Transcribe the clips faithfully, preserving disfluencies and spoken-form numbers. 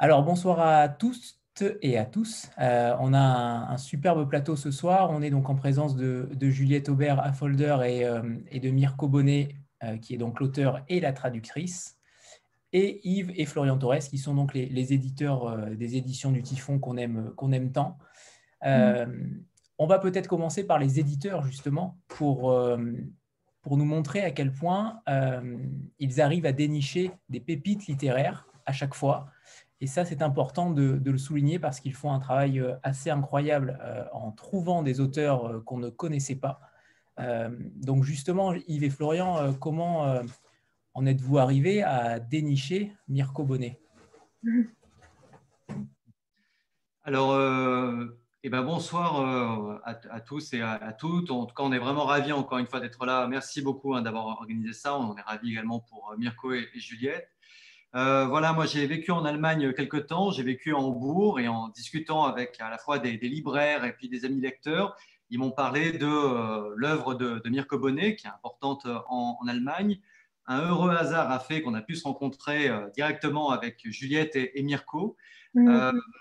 Alors, bonsoir à tous et à tous. Euh, on a un, un superbe plateau ce soir. On est donc en présence de, de Juliette Aubert-Affolder et, euh, et de Mirko Bonnet, euh, qui est donc l'auteur et la traductrice, et Yves et Florian Torres, qui sont donc les, les éditeurs euh, des éditions du Typhon qu'on aime, qu'on aime tant. Mm. Euh, on va peut-être commencer par les éditeurs, justement, pour, euh, pour nous montrer à quel point euh, ils arrivent à dénicher des pépites littéraires à chaque fois. Et ça, c'est important de, de le souligner parce qu'ils font un travail euh, assez incroyable euh, en trouvant des auteurs euh, qu'on ne connaissait pas. Euh, donc justement, Yves et Florian, euh, comment euh, en êtes-vous arrivés à dénicher Mirko Bonnet? Alors, euh, eh ben, bonsoir euh, à, à tous et à, à toutes. En tout cas, on est vraiment ravis encore une fois d'être là. Merci beaucoup hein, d'avoir organisé ça. On est ravis également pour euh, Mirko et, et Juliette. Euh, voilà, moi j'ai vécu en Allemagne quelque temps. J'ai vécu en Hambourg et en discutant avec à la fois des, des libraires et puis des amis lecteurs, ils m'ont parlé de euh, l'œuvre de, de Mirko Bonnet, qui est importante en, en Allemagne. Un heureux hasard a fait qu'on a pu se rencontrer euh, directement avec Juliette et, et Mirko. Euh, Mm.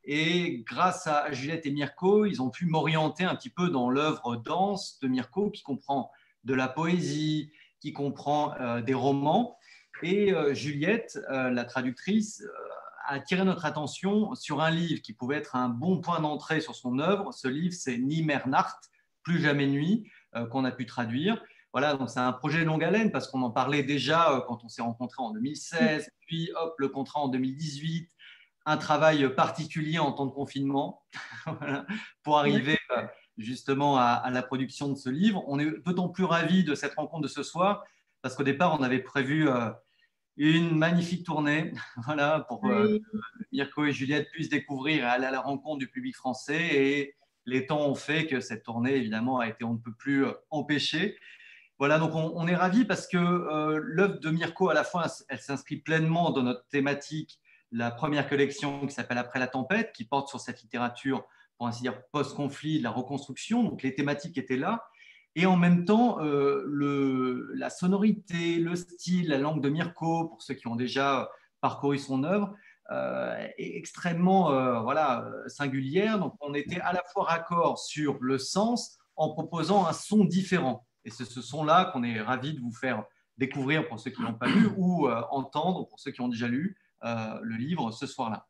et grâce à Juliette et Mirko, ils ont pu m'orienter un petit peu dans l'œuvre dense de Mirko, qui comprend de la poésie, qui comprend euh, des romans. Et euh, Juliette, euh, la traductrice, euh, a attiré notre attention sur un livre qui pouvait être un bon point d'entrée sur son œuvre. Ce livre, c'est Nimmer Nacht, Plus jamais nuit, euh, qu'on a pu traduire. Voilà, donc c'est un projet de longue haleine parce qu'on en parlait déjà euh, quand on s'est rencontrés en deux mille seize, puis hop, le contrat en deux mille dix-huit, un travail particulier en temps de confinement voilà, pour arriver euh, justement à, à, la production de ce livre. On est d'autant plus ravis de cette rencontre de ce soir parce qu'au départ, on avait prévu euh, une magnifique tournée voilà, pour euh, Oui. que Mirko et Juliette puissent découvrir et aller à la rencontre du public français. Et les temps ont fait que cette tournée, évidemment, a été on ne peut plus euh, empêchée. Voilà, donc on, on est ravis parce que euh, l'œuvre de Mirko, à la fois, elle s'inscrit pleinement dans notre thématique, la première collection qui s'appelle Après la tempête, qui porte sur cette littérature, pour ainsi dire, post-conflit, de la reconstruction. Donc les thématiques étaient là. Et en même temps, euh, le, la sonorité, le style, la langue de Mirko, pour ceux qui ont déjà parcouru son œuvre, euh, est extrêmement euh, voilà, singulière. Donc on était à la fois raccord sur le sens en proposant un son différent. Et c'est ce son-là qu'on est ravis de vous faire découvrir pour ceux qui n'ont pas lu ou euh, entendre pour ceux qui ont déjà lu euh, le livre ce soir-là.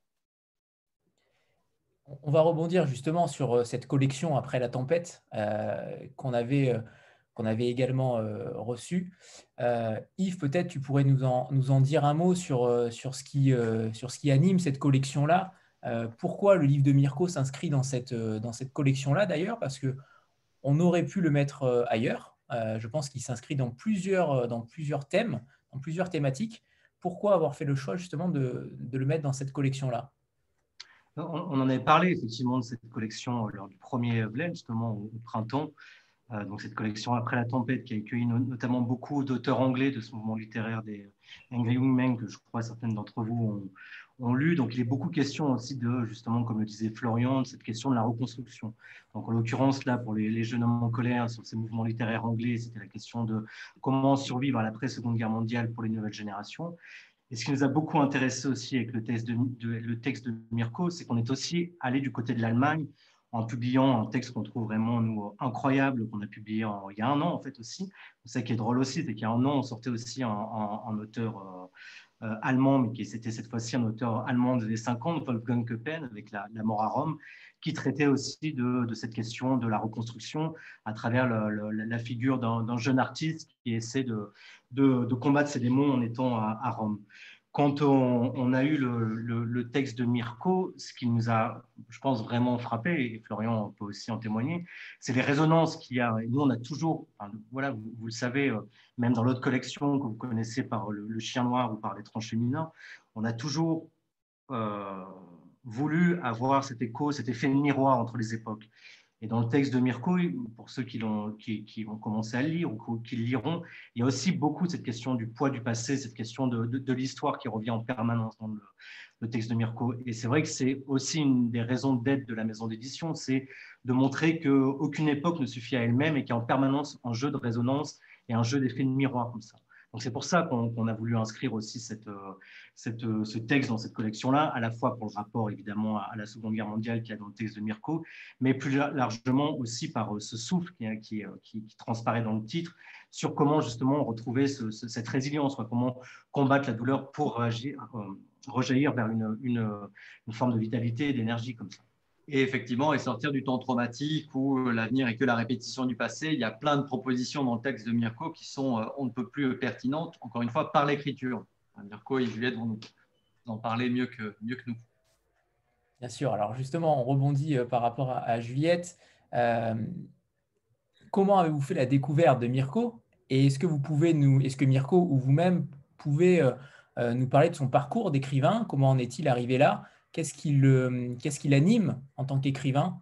On va rebondir justement sur euh, cette collection Après la tempête euh, qu'on avait, euh, qu'on avait également euh, reçue. Euh, Yves, peut-être tu pourrais nous en, nous en dire un mot sur, euh, sur, ce qui, euh, sur ce qui anime cette collection-là. Euh, pourquoi le livre de Mirko s'inscrit dans cette, euh, dans cette collection-là d'ailleurs? Parce que on aurait pu le mettre euh, ailleurs. Euh, je pense qu'il s'inscrit dans plusieurs, euh, dans plusieurs thèmes, dans plusieurs thématiques. Pourquoi avoir fait le choix justement de, de le mettre dans cette collection-là? On, on en avait parlé effectivement de cette collection euh, lors du premier Bled, justement au, au printemps. Euh, donc cette collection Après la tempête qui a accueilli no- notamment beaucoup d'auteurs anglais de ce mouvement littéraire des Angry Young Men que je crois certaines d'entre vous ont, ont lu. Donc il est beaucoup question aussi de, justement, comme le disait Florian, de cette question de la reconstruction. Donc en l'occurrence là, pour les, les jeunes hommes en colère sur ces mouvements littéraires anglais, c'était la question de comment survivre à l'après-seconde guerre mondiale pour les nouvelles générations. Et ce qui nous a beaucoup intéressé aussi avec le texte de, de, le texte de Mirko, c'est qu'on est aussi allé du côté de l'Allemagne en publiant un texte qu'on trouve vraiment nous, incroyable, qu'on a publié en, il y a un an en fait aussi. C'est ça qui est drôle aussi, c'est qu'il y a un an, on sortait aussi un, un, un auteur euh, euh, allemand, mais qui c'était cette fois-ci un auteur allemand des années cinquante, Wolfgang Köppen, avec la, la mort à Rome, qui traitait aussi de, de cette question de la reconstruction à travers le, le, la figure d'un jeune artiste qui essaie de, de, de combattre ses démons en étant à, à Rome. Quand on, on, a eu le, le, le texte de Mirko, ce qui nous a, je pense, vraiment frappé, et Florian peut aussi en témoigner, c'est les résonances qu'il y a. Et nous, on a toujours, enfin, voilà, vous, vous le savez, euh, même dans l'autre collection que vous connaissez par le, le Chien Noir ou par l'étrange féminin, on a toujours euh, voulu avoir cet écho, cet effet de miroir entre les époques. Et dans le texte de Mirko, pour ceux qui, l'ont, qui, qui ont commencé à le lire ou qui le liront, il y a aussi beaucoup de cette question du poids du passé, cette question de, de, de l'histoire qui revient en permanence dans le, le texte de Mirko. Et c'est vrai que c'est aussi une des raisons d'être de la maison d'édition, c'est de montrer qu'aucune époque ne suffit à elle-même et qu'il y a en permanence un jeu de résonance et un jeu d'effet de miroir comme ça. Donc c'est pour ça qu'on qu'on a voulu inscrire aussi cette, cette, ce texte dans cette collection-là, à la fois pour le rapport évidemment à la Seconde Guerre mondiale qu'il y a dans le texte de Mirko, mais plus largement aussi par ce souffle qui, qui, qui, qui transparaît dans le titre, sur comment justement retrouver ce, ce, cette résilience, quoi, comment combattre la douleur pour réagir, euh, rejaillir vers une, une, une forme de vitalité et d'énergie comme ça. Et effectivement, et sortir du temps traumatique où l'avenir est que la répétition du passé. Il y a plein de propositions dans le texte de Mirko qui sont euh, on ne peut plus pertinentes, encore une fois, par l'écriture. Mirko et Juliette vont nous en parler mieux que, mieux que nous. Bien sûr. Alors justement, on rebondit euh, par rapport à, à Juliette. Euh, comment avez-vous fait la découverte de Mirko? Et est-ce que vous pouvez nous, est-ce que Mirko ou vous-même pouvez euh, euh, nous parler de son parcours d'écrivain? Comment en est-il arrivé là? Qu'est-ce qui le, qu'est-ce qui l'anime en tant qu'écrivain?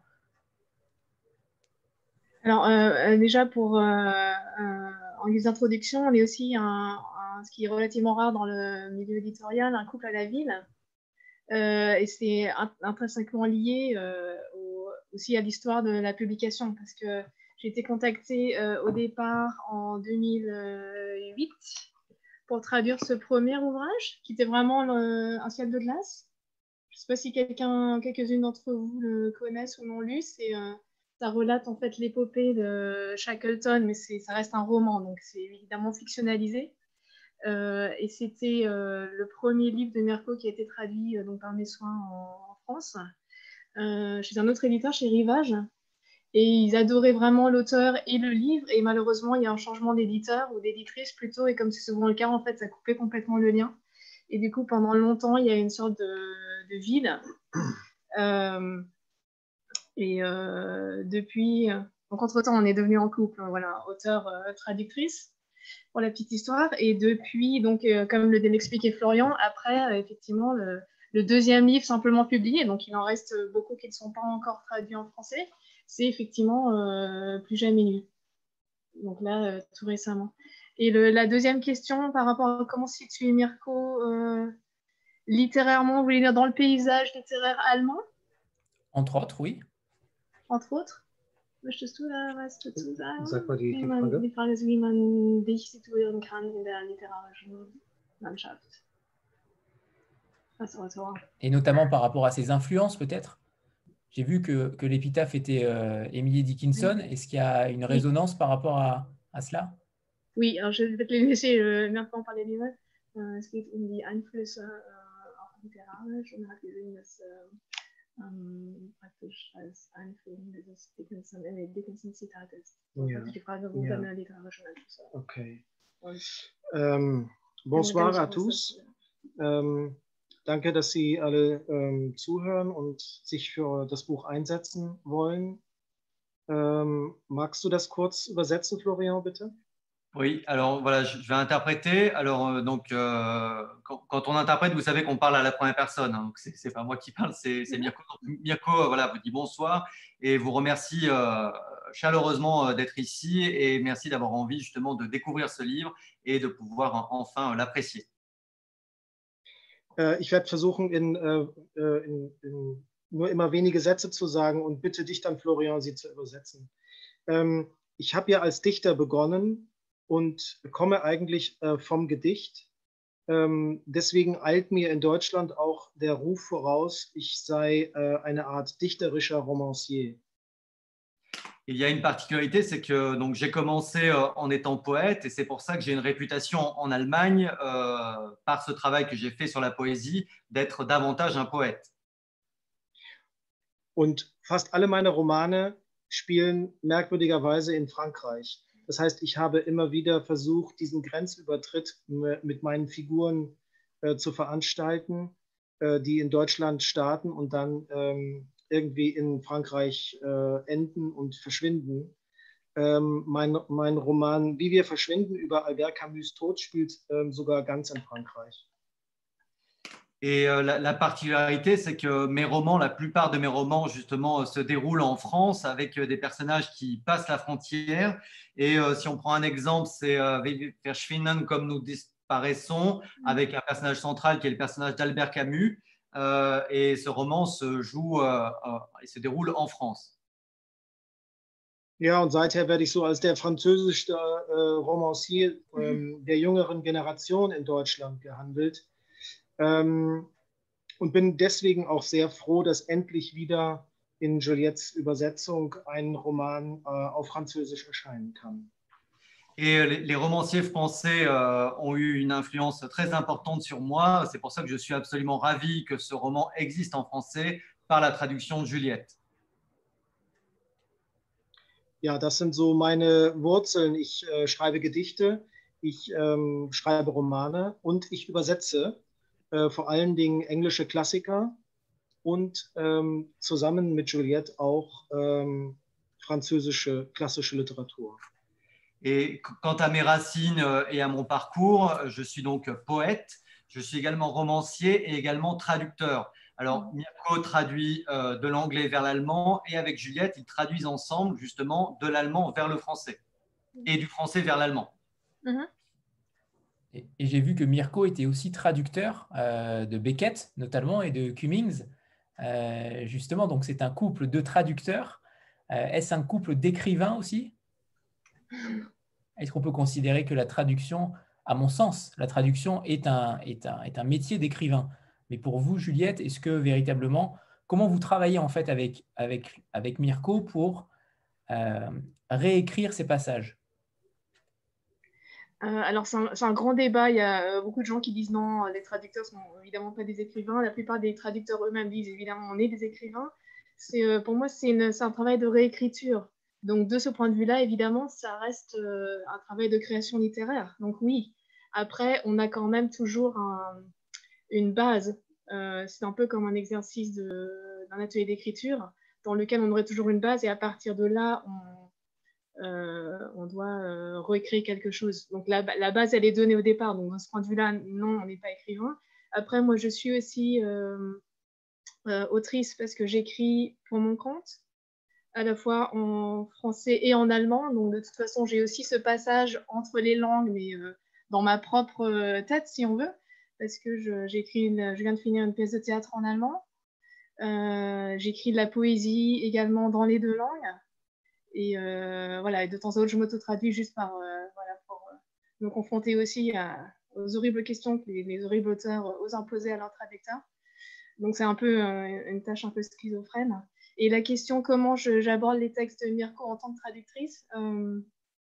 Alors euh, déjà pour euh, euh, en guise d'introduction, on est aussi un, un, ce qui est relativement rare dans le milieu éditorial, un couple à la ville. Euh, et c'est intrinsèquement lié euh, au, aussi à l'histoire de la publication, parce que j'ai été contactée euh, au départ en deux mille huit pour traduire ce premier ouvrage, qui était vraiment le, un ciel de glace. Je ne sais pas si quelqu'un, quelques-unes d'entre vous le connaissent ou l'ont lu. C'est, euh, ça relate en fait l'épopée de Shackleton, mais c'est, ça reste un roman, donc c'est évidemment fictionnalisé. Euh, et c'était euh, le premier livre de Mirko qui a été traduit euh, donc, par mes soins en, en France, euh, chez un autre éditeur, chez Rivage. Et ils adoraient vraiment l'auteur et le livre. Et malheureusement, il y a un changement d'éditeur ou d'éditrice plutôt. Et comme c'est souvent le cas, en fait, ça coupait complètement le lien. Et du coup, pendant longtemps, il y a une sorte de, de vide. Euh, et euh, depuis, donc entre-temps, on est devenu en couple, voilà, auteur-traductrice. Euh, pour la petite histoire. Et depuis, donc, euh, comme le l'expliquait Florian, après, euh, effectivement, le, le deuxième livre simplement publié, donc il en reste beaucoup qui ne sont pas encore traduits en français, c'est effectivement euh, Plus jamais nu. Donc là, euh, tout récemment. Et le, la deuxième question par rapport à comment situer Mirko euh, littérairement, vous voulez dire dans le paysage littéraire allemand? Entre autres, oui. Entre autres. Möchtest du da was dazu sagen? Sag mal die, wie die man, Frage. Die Frage ist, wie man dich situieren kann in der literarischen Landschaft als Autor. Et notamment par rapport à ses influences, peut-être? J'ai vu que, que l'épitaphe était euh, Emily Dickinson. Oui. Est-ce qu'il y a une résonance oui. par rapport à, à cela? Oui, alors je vais peut-être les laisser euh, maintenant parler lui-même. Euh, es geht um die Einflüsse äh, auch literarisch und hat gesehen, dass äh, ähm, praktisch als Einführung dieses Dickinson, äh, Dickinson-Zitat ist. Ja. Also die Frage, wo Ja. deine literarischen Einflüsse. Okay. Und, ähm, bonsoir à tous. Ähm, danke, dass Sie alle ähm, zuhören und sich für das Buch einsetzen wollen. Ähm, magst du das kurz übersetzen, Florian, bitte? Oui, alors voilà, je vais interpréter. Alors, euh, donc, euh, quand, quand on interprète, vous savez qu'on parle à la première personne. Hein, donc, c'est pas moi qui parle, c'est Mirko. Donc, Mirko, euh, voilà, vous dit bonsoir et vous remercie euh, chaleureusement euh, d'être ici et merci d'avoir envie justement de découvrir ce livre et de pouvoir enfin euh, l'apprécier. Äh, ich werde versuchen, in, äh, in, in nur immer wenige Sätze zu sagen und bitte dich dann, Florian, sie zu übersetzen. Ähm, ich habe ja als Dichter begonnen und komme eigentlich äh, vom Gedicht. Ähm, deswegen eilt mir in Deutschland auch der Ruf voraus, ich sei äh, eine Art dichterischer Romancier. Il y a une particularité, c'est que donc j'ai commencé euh, en étant poète et c'est pour ça que j'ai une réputation en Allemagne euh, par ce travail que j'ai fait sur la poésie d'être davantage un poète. Und fast alle meine Romane spielen merkwürdigerweise in Frankreich. Das heißt, ich habe immer wieder versucht, diesen Grenzübertritt mit meinen Figuren äh, zu veranstalten, äh, die in Deutschland starten und dann ähm, irgendwie in Frankreich äh, enden und verschwinden. Ähm, mein, mein Roman Wie wir verschwinden über Albert Camus' Tod spielt ähm, sogar ganz in Frankreich. Et euh, la, la particularité, c'est que mes romans, la plupart de mes romans, justement, euh, se déroulent en France avec euh, des personnages qui passent la frontière. Et euh, si on prend un exemple, c'est euh, Verschwinden, comme nous disparaissons, avec un personnage central qui est le personnage d'Albert Camus. Euh, et ce roman se joue euh, euh, et se déroule en France. Ja, und seither werde ich so als der französischste äh, Romancier ähm, der jüngeren Generation in Deutschland gehandelt. Ähm, und bin deswegen auch sehr froh, dass endlich wieder in Juliettes Übersetzung ein Roman äh, auf Französisch erscheinen kann. Et les, les romanciers français euh, ont eu une influence très importante sur moi. C'est pour ça que je suis absolument ravi que ce roman existe en français par la traduction de Juliette. Ja, das sind so meine Wurzeln. Ich äh, schreibe Gedichte, ich ähm, schreibe Romane und ich übersetze äh, vor allen Dingen englische Klassiker und ähm, zusammen mit Juliette auch ähm, französische klassische Literatur. Et quant à mes racines et à mon parcours, je suis donc poète, je suis également romancier et également traducteur. Alors, Mirko traduit euh, de l'anglais vers l'allemand et avec Juliette, ils traduisent ensemble justement de l'allemand vers le français et du français vers l'allemand. Mhm. Et, et j'ai vu que Mirko était aussi traducteur euh, de Beckett, notamment, et de Cummings. Euh, justement, donc c'est un couple de traducteurs. Euh, est-ce un couple d'écrivains aussi? Est-ce qu'on peut considérer que la traduction, à mon sens, la traduction est un, est un, est un métier d'écrivain? Mais pour vous, Juliette, est-ce que véritablement, comment vous travaillez en fait avec, avec, avec Mirko pour euh, réécrire ces passages? Euh, alors, c'est un, c'est un grand débat. Il y a euh, beaucoup de gens qui disent non, les traducteurs sont évidemment pas des écrivains. La plupart des traducteurs eux-mêmes disent évidemment on est des écrivains. C'est, euh, pour moi, c'est, une, c'est un travail de réécriture. Donc, de ce point de vue-là, évidemment, ça reste euh, un travail de création littéraire. Donc, oui. Après, on a quand même toujours un, une base. Euh, c'est un peu comme un exercice de, d'un atelier d'écriture dans lequel on aurait toujours une base et à partir de là, on Euh, on doit euh, réécrire quelque chose. Donc la, la base, elle est donnée au départ. Donc de ce point de vue-là, non, on n'est pas écrivain. Après, moi, je suis aussi euh, euh, autrice parce que j'écris pour mon compte, à la fois en français et en allemand. Donc de toute façon, j'ai aussi ce passage entre les langues, mais euh, dans ma propre tête, si on veut, parce que je, j'écris une, je viens de finir une pièce de théâtre en allemand. Euh, j'écris de la poésie également dans les deux langues. Et euh, voilà, et de temps à autre, je m'auto-traduis juste par, euh, voilà, pour euh, me confronter aussi à, aux horribles questions que les, les horribles auteurs osent imposer à leurs traducteurs. Donc c'est un peu euh, une tâche un peu schizophrène. Et la question comment je, j'aborde les textes de Mirko en tant que traductrice, euh,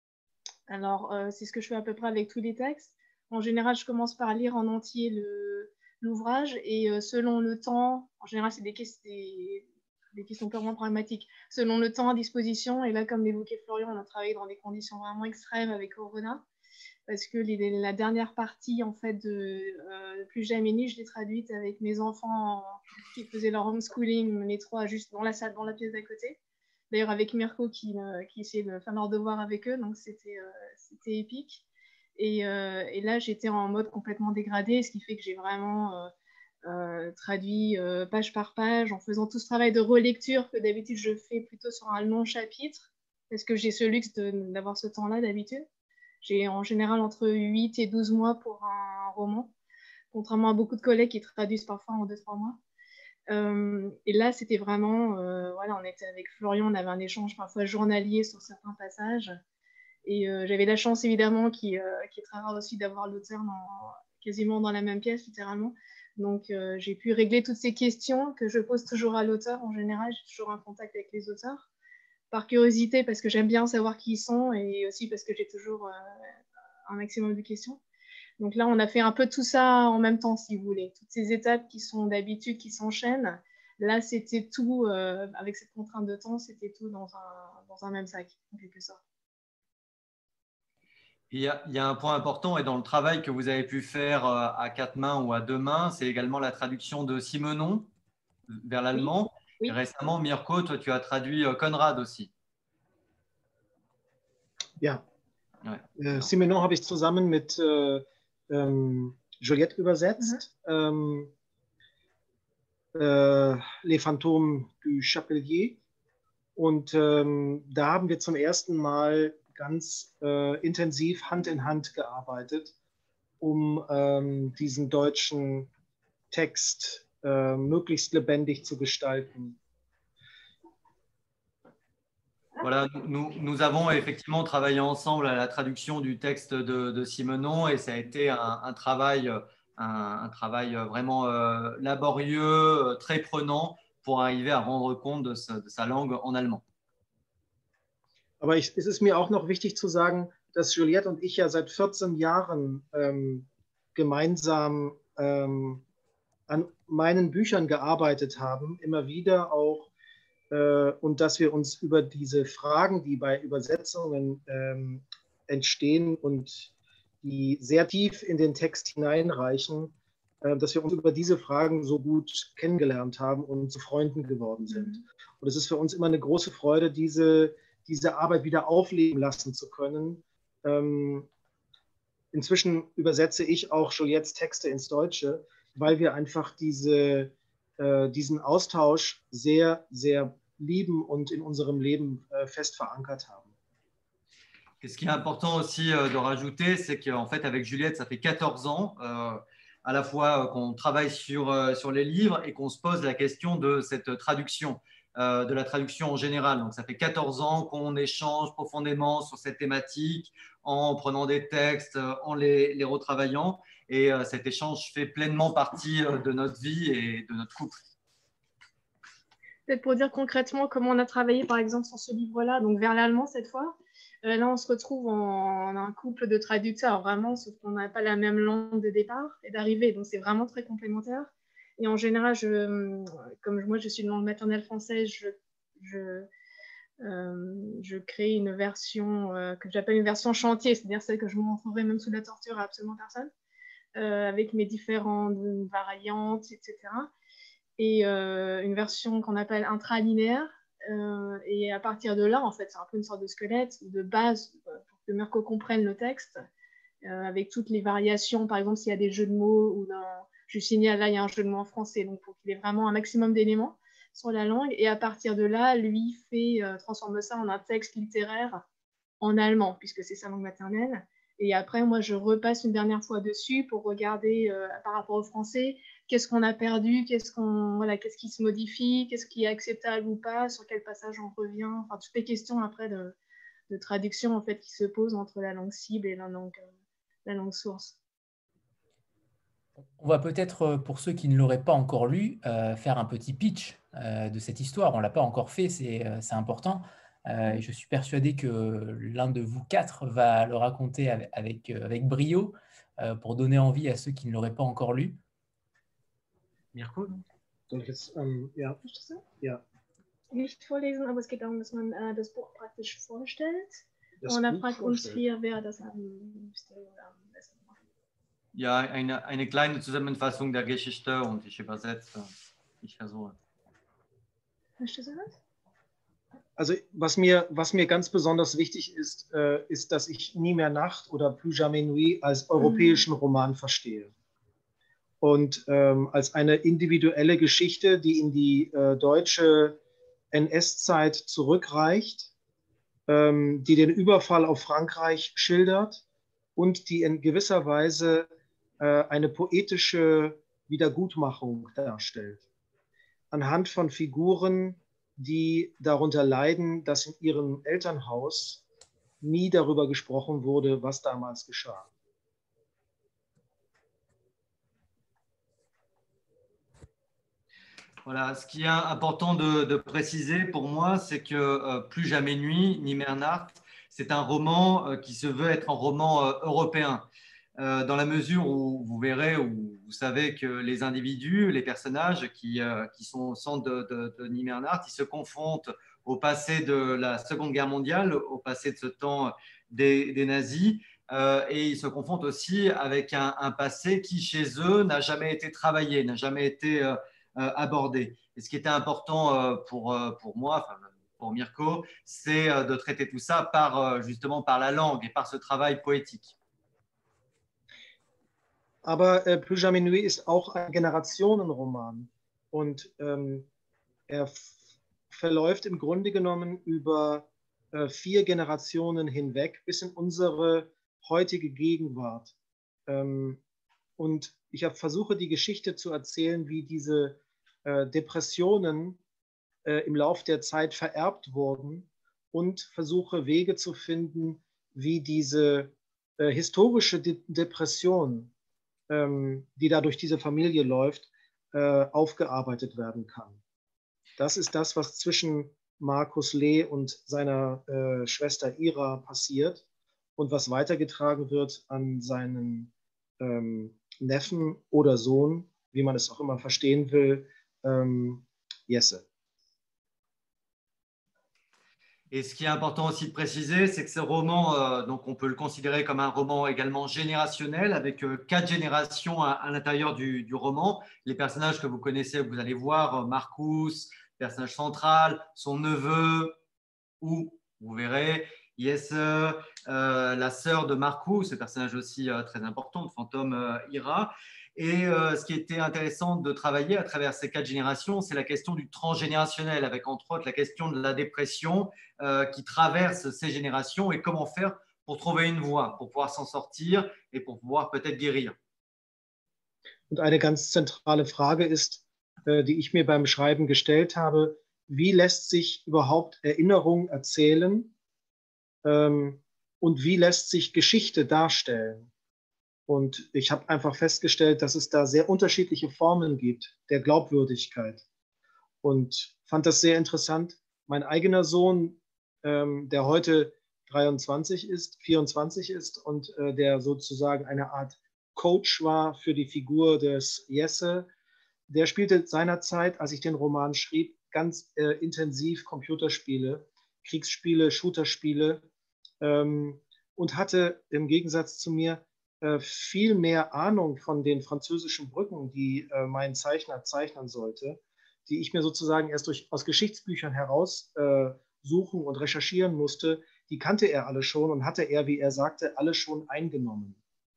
alors euh, c'est ce que je fais à peu près avec tous les textes. En général, je commence par lire en entier le, l'ouvrage et euh, selon le temps, en général, c'est des, des, des questions purement pragmatiques, selon le temps à disposition. Et là, comme l'évoquait Florian, on a travaillé dans des conditions vraiment extrêmes avec Corona, parce que les, la dernière partie en fait de euh, Plus jamais ni, je l'ai traduite avec mes enfants qui faisaient leur homeschooling, les trois juste dans la salle, dans la pièce d'à côté. D'ailleurs avec Mirko qui, euh, qui essayait de faire leur devoir avec eux, donc c'était, euh, c'était épique. Et, euh, et là, j'étais en mode complètement dégradé, ce qui fait que j'ai vraiment euh, euh, traduit euh, page par page en faisant tout ce travail de relecture que d'habitude je fais plutôt sur un long chapitre, parce que j'ai ce luxe de, d'avoir ce temps-là d'habitude. J'ai en général entre huit et douze mois pour un roman, contrairement à beaucoup de collègues qui traduisent parfois en deux trois mois. Euh, et là, c'était vraiment, euh, voilà, on était avec Florian, on avait un échange parfois journalier sur certains passages. Et euh, j'avais la chance, évidemment, qui, euh, qui est très rare aussi, d'avoir l'auteur dans, quasiment dans la même pièce, littéralement. Donc, euh, j'ai pu régler toutes ces questions que je pose toujours à l'auteur. En général, j'ai toujours un contact avec les auteurs. Par curiosité, parce que j'aime bien savoir qui ils sont, et aussi parce que j'ai toujours euh, un maximum de questions. Donc là, on a fait un peu tout ça en même temps, si vous voulez. Toutes ces étapes qui sont d'habitude, qui s'enchaînent. Là, c'était tout, euh, avec cette contrainte de temps, c'était tout dans un, dans un même sac, en quelque sorte. Il y, a, il y a un point important et dans le travail que vous avez pu faire à quatre mains ou à deux mains, c'est également la traduction de Simenon vers l'allemand. Oui. Oui. Et récemment, Mirko, toi, tu as traduit Konrad aussi. Ja. Ouais. Äh, Simenon habe ich zusammen mit äh, ähm, Juliette übersetzt. Mhm. Ähm, äh, Les Fantômes du Chapelier. Und ähm, da haben wir zum ersten Mal ganz äh, intensiv Hand in Hand gearbeitet, um ähm, diesen deutschen Text äh, möglichst lebendig zu gestalten. Voilà, nous, nous avons effectivement travaillé ensemble à la traduction du texte de, de Simenon et ça a été un, un travail, un, un travail vraiment euh, laborieux, très prenant pour arriver à rendre compte de sa, de sa langue en allemand. Aber ich, es ist mir auch noch wichtig zu sagen, dass Juliette und ich ja seit vierzehn Jahren ähm, gemeinsam ähm, an meinen Büchern gearbeitet haben, immer wieder auch, äh, und dass wir uns über diese Fragen, die bei Übersetzungen ähm, entstehen und die sehr tief in den Text hineinreichen, äh, dass wir uns über diese Fragen so gut kennengelernt haben und zu Freunden geworden sind. Mhm. Und es ist für uns immer eine große Freude, diese, diese Arbeit wieder aufleben lassen zu können. Ähm, inzwischen übersetze ich auch Juliettes Texte ins Deutsche, weil wir einfach diese, äh, diesen Austausch sehr, sehr lieben und in unserem Leben äh, fest verankert haben. Et ce qui est important aussi euh, de rajouter, c'est qu'en fait, avec Juliette, ça fait quatorze ans, euh, à la fois euh, qu'on travaille sur, euh, sur les livres et qu'on se pose la question de cette traduction, euh, de la traduction en général. Donc, ça fait quatorze ans qu'on échange profondément sur cette thématique, en prenant des textes, en les, les retravaillant. Et euh, cet échange fait pleinement partie euh, de notre vie et de notre couple. Peut-être pour dire concrètement comment on a travaillé, par exemple, sur ce livre-là, donc vers l'allemand cette fois. Euh, là, on se retrouve en, en un couple de traducteurs, vraiment, sauf qu'on n'a pas la même langue de départ et d'arrivée, donc c'est vraiment très complémentaire. Et en général, je, comme moi, je suis de langue maternelle française, je, je, euh, je crée une version euh, que j'appelle une version chantier, c'est-à-dire celle que je montrerai même sous la torture à absolument personne, euh, avec mes différentes variantes, et cetera. Et euh, une version qu'on appelle intralinéaire. Euh, et à partir de là, en fait, c'est un peu une sorte de squelette, de base, pour que Mirko comprenne le texte, euh, avec toutes les variations. Par exemple, s'il y a des jeux de mots, ou dans... je signale là, il y a un jeu de mots en français, donc il faut qu'il ait vraiment un maximum d'éléments sur la langue. Et à partir de là, lui fait, euh, transforme ça en un texte littéraire en allemand, puisque c'est sa langue maternelle. Et après, moi, je repasse une dernière fois dessus pour regarder euh, par rapport au français, qu'est-ce qu'on a perdu, qu'est-ce qu'on, voilà, qu'est-ce qui se modifie, qu'est-ce qui est acceptable ou pas, sur quel passage on revient. Enfin, toutes les questions après de, de traduction en fait, qui se posent entre la langue cible et la langue, euh, la langue source. On va peut-être, pour ceux qui ne l'auraient pas encore lu, euh, faire un petit pitch euh, de cette histoire. On ne l'a pas encore fait, c'est, c'est important. Euh, et je suis persuadé que l'un de vous quatre va le raconter avec, avec, avec brio euh, pour donner envie à ceux qui ne l'auraient pas encore lu. Mirko? Soll ich jetzt, ähm, ja. Ja. Nicht vorlesen, aber es geht darum, dass man äh, das Buch praktisch vorstellt. Das Und er Buch fragt uns vorstellt. vier, wer das am liebsten oder am besten macht. Ja, eine, eine kleine Zusammenfassung der Geschichte und ich übersetze. Ich versuche. Möchtest du das? Also was mir, was mir ganz besonders wichtig ist, äh, ist, dass ich Nie mehr Nacht oder Plus jamais nuit als europäischen Roman verstehe. Und ähm, als eine individuelle Geschichte, die in die äh, deutsche N S-Zeit zurückreicht, ähm, die den Überfall auf Frankreich schildert und die in gewisser Weise äh, eine poetische Wiedergutmachung darstellt. Anhand von Figuren, die darunter leiden, dass in ihrem Elternhaus nie darüber gesprochen wurde, was damals geschah. Voilà, ce qui est important de, de préciser pour moi, c'est que euh, Plus jamais nuit, Niemer Nacht, c'est un roman euh, qui se veut être un roman euh, européen. Euh, dans la mesure où vous verrez, où vous savez que les individus, les personnages qui, euh, qui sont au centre de, de, de Niemer Nacht, ils se confrontent au passé de la Seconde Guerre mondiale, au passé de ce temps des, des nazis, euh, et ils se confrontent aussi avec un, un passé qui, chez eux, n'a jamais été travaillé, n'a jamais été euh, euh, abordé. Et ce qui était important euh, pour, euh, pour moi, enfin, pour Mirko, c'est euh, de traiter tout ça par, euh, justement par la langue et par ce travail poétique. Aber äh, Plus jamais nuit ist auch ein Generationenroman und ähm, er verläuft im Grunde genommen über äh, vier Generationen hinweg bis in unsere heutige Gegenwart. Ähm, und ich hab, versuche die Geschichte zu erzählen, wie diese äh, Depressionen äh, im Lauf der Zeit vererbt wurden und versuche Wege zu finden, wie diese äh, historische De Depression, ähm, die da durch diese Familie läuft, äh, aufgearbeitet werden kann. Das ist das, was zwischen Markus Lee und seiner äh, Schwester Ira passiert und was weitergetragen wird an seinen ähm, Neffen oder Sohn, wie man es auch immer verstehen will, ähm, Jesse. Et ce qui est important aussi de préciser, c'est que ce roman, euh, donc on peut le considérer comme un roman également générationnel, avec euh, quatre générations à, à l'intérieur du, du roman. Les personnages que vous connaissez, vous allez voir, euh, Marcus, personnage central, son neveu, ou vous verrez, Jesse, euh, la sœur de Marcus, ce personnage aussi euh, très important, le fantôme euh, Ira. Et euh, ce qui était intéressant de travailler à travers ces quatre générations, c'est la question du transgénérationnel, avec entre autres la question de la dépression euh, qui traverse ces générations et comment faire pour trouver une voie, pour pouvoir s'en sortir et pour pouvoir peut-être guérir. Und eine ganz zentrale Frage ist, äh, die ich mir beim Schreiben gestellt habe, wie lässt sich überhaupt Erinnerung erzählen ähm, und wie lässt sich Geschichte darstellen? Und ich habe einfach festgestellt, dass es da sehr unterschiedliche Formen gibt der Glaubwürdigkeit. Und fand das sehr interessant. Mein eigener Sohn, ähm, der heute dreiundzwanzig ist, vierundzwanzig ist und äh, der sozusagen eine Art Coach war für die Figur des Jesse, der spielte seinerzeit, als ich den Roman schrieb, ganz äh, intensiv Computerspiele, Kriegsspiele, Shooterspiele ähm, und hatte im Gegensatz zu mir äh, viel mehr Ahnung von den französischen Brücken, die äh, mein Zeichner zeichnen sollte, die ich mir sozusagen erst durch, aus Geschichtsbüchern heraus äh, suchen und recherchieren musste. Die kannte er alle schon und hatte er, wie er sagte, alle schon eingenommen.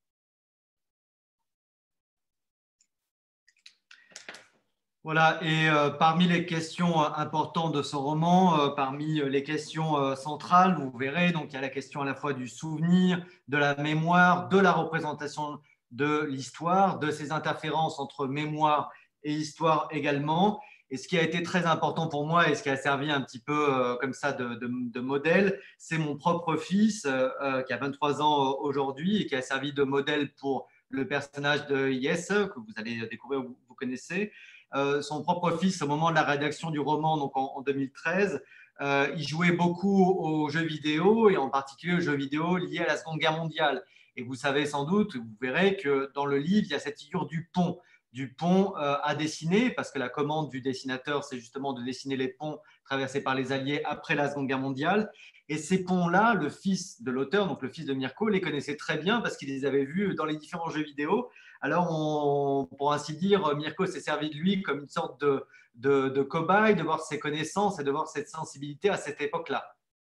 Voilà, et euh, parmi les questions euh, importantes de ce roman, euh, parmi euh, les questions euh, centrales, vous verrez, donc il y a la question à la fois du souvenir, de la mémoire, de la représentation de l'histoire, de ces interférences entre mémoire et histoire également. Et ce qui a été très important pour moi et ce qui a servi un petit peu euh, comme ça de, de, de modèle, c'est mon propre fils euh, euh, qui a vingt-trois ans aujourd'hui et qui a servi de modèle pour le personnage de Jesse, que vous allez découvrir, vous, vous connaissez. Euh, son propre fils, au moment de la rédaction du roman, donc en, en deux mille treize, euh, il jouait beaucoup aux jeux vidéo et en particulier aux jeux vidéo liés à la Seconde Guerre mondiale. Et vous savez sans doute, vous verrez que dans le livre, il y a cette figure du pont, du pont euh, à dessiner, parce que la commande du dessinateur, c'est justement de dessiner les ponts traversés par les Alliés après la Seconde Guerre mondiale. Et ces ponts-là, le fils de l'auteur, donc le fils de Mirko, les connaissait très bien parce qu'il les avait vus dans les différents jeux vidéo. Alors, on, pour ainsi dire, Mirko s'est servi de lui comme une sorte de, de, de cobaye, de voir ses connaissances et de voir cette sensibilité à cette époque-là.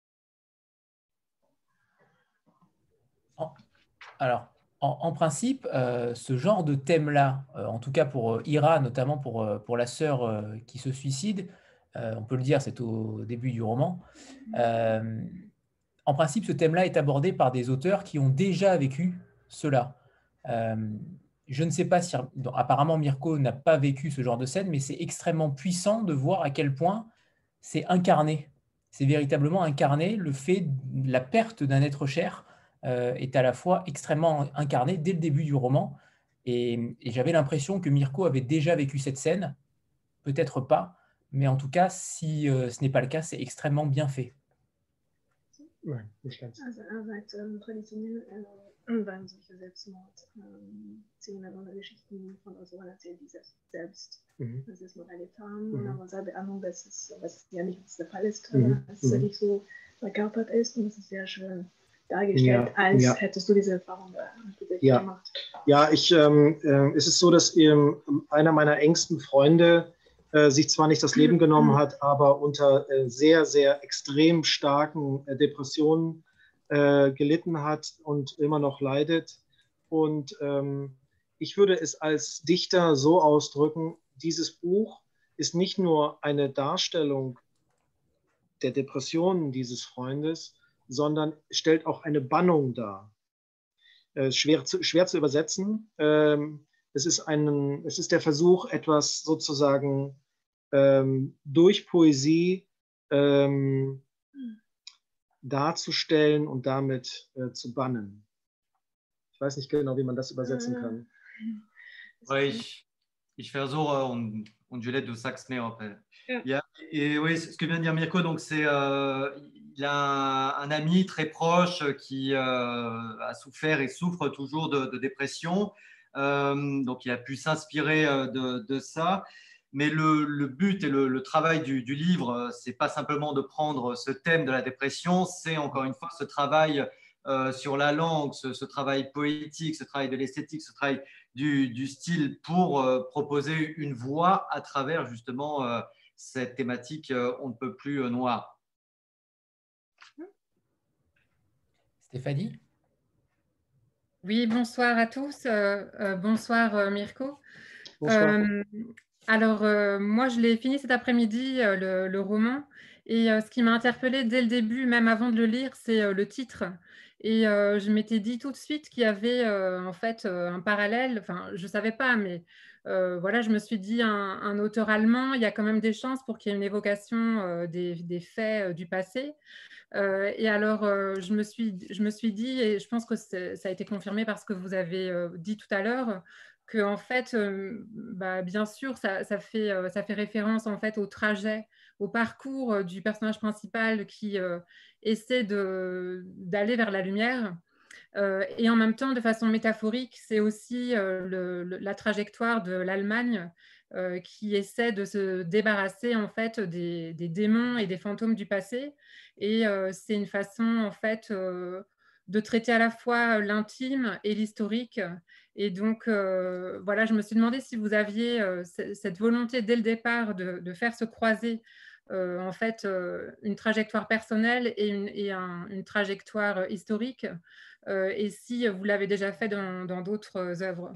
Alors, en, en principe, euh, ce genre de thème-là, euh, en tout cas pour euh, Ira, notamment pour, euh, pour la sœur euh, qui se suicide, euh, on peut le dire, c'est au début du roman. Euh, en principe, ce thème-là est abordé par des auteurs qui ont déjà vécu cela. Euh, je ne sais pas si, donc, apparemment, Mirko n'a pas vécu ce genre de scène, mais c'est extrêmement puissant de voir à quel point c'est incarné. C'est véritablement incarné. Le fait de la perte d'un être cher euh, est à la fois extrêmement incarné dès le début du roman. Et, et j'avais l'impression que Mirko avait déjà vécu cette scène. Peut-être pas, mais en tout cas, si euh, ce n'est pas le cas, c'est extrêmement bien fait. Also er sagt, ähm, traditionell äh, waren solche Selbstmord-Szenen ähm, oder Geschichten von Autoren erzählt, die selbst, selbst mhm. Rassismus erlebt haben. Mhm. Aber seine Ahnung, dass es, was ja nicht der Fall ist, mhm. dass es nicht so verkörpert ist und es ist sehr schön dargestellt, ja, als ja. hättest du diese Erfahrung ja. gemacht. Ja, ich, ähm, äh, es ist so, dass ähm, einer meiner engsten Freunde äh, sich zwar nicht das Leben genommen hat, aber unter äh, sehr, sehr extrem starken äh, Depressionen äh, gelitten hat und immer noch leidet. Und ähm, ich würde es als Dichter so ausdrücken, dieses Buch ist nicht nur eine Darstellung der Depressionen dieses Freundes, sondern stellt auch eine Bannung dar. Äh, schwer, zu, schwer zu übersetzen. Ähm, es ist, ein, es ist der Versuch, etwas sozusagen ähm, durch Poesie ähm, darzustellen und damit äh, zu bannen. Ich weiß nicht genau, wie man das übersetzen kann. Ouais, ich, ich versuche und, und Juliette, du sagst mehr après. Yeah. Yeah. Et oui, ce que vient de dire Mirko, donc c'est euh, il a un, un ami très proche qui euh, a souffert et souffre toujours de, de dépression. Euh, donc il a pu s'inspirer de, de ça. Mais le, le but et le, le travail du, du livre, c'est pas simplement de prendre ce thème de la dépression, c'est encore une fois ce travail euh, sur la langue, ce, ce travail poétique, ce travail de l'esthétique, ce travail du, du style pour euh, proposer une voix à travers justement euh, cette thématique euh, on ne peut plus euh, noire. Stéphanie? Oui, bonsoir à tous. Euh, euh, bonsoir euh, Mirko. Bonsoir. Euh, alors, euh, moi, je l'ai fini cet après-midi, euh, le, le roman. Et euh, ce qui m'a interpellée dès le début, même avant de le lire, c'est euh, le titre. Et euh, je m'étais dit tout de suite qu'il y avait euh, en fait euh, un parallèle. Enfin, je ne savais pas, mais euh, voilà, je me suis dit, un, un auteur allemand, il y a quand même des chances pour qu'il y ait une évocation euh, des, des faits euh, du passé. Euh, et alors, euh, je, me suis, je me suis dit, et je pense que ça a été confirmé par ce que vous avez euh, dit tout à l'heure, que en fait, euh, bah, bien sûr, ça, ça, fait, euh, ça fait référence en fait au trajet, au parcours euh, du personnage principal qui euh, essaie d'aller vers la lumière. Euh, et en même temps, de façon métaphorique, c'est aussi euh, le, le, la trajectoire de l'Allemagne euh, qui essaie de se débarrasser en fait des, des démons et des fantômes du passé. Et euh, c'est une façon en fait euh, de traiter à la fois l'intime et l'historique. Et donc euh, voilà, je me suis demandé si vous aviez euh, cette volonté dès le départ de, de faire se croiser euh, en fait euh, une trajectoire personnelle et une, et un, une trajectoire historique. Euh, et si vous l'avez déjà fait dans d'autres œuvres.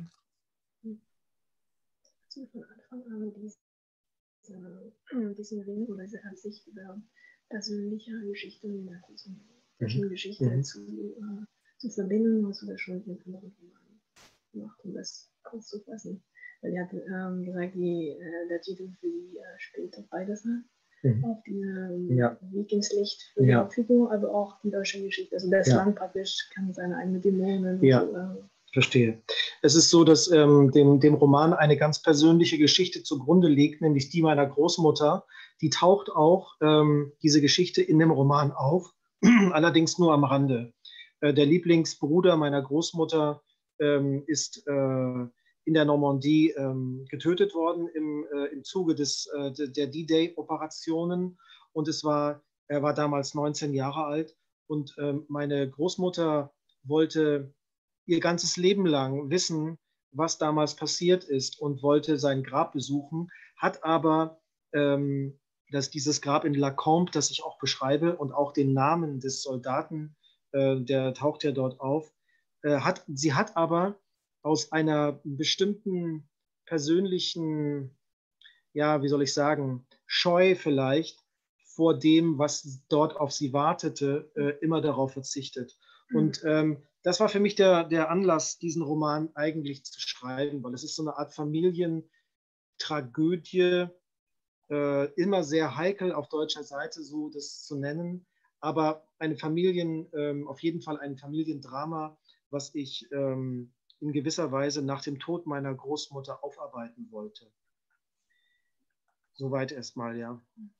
Diesen Ring oder diese Ansicht über persönliche Geschichte und solchen Geschichten mhm. zu, uh, zu verbinden, was du da schon in anderen Romanen gemacht, um das auszufassen. Weil er hat ähm, gesagt, die, äh, der Titel für die äh, spielt auf beides an. Mhm. Auf diese ja. Weg ins Licht für ja. die Hauptfigur, aber auch die deutsche Geschichte. Also das ja. Land praktisch kann seine eigenen Dämonen. Ja, so, äh, verstehe. Es ist so, dass ähm, dem, dem Roman eine ganz persönliche Geschichte zugrunde liegt, nämlich die meiner Großmutter. Die taucht auch, ähm, diese Geschichte, in dem Roman auf, allerdings nur am Rande. Äh, der Lieblingsbruder meiner Großmutter ähm, ist äh, in der Normandie ähm, getötet worden im, äh, im Zuge des, äh, der D-Day-Operationen. Und es war, er war damals neunzehn Jahre alt. Und ähm, meine Großmutter wollte ihr ganzes Leben lang wissen, was damals passiert ist und wollte sein Grab besuchen, hat aber ähm, dass dieses Grab in La Combe, das ich auch beschreibe, und auch den Namen des Soldaten, äh, der taucht ja dort auf, äh, hat, sie hat aber aus einer bestimmten persönlichen, ja, wie soll ich sagen, Scheu vielleicht vor dem, was dort auf sie wartete, äh, immer darauf verzichtet. Mhm. Und ähm, das war für mich der, der Anlass, diesen Roman eigentlich zu schreiben, weil es ist so eine Art Familientragödie, äh, immer sehr heikel auf deutscher Seite, so das zu nennen, aber eine Familien, ähm, auf jeden Fall ein Familiendrama, was ich ähm, in gewisser Weise nach dem Tod meiner Großmutter aufarbeiten wollte. Soweit erstmal, ja.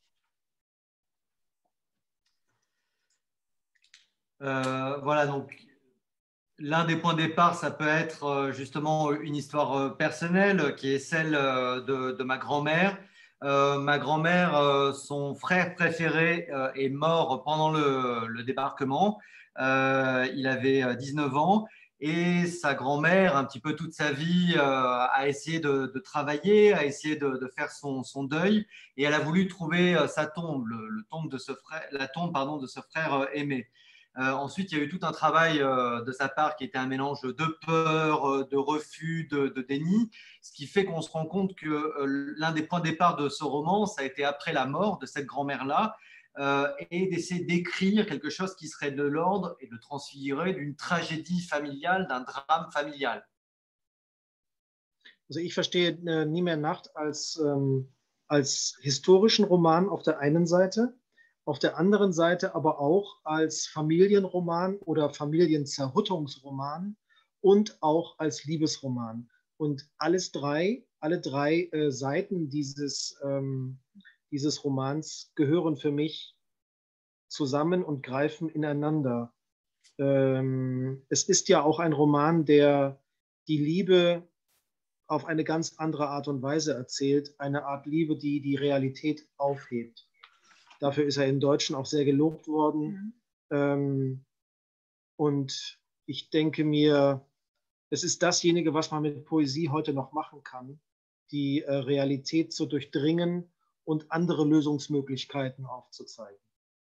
Euh, voilà, donc l'un des points de départ, ça peut être justement une histoire personnelle qui est celle de, de ma grand-mère. Euh, ma grand-mère, euh, son frère préféré euh, est mort pendant le, le débarquement. Euh, il avait dix-neuf ans et sa grand-mère, un petit peu toute sa vie, euh, a essayé de, de travailler, a essayé de, de faire son, son deuil et elle a voulu trouver sa tombe, le, le tombe de ce frère, la tombe pardon, de ce frère aimé. Euh, ensuite, il y a eu tout un travail euh, de sa part qui était un mélange de peur, euh, de refus, de, de déni, ce qui fait qu'on se rend compte que euh, l'un des points de départ de ce roman, ça a été après la mort de cette grand-mère-là, euh, et d'essayer d'écrire quelque chose qui serait de l'ordre et de transfigurer d'une tragédie familiale, d'un drame familial. Also ich verstehe äh, Nie mehr Nacht als, ähm, als historischen Roman auf der einen Seite, auf der anderen Seite aber auch als Familienroman oder Familienzerrüttungsroman und auch als Liebesroman. Und alles drei, alle drei äh, Seiten dieses, ähm, dieses Romans gehören für mich zusammen und greifen ineinander. Ähm, es ist ja auch ein Roman, der die Liebe auf eine ganz andere Art und Weise erzählt, eine Art Liebe, die die Realität aufhebt. Dafür ist er im Deutschen auch sehr gelobt worden. Mhm. Ähm, und ich denke mir, es ist dasjenige, was man mit Poesie heute noch machen kann, die äh, Realität zu durchdringen und andere Lösungsmöglichkeiten aufzuzeigen.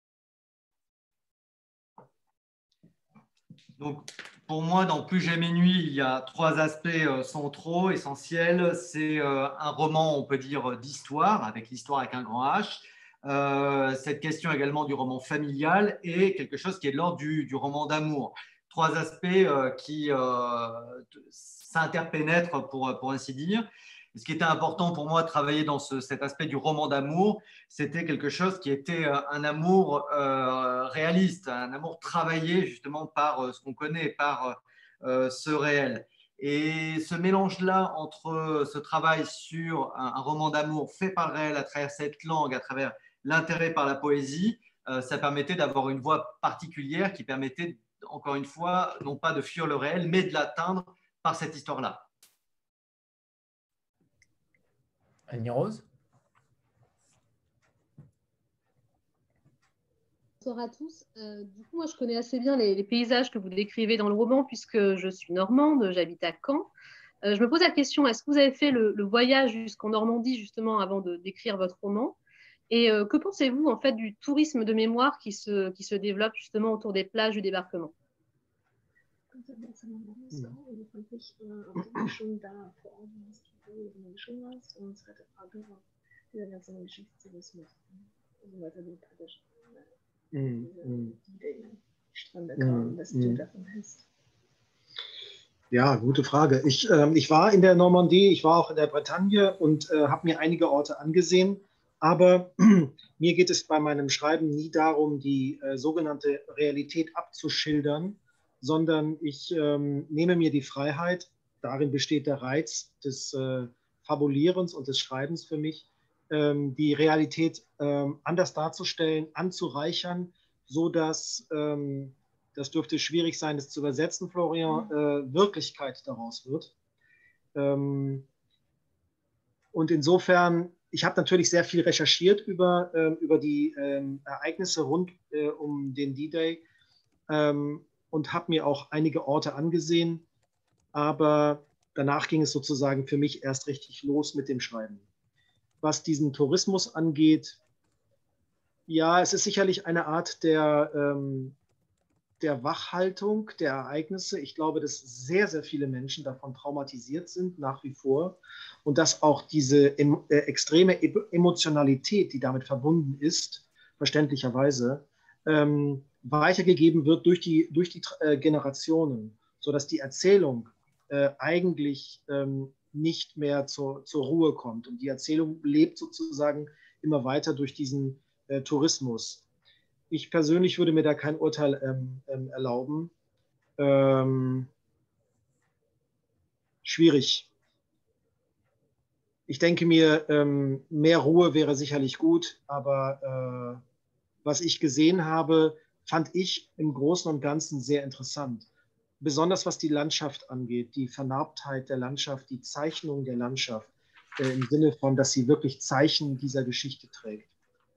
Donc, pour moi, dans Plus jamais nuit, il y a trois aspects centraux, essentiels. C'est euh, un roman, on peut dire, d'histoire, avec l'histoire avec un grand H. Euh, cette question également du roman familial et quelque chose qui est de l'ordre du, du roman d'amour. Trois aspects euh, qui euh, s'interpénètrent, pour, pour ainsi dire. Et ce qui était important pour moi de travailler dans ce, cet aspect du roman d'amour, c'était quelque chose qui était un amour euh, réaliste, un amour travaillé justement par euh, ce qu'on connaît, par euh, ce réel. Et ce mélange-là entre ce travail sur un, un roman d'amour fait par le réel à travers cette langue, à travers l'intérêt par la poésie, euh, ça permettait d'avoir une voix particulière qui permettait, encore une fois, non pas de fuir le réel, mais de l'atteindre par cette histoire-là. Annie-Rose ? Bonsoir à tous. Euh, du coup, moi, je connais assez bien les, les paysages que vous décrivez dans le roman puisque je suis normande, j'habite à Caen. Euh, je me pose la question, est-ce que vous avez fait le, le voyage jusqu'en Normandie justement avant de d'écrire votre roman? Et euh, que pensez-vous en fait du tourisme de mémoire qui se, qui se développe justement autour des plages du débarquement? Mm, mm. Mm, ja, gute Frage. Ich, äh, ich war in der Normandie, ich war auch in der Bretagne und äh, habe mir einige Orte angesehen, aber mir geht es bei meinem Schreiben nie darum, die äh, sogenannte Realität abzuschildern, sondern ich ähm, nehme mir die Freiheit, darin besteht der Reiz des äh, Fabulierens und des Schreibens für mich, ähm, die Realität ähm, anders darzustellen, anzureichern, so dass, ähm, das dürfte schwierig sein, das zu übersetzen, Florian, äh, Wirklichkeit daraus wird. Ähm, und insofern, ich habe natürlich sehr viel recherchiert über, äh, über die äh, Ereignisse rund äh, um den D-Day ähm, und habe mir auch einige Orte angesehen, aber danach ging es sozusagen für mich erst richtig los mit dem Schreiben. Was diesen Tourismus angeht, ja, es ist sicherlich eine Art der, ähm, der Wachhaltung der Ereignisse. Ich glaube, dass sehr, sehr viele Menschen davon traumatisiert sind, nach wie vor. Und dass auch diese em äh, extreme e Emotionalität, die damit verbunden ist, verständlicherweise, ähm, weitergegeben wird durch die, durch die äh, Generationen, sodass die Erzählung äh, eigentlich ähm, nicht mehr zur, zur Ruhe kommt. Und die Erzählung lebt sozusagen immer weiter durch diesen äh, Tourismus. Ich persönlich würde mir da kein Urteil ähm, ähm, erlauben. Ähm, schwierig. Ich denke mir, ähm, mehr Ruhe wäre sicherlich gut, aber äh, was ich gesehen habe, fand ich im Großen und Ganzen sehr interessant. Besonders was die Landschaft angeht, die Vernarbtheit der Landschaft, die Zeichnung der Landschaft, äh, im Sinne von, dass sie wirklich Zeichen dieser Geschichte trägt.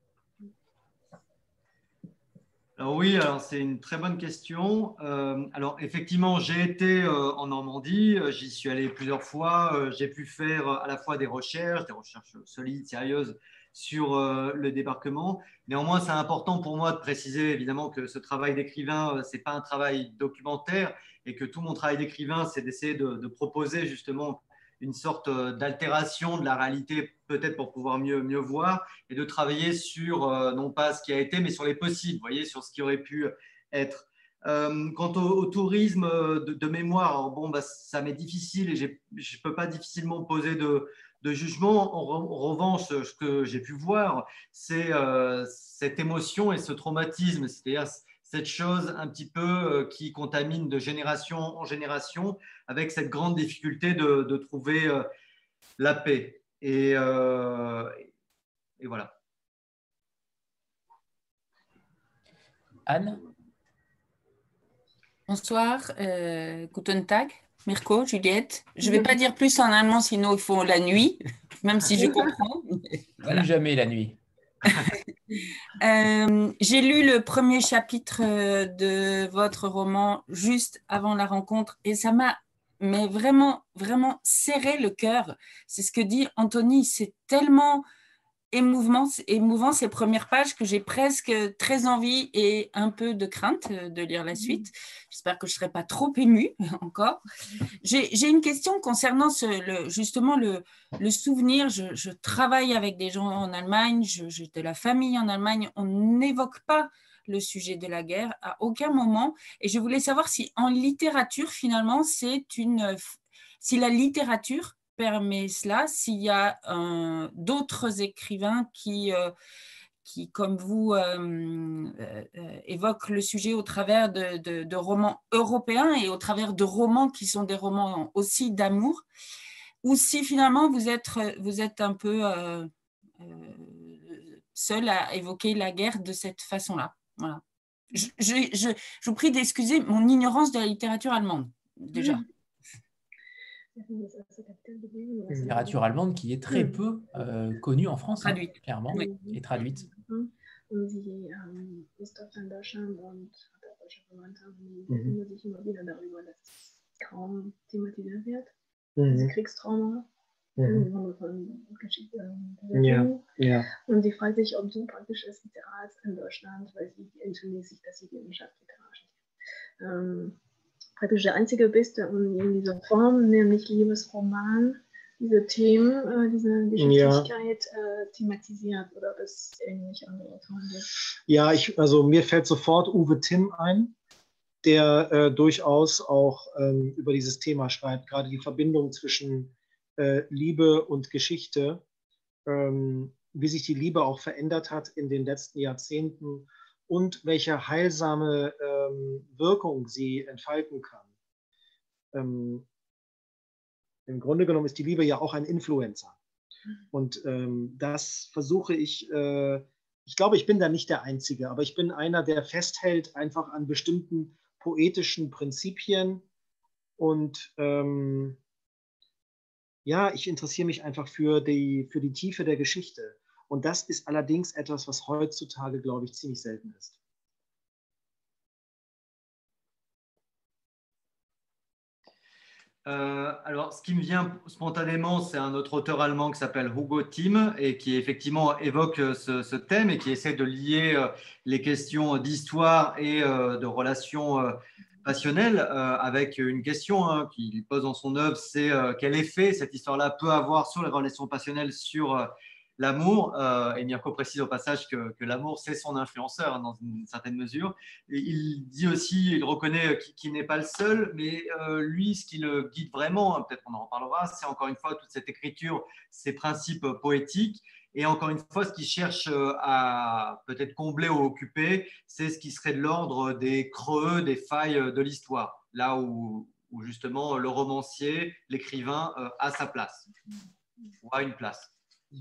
Alors oui, alors c'est une très bonne question. Euh, alors effectivement, j'ai été euh, en Normandie, j'y suis allé plusieurs fois, euh, j'ai pu faire à la fois des recherches, des recherches solides, sérieuses sur euh, le débarquement. Néanmoins, c'est important pour moi de préciser évidemment que ce travail d'écrivain, euh, ce n'est pas un travail documentaire et que tout mon travail d'écrivain, c'est d'essayer de, de proposer justement une sorte d'altération de la réalité, peut-être pour pouvoir mieux, mieux voir, et de travailler sur, euh, non pas ce qui a été, mais sur les possibles, vous voyez, sur ce qui aurait pu être. Euh, quant au, au tourisme de, de mémoire, alors bon, bah, ça m'est difficile et je ne peux pas difficilement poser de, de jugement. En, re, en revanche, ce que j'ai pu voir, c'est euh, cette émotion et ce traumatisme, c'est-à-dire cette chose un petit peu euh, qui contamine de génération en génération, avec cette grande difficulté de, de trouver euh, la paix. Et, euh, et voilà. Anne? Bonsoir, euh, Guten Tag, Mirko, Juliette. Je ne vais pas dire plus en allemand, sinon il faut la nuit, même si je comprends. Voilà. Plus jamais la nuit. euh, J'ai lu le premier chapitre de votre roman juste avant la rencontre et ça m'a mais vraiment, vraiment serré le cœur. C'est ce que dit Anthony, c'est tellement émouvant, émouvant ces premières pages que j'ai presque très envie et un peu de crainte de lire la suite. J'espère que je ne serai pas trop émue encore. J'ai une question concernant ce, le, justement le, le souvenir. Je, je travaille avec des gens en Allemagne, j'ai de la famille en Allemagne. On n'évoque pas le sujet de la guerre à aucun moment. Et je voulais savoir si en littérature, finalement, c'est une... si la littérature permet cela, s'il y a euh, d'autres écrivains qui, euh, qui, comme vous, euh, euh, évoquent le sujet au travers de, de, de romans européens et au travers de romans qui sont des romans aussi d'amour, ou si finalement vous êtes, vous êtes un peu euh, euh, seul à évoquer la guerre de cette façon-là. Voilà. Je, je, je, je vous prie d'excuser mon ignorance de la littérature allemande, déjà. Mmh. Littérature allemande qui est très peu euh, connue en France, traduite. Hein, clairement, oui. Et traduite. Und sie ähm, ist oft in Deutschland und hat auch deutsche Verwandte, die mhm. sich immer wieder darüber, dass es kaum thematisiert wird. Mhm. Also Kriegstrauma, mhm. von Geschichte. Ja. Ja. Und sie fragt sich, ob so praktisch ist Literar ist in Deutschland, weil sie entschuldigt sich, dass sie die Wissenschaft literarisch ist. Ähm, praktisch der einzige bist, der in dieser Form, nämlich Liebesroman, diese Themen, äh, diese Geschichtlichkeit ja. äh, thematisiert oder ob es irgendwelche andere Autoren gibt? Ja, ich, also mir fällt sofort Uwe Timm ein, der äh, durchaus auch ähm, über dieses Thema schreibt, gerade die Verbindung zwischen äh, Liebe und Geschichte, ähm, wie sich die Liebe auch verändert hat in den letzten Jahrzehnten und welche heilsame ähm, Wirkung sie entfalten kann. Ähm, Im Grunde genommen ist die Liebe ja auch ein Influencer. Und ähm, das versuche ich, äh, ich glaube, ich bin da nicht der Einzige, aber ich bin einer, der festhält einfach an bestimmten poetischen Prinzipien. Und ähm, ja, ich interessiere mich einfach für die, für die Tiefe der Geschichte. Und das ist allerdings etwas, was heutzutage, glaube ich, ziemlich selten ist. Euh, alors, ce qui me vient spontanément, c'est un autre auteur allemand qui s'appelle Hugo Timm et qui effectivement évoque ce, ce thème et qui essaie de lier euh, les questions d'histoire et euh, de relations euh, passionnelles euh, avec une question hein, qu'il pose dans son œuvre, c'est euh, quel effet cette histoire-là peut avoir sur les relations passionnelles, sur euh, l'amour. Euh, et Mirko précise au passage que, que l'amour, c'est son influenceur hein, dans une certaine mesure. Et il dit aussi, il reconnaît qu'il, qu'il n'est pas le seul, mais euh, lui, ce qui le guide vraiment, hein, peut-être qu'on en reparlera, c'est encore une fois toute cette écriture, ces principes poétiques. Et encore une fois, ce qu'il cherche à peut-être combler ou occuper, c'est ce qui serait de l'ordre des creux, des failles de l'histoire, là où, où justement le romancier, l'écrivain euh, a sa place, ou a une place.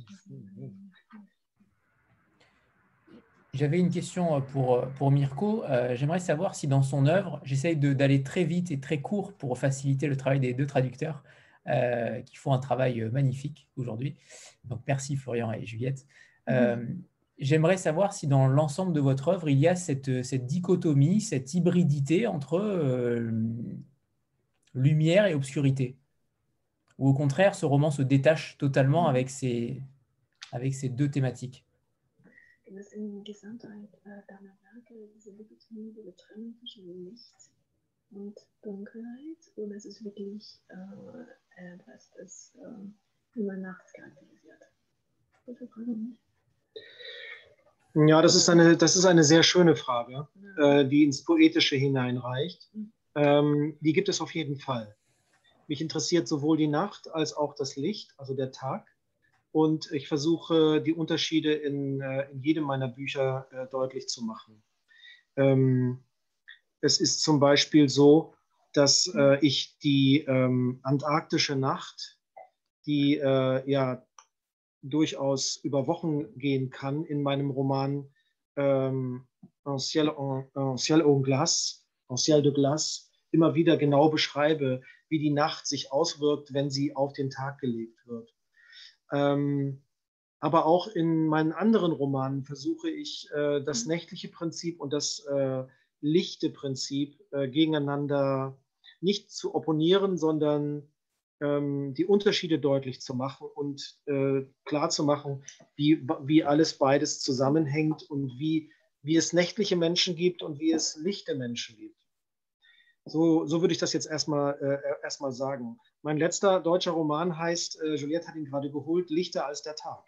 J'avais une question pour, pour Mirko. Euh, J'aimerais savoir si dans son œuvre, j'essaye d'aller très vite et très court pour faciliter le travail des deux traducteurs euh, qui font un travail magnifique aujourd'hui. Donc merci Florian et Juliette. Euh, mmh. J'aimerais savoir si dans l'ensemble de votre œuvre, il y a cette, cette dichotomie, cette hybridité entre euh, lumière et obscurité. Ou au contraire, ce roman se détache totalement avec ces, avec ces deux thématiques. Dass in Gesamtheit äh, deiner Werke diese Dichotomie, diese Trennung zwischen Licht und Dunkelheit, oder ist es wirklich äh, etwas, das äh, über Nacht charakterisiert? Bitte fragen mich. Ja, das ist eine, das ist eine sehr schöne Frage, ja. äh, die ins Poetische hineinreicht. Mhm. Ähm, die gibt es auf jeden Fall. Mich interessiert sowohl die Nacht als auch das Licht, also der Tag. Und ich versuche, die Unterschiede in, in jedem meiner Bücher äh, deutlich zu machen. Ähm, es ist zum Beispiel so, dass äh, ich die ähm, antarktische Nacht, die äh, ja durchaus über Wochen gehen kann, in meinem Roman ähm, En ciel, en, en ciel au glace, En ciel de glace, immer wieder genau beschreibe, wie die Nacht sich auswirkt, wenn sie auf den Tag gelegt wird. Ähm, aber auch in meinen anderen Romanen versuche ich, äh, das nächtliche Prinzip und das äh, lichte Prinzip äh, gegeneinander nicht zu opponieren, sondern ähm, die Unterschiede deutlich zu machen und äh, klar zu machen, wie, wie alles beides zusammenhängt und wie, wie es nächtliche Menschen gibt und wie es lichte Menschen gibt. So, so würde ich das jetzt erstmal, äh, erstmal sagen. Mein letzter deutscher Roman heißt, äh, Juliette hat ihn gerade geholt, Lichter als der Tag.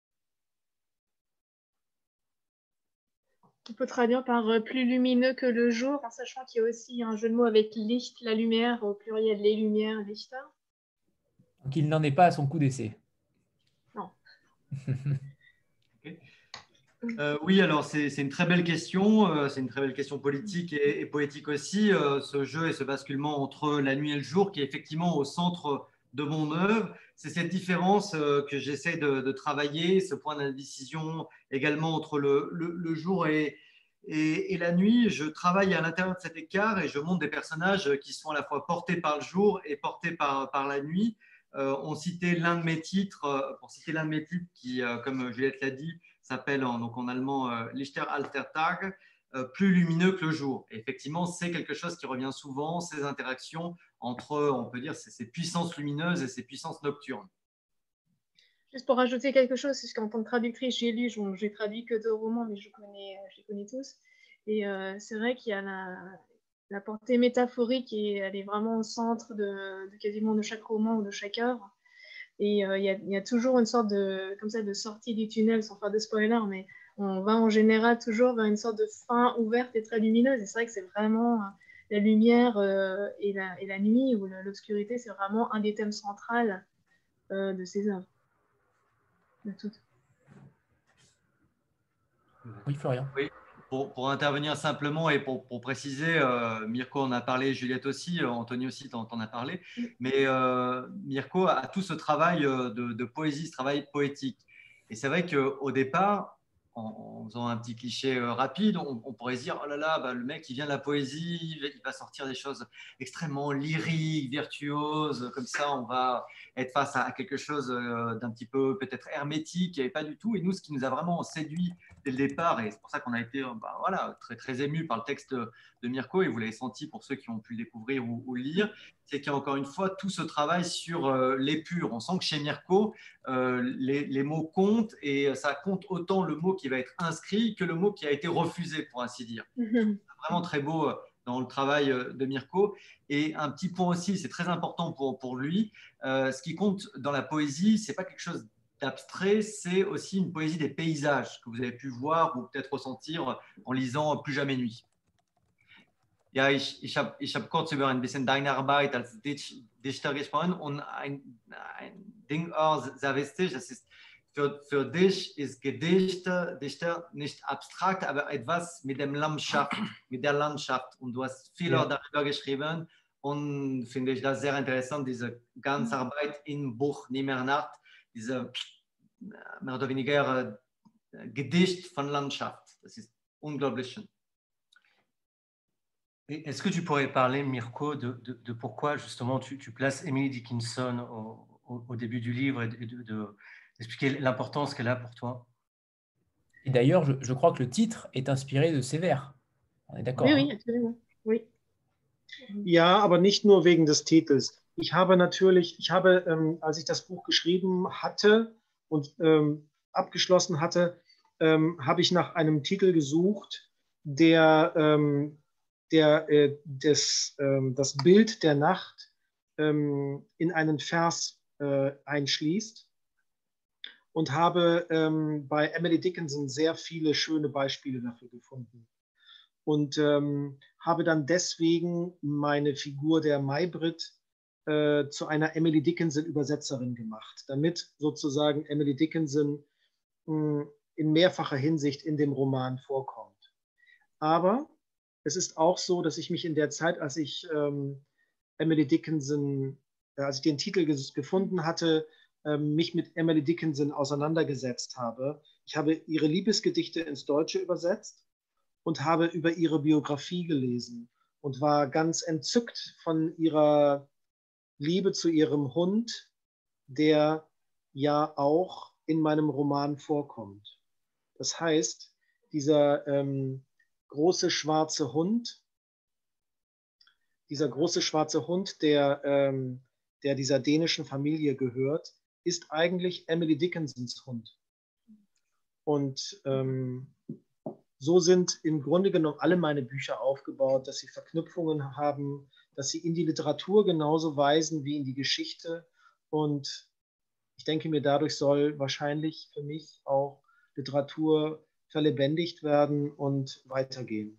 On peut traduire par euh, plus lumineux que le jour, en sachant qu'il y a aussi un jeu de mots avec Licht, la lumière, au pluriel les lumières, Lichter. Donc il n'en est pas à son coup d'essai. Non. Okay. Euh, oui, alors c'est une très belle question, euh, c'est une très belle question politique et, et poétique aussi, euh, ce jeu et ce basculement entre la nuit et le jour qui est effectivement au centre de mon œuvre. C'est cette différence euh, que j'essaie de, de travailler, ce point d'indécision également entre le, le, le jour et, et, et la nuit. Je travaille à l'intérieur de cet écart et je montre des personnages qui sont à la fois portés par le jour et portés par, par la nuit. Euh, on citait l'un de mes titres, euh, pour citer l'un de mes titres qui, euh, comme Juliette l'a dit, s'appelle en, donc en allemand euh, Lichter als der Tag, euh, plus lumineux que le jour. Et effectivement, c'est quelque chose qui revient souvent, ces interactions entre, on peut dire, ces, ces puissances lumineuses et ces puissances nocturnes. Juste pour rajouter quelque chose, c'est qu'en tant que traductrice, j'ai lu, j'ai traduit que deux romans, mais je, connais, je les connais tous. Et euh, c'est vrai qu'il y a la, la portée métaphorique et elle est vraiment au centre de, de quasiment de chaque roman ou de chaque œuvre. Et il euh, y, y a toujours une sorte de, comme ça, de sortie du tunnel, sans faire de spoiler, mais on va en général toujours vers une sorte de fin ouverte et très lumineuse. Et c'est vrai que c'est vraiment la lumière euh, et, la, et la nuit ou l'obscurité, c'est vraiment un des thèmes centraux euh, de ces œuvres. De toutes. Oui, Florian. Oui. Pour, pour intervenir simplement et pour, pour préciser, euh, Mirko en a parlé, Juliette aussi, euh, Anthony aussi t'en a parlé, mais euh, Mirko a tout ce travail de, de poésie, ce travail poétique. Et c'est vrai qu'au départ, en, en faisant un petit cliché euh, rapide, on, on pourrait se dire, oh là là, bah, le mec, il vient de la poésie, il va sortir des choses extrêmement lyriques, virtuoses, comme ça, on va être face à quelque chose euh, d'un petit peu peut-être hermétique, et pas du tout. Et nous, ce qui nous a vraiment séduit dès le départ, et c'est pour ça qu'on a été bah, voilà, très, très ému par le texte de Mirko, et vous l'avez senti pour ceux qui ont pu le découvrir ou, ou le lire, c'est qu'il y a encore une fois tout ce travail sur euh, l'épure. On sent que chez Mirko, euh, les, les mots comptent, et ça compte autant le mot qui va être inscrit que le mot qui a été refusé, pour ainsi dire. C'est vraiment très beau dans le travail de Mirko. Et un petit point aussi, c'est très important pour, pour lui, euh, ce qui compte dans la poésie, ce n'est pas quelque chose abstrait, c'est aussi une poésie des paysages que vous avez pu voir ou peut-être ressentir en lisant Plus jamais nuit. Ja, ich, ich habe ich hab kurz über ein bisschen deine Arbeit als Dichter gesprochen und ein, ein Ding auch sehr wichtig, das ist, für, für dich ist Gedicht, Dichter nicht abstrakt, aber etwas mit dem Landschaft, mit der Landschaft, und du hast viel ja. darüber geschrieben und finde ich das sehr interessant, diese ganze Arbeit im Buch Nimmer Nacht, diese mehr oder weniger äh, Gedicht von Landschaft. Das ist unglaublich schön. Est-ce que tu pourrais parler, Mirko, de, de, de pourquoi justement tu, tu places Emily Dickinson au, au, au début du livre et d'expliquer de, de, l'importance qu'elle a pour toi? Et d'ailleurs, je, je crois que le titre est inspiré de ses vers. On est d'accord? Oui, hein? oui, absolument. Oui. Ja, aber nicht nur wegen des Titels. Ich habe natürlich, ich habe, ähm, als ich das Buch geschrieben hatte und ähm, abgeschlossen hatte, ähm, habe ich nach einem Titel gesucht, der, ähm, der äh, des, ähm, das Bild der Nacht ähm, in einen Vers äh, einschließt, und habe ähm, bei Emily Dickinson sehr viele schöne Beispiele dafür gefunden. Und ähm, habe dann deswegen meine Figur der Maybrit äh, zu einer Emily Dickinson-Übersetzerin gemacht, damit sozusagen Emily Dickinson mh, in mehrfacher Hinsicht in dem Roman vorkommt. Aber es ist auch so, dass ich mich in der Zeit, als ich ähm, Emily Dickinson, äh, als ich den Titel ges- gefunden hatte, ähm, mich mit Emily Dickinson auseinandergesetzt habe. Ich habe ihre Liebesgedichte ins Deutsche übersetzt und habe über ihre Biografie gelesen und war ganz entzückt von ihrer Liebe zu ihrem Hund, der ja auch in meinem Roman vorkommt. Das heißt, dieser ähm, große schwarze Hund, dieser große schwarze Hund, der, ähm, der dieser dänischen Familie gehört, ist eigentlich Emily Dickinsons Hund. Und ähm, so sind im Grunde genommen alle meine Bücher aufgebaut, dass sie Verknüpfungen haben, dass sie in die Literatur genauso weisen wie in die Geschichte. Und ich denke mir, dadurch soll wahrscheinlich für mich auch Literatur verlebendigt werden und weitergehen.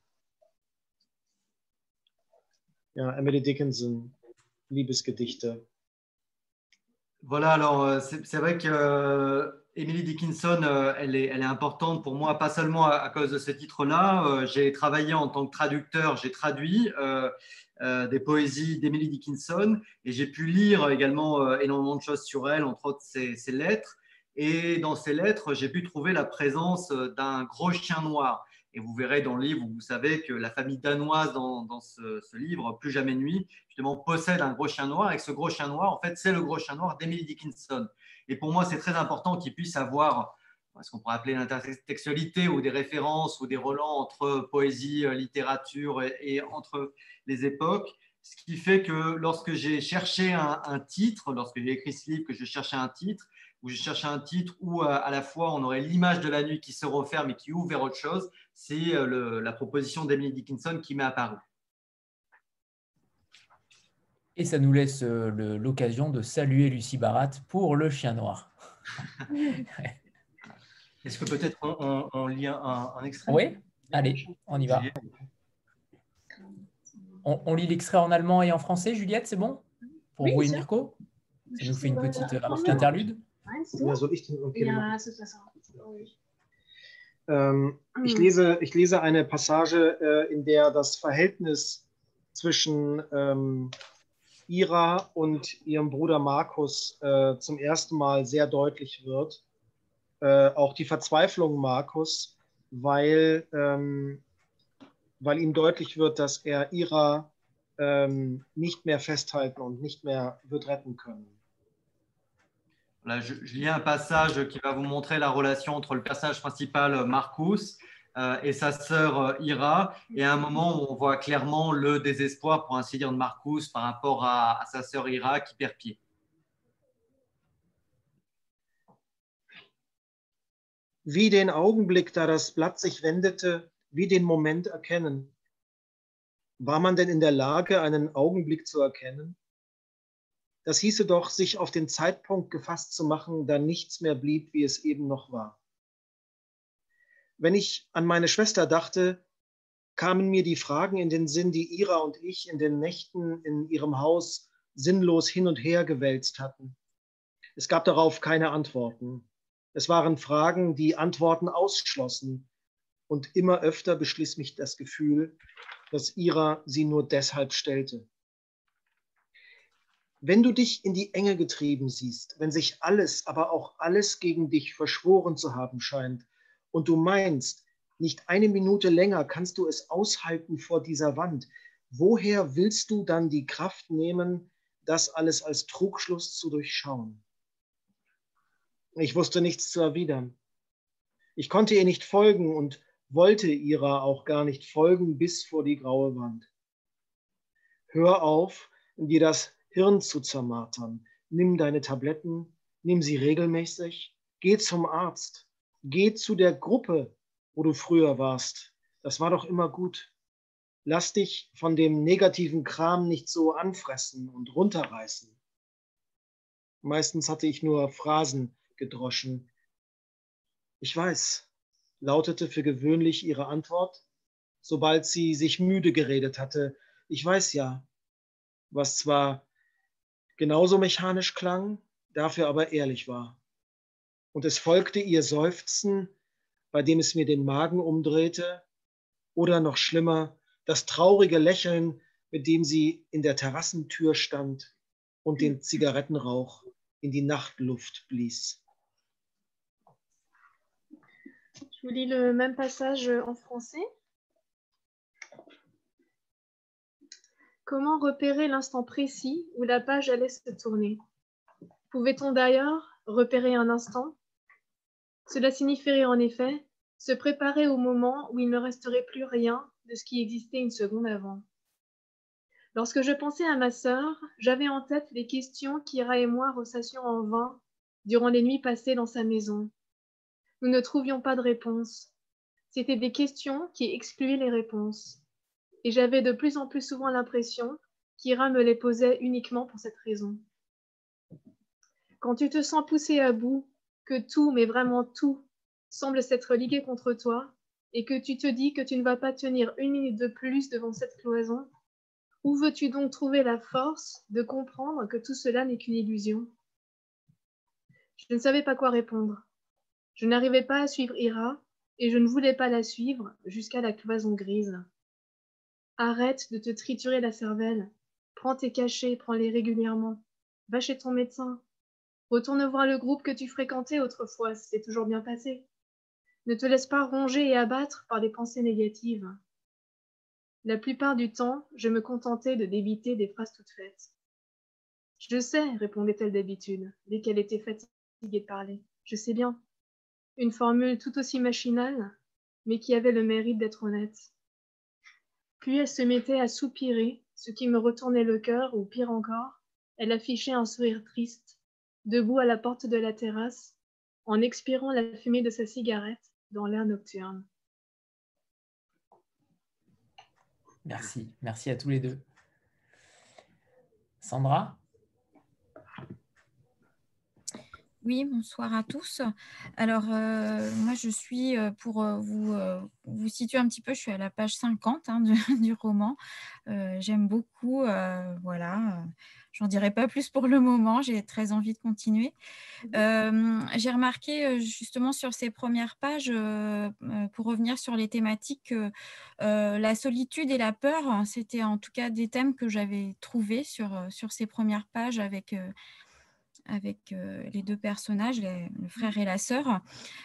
Ja, Emily Dickinson, Liebesgedichte. Voilà, alors c'est c'est vrai que euh, Emily Dickinson, euh, elle, est, elle est importante pour moi, pas seulement à, à cause de ce titre-là. Euh, j'ai travaillé en tant que traducteur, j'ai traduit euh, euh, des poésies d'Emily Dickinson et j'ai pu lire également euh, énormément de choses sur elle, entre autres ses, ses lettres. Et dans ces lettres, j'ai pu trouver la présence d'un gros chien noir. Et vous verrez dans le livre, vous savez que la famille danoise dans, dans ce, ce livre, Plus jamais nuit, justement possède un gros chien noir et que ce gros chien noir, en fait, c'est le gros chien noir d'Emily Dickinson. Et pour moi, c'est très important qu'il puisse avoir ce qu'on pourrait appeler l'intertextualité ou des références ou des relents entre poésie, littérature et, et entre les époques. Ce qui fait que lorsque j'ai cherché un, un titre, lorsque j'ai écrit ce livre, que je cherchais un titre, où je cherchais un titre où à, à la fois on aurait l'image de la nuit qui se referme et qui ouvre vers autre chose, c'est le, la proposition d'Emily Dickinson qui m'est apparue. Et ça nous laisse euh, le- l'occasion de saluer Lucie Barat pour Le Chien Noir. Est-ce que peut-être on, on, on lit un, un extrait? Oui, allez, on y va. On, on lit l'extrait en allemand et en français, Juliette, c'est bon? Pour Oui, vous et sûr. Mirko? Ça nous fait une petite, un petit Ja. interlude. Meinst du? Ja, soll ich den? Okay, Ja, dann- das ist besser. glaub ich. Ähm, ich, Mhm. lese, ich lese eine Passage, äh, in der das Verhältnis zwischen ähm, Ira und ihrem Bruder Markus äh, zum ersten Mal sehr deutlich wird. Äh, auch die Verzweiflung Markus, weil, ähm, weil ihm deutlich wird, dass er Ira ähm, nicht mehr festhalten und nicht mehr wird retten können. Là, je, je lis un passage qui va vous montrer la relation entre le personnage principal, Marcus, euh, et sa sœur euh, Ira. Et à un moment où on voit clairement le désespoir, pour ainsi dire, de Marcus par rapport à, à sa sœur Ira qui perd pied. Wie den Augenblick, da das Blatt sich wendete, wie den Moment erkennen. War man denn in der Lage, einen Augenblick zu erkennen? Das hieße doch, sich auf den Zeitpunkt gefasst zu machen, da nichts mehr blieb, wie es eben noch war. Wenn ich an meine Schwester dachte, kamen mir die Fragen in den Sinn, die Ira und ich in den Nächten in ihrem Haus sinnlos hin und her gewälzt hatten. Es gab darauf keine Antworten. Es waren Fragen, die Antworten ausschlossen. Und immer öfter beschließt mich das Gefühl, dass Ira sie nur deshalb stellte. Wenn du dich in die Enge getrieben siehst, wenn sich alles, aber auch alles gegen dich verschworen zu haben scheint und du meinst, nicht eine Minute länger kannst du es aushalten vor dieser Wand, woher willst du dann die Kraft nehmen, das alles als Trugschluss zu durchschauen? Ich wusste nichts zu erwidern. Ich konnte ihr nicht folgen und wollte ihrer auch gar nicht folgen bis vor die graue Wand. Hör auf, dir das Hirn zu zermartern. Nimm deine Tabletten, nimm sie regelmäßig, geh zum Arzt, geh zu der Gruppe, wo du früher warst. Das war doch immer gut. Lass dich von dem negativen Kram nicht so anfressen und runterreißen. Meistens hatte ich nur Phrasen gedroschen. Ich weiß, lautete für gewöhnlich ihre Antwort, sobald sie sich müde geredet hatte. Ich weiß ja, was zwar genauso mechanisch klang, dafür aber ehrlich war. Und es folgte ihr Seufzen, bei dem es mir den Magen umdrehte, oder noch schlimmer, das traurige Lächeln, mit dem sie in der Terrassentür stand und den Zigarettenrauch in die Nachtluft blies. Je vous lis le même passage en français. Comment repérer l'instant précis où la page allait se tourner? Pouvait-on d'ailleurs repérer un instant? Cela signifierait en effet se préparer au moment où il ne resterait plus rien de ce qui existait une seconde avant. Lorsque je pensais à ma sœur, j'avais en tête les questions qu'Ira et moi ressassions en vain durant les nuits passées dans sa maison. Nous ne trouvions pas de réponse. C'étaient des questions qui excluaient les réponses. Et j'avais de plus en plus souvent l'impression qu'Ira me les posait uniquement pour cette raison. Quand tu te sens poussé à bout, que tout, mais vraiment tout, semble s'être ligué contre toi, et que tu te dis que tu ne vas pas tenir une minute de plus devant cette cloison, où veux-tu donc trouver la force de comprendre que tout cela n'est qu'une illusion? Je ne savais pas quoi répondre. Je n'arrivais pas à suivre Ira, et je ne voulais pas la suivre jusqu'à la cloison grise. Arrête de te triturer la cervelle. Prends tes cachets, prends-les régulièrement. Va chez ton médecin. Retourne voir le groupe que tu fréquentais autrefois, c'est toujours bien passé. Ne te laisse pas ronger et abattre par des pensées négatives. La plupart du temps, je me contentais de débiter des phrases toutes faites. Je sais, répondait-elle d'habitude, dès qu'elle était fatiguée de parler. Je sais bien. Une formule tout aussi machinale, mais qui avait le mérite d'être honnête. Puis elle se mettait à soupirer, ce qui me retournait le cœur, ou pire encore, elle affichait un sourire triste, debout à la porte de la terrasse, en expirant la fumée de sa cigarette dans l'air nocturne. Merci, merci à tous les deux. Sandra? Oui, bonsoir à tous. Alors, euh, moi, je suis, pour vous, euh, vous situer un petit peu, je suis à la page cinquante hein, du, du roman. Euh, J'aime beaucoup, euh, voilà. J'en dirai pas plus pour le moment, j'ai très envie de continuer. Euh, j'ai remarqué justement sur ces premières pages, euh, pour revenir sur les thématiques, euh, euh, la solitude et la peur, c'était en tout cas des thèmes que j'avais trouvés sur, sur ces premières pages avec... Euh, avec euh, les deux personnages, les, le frère et la sœur.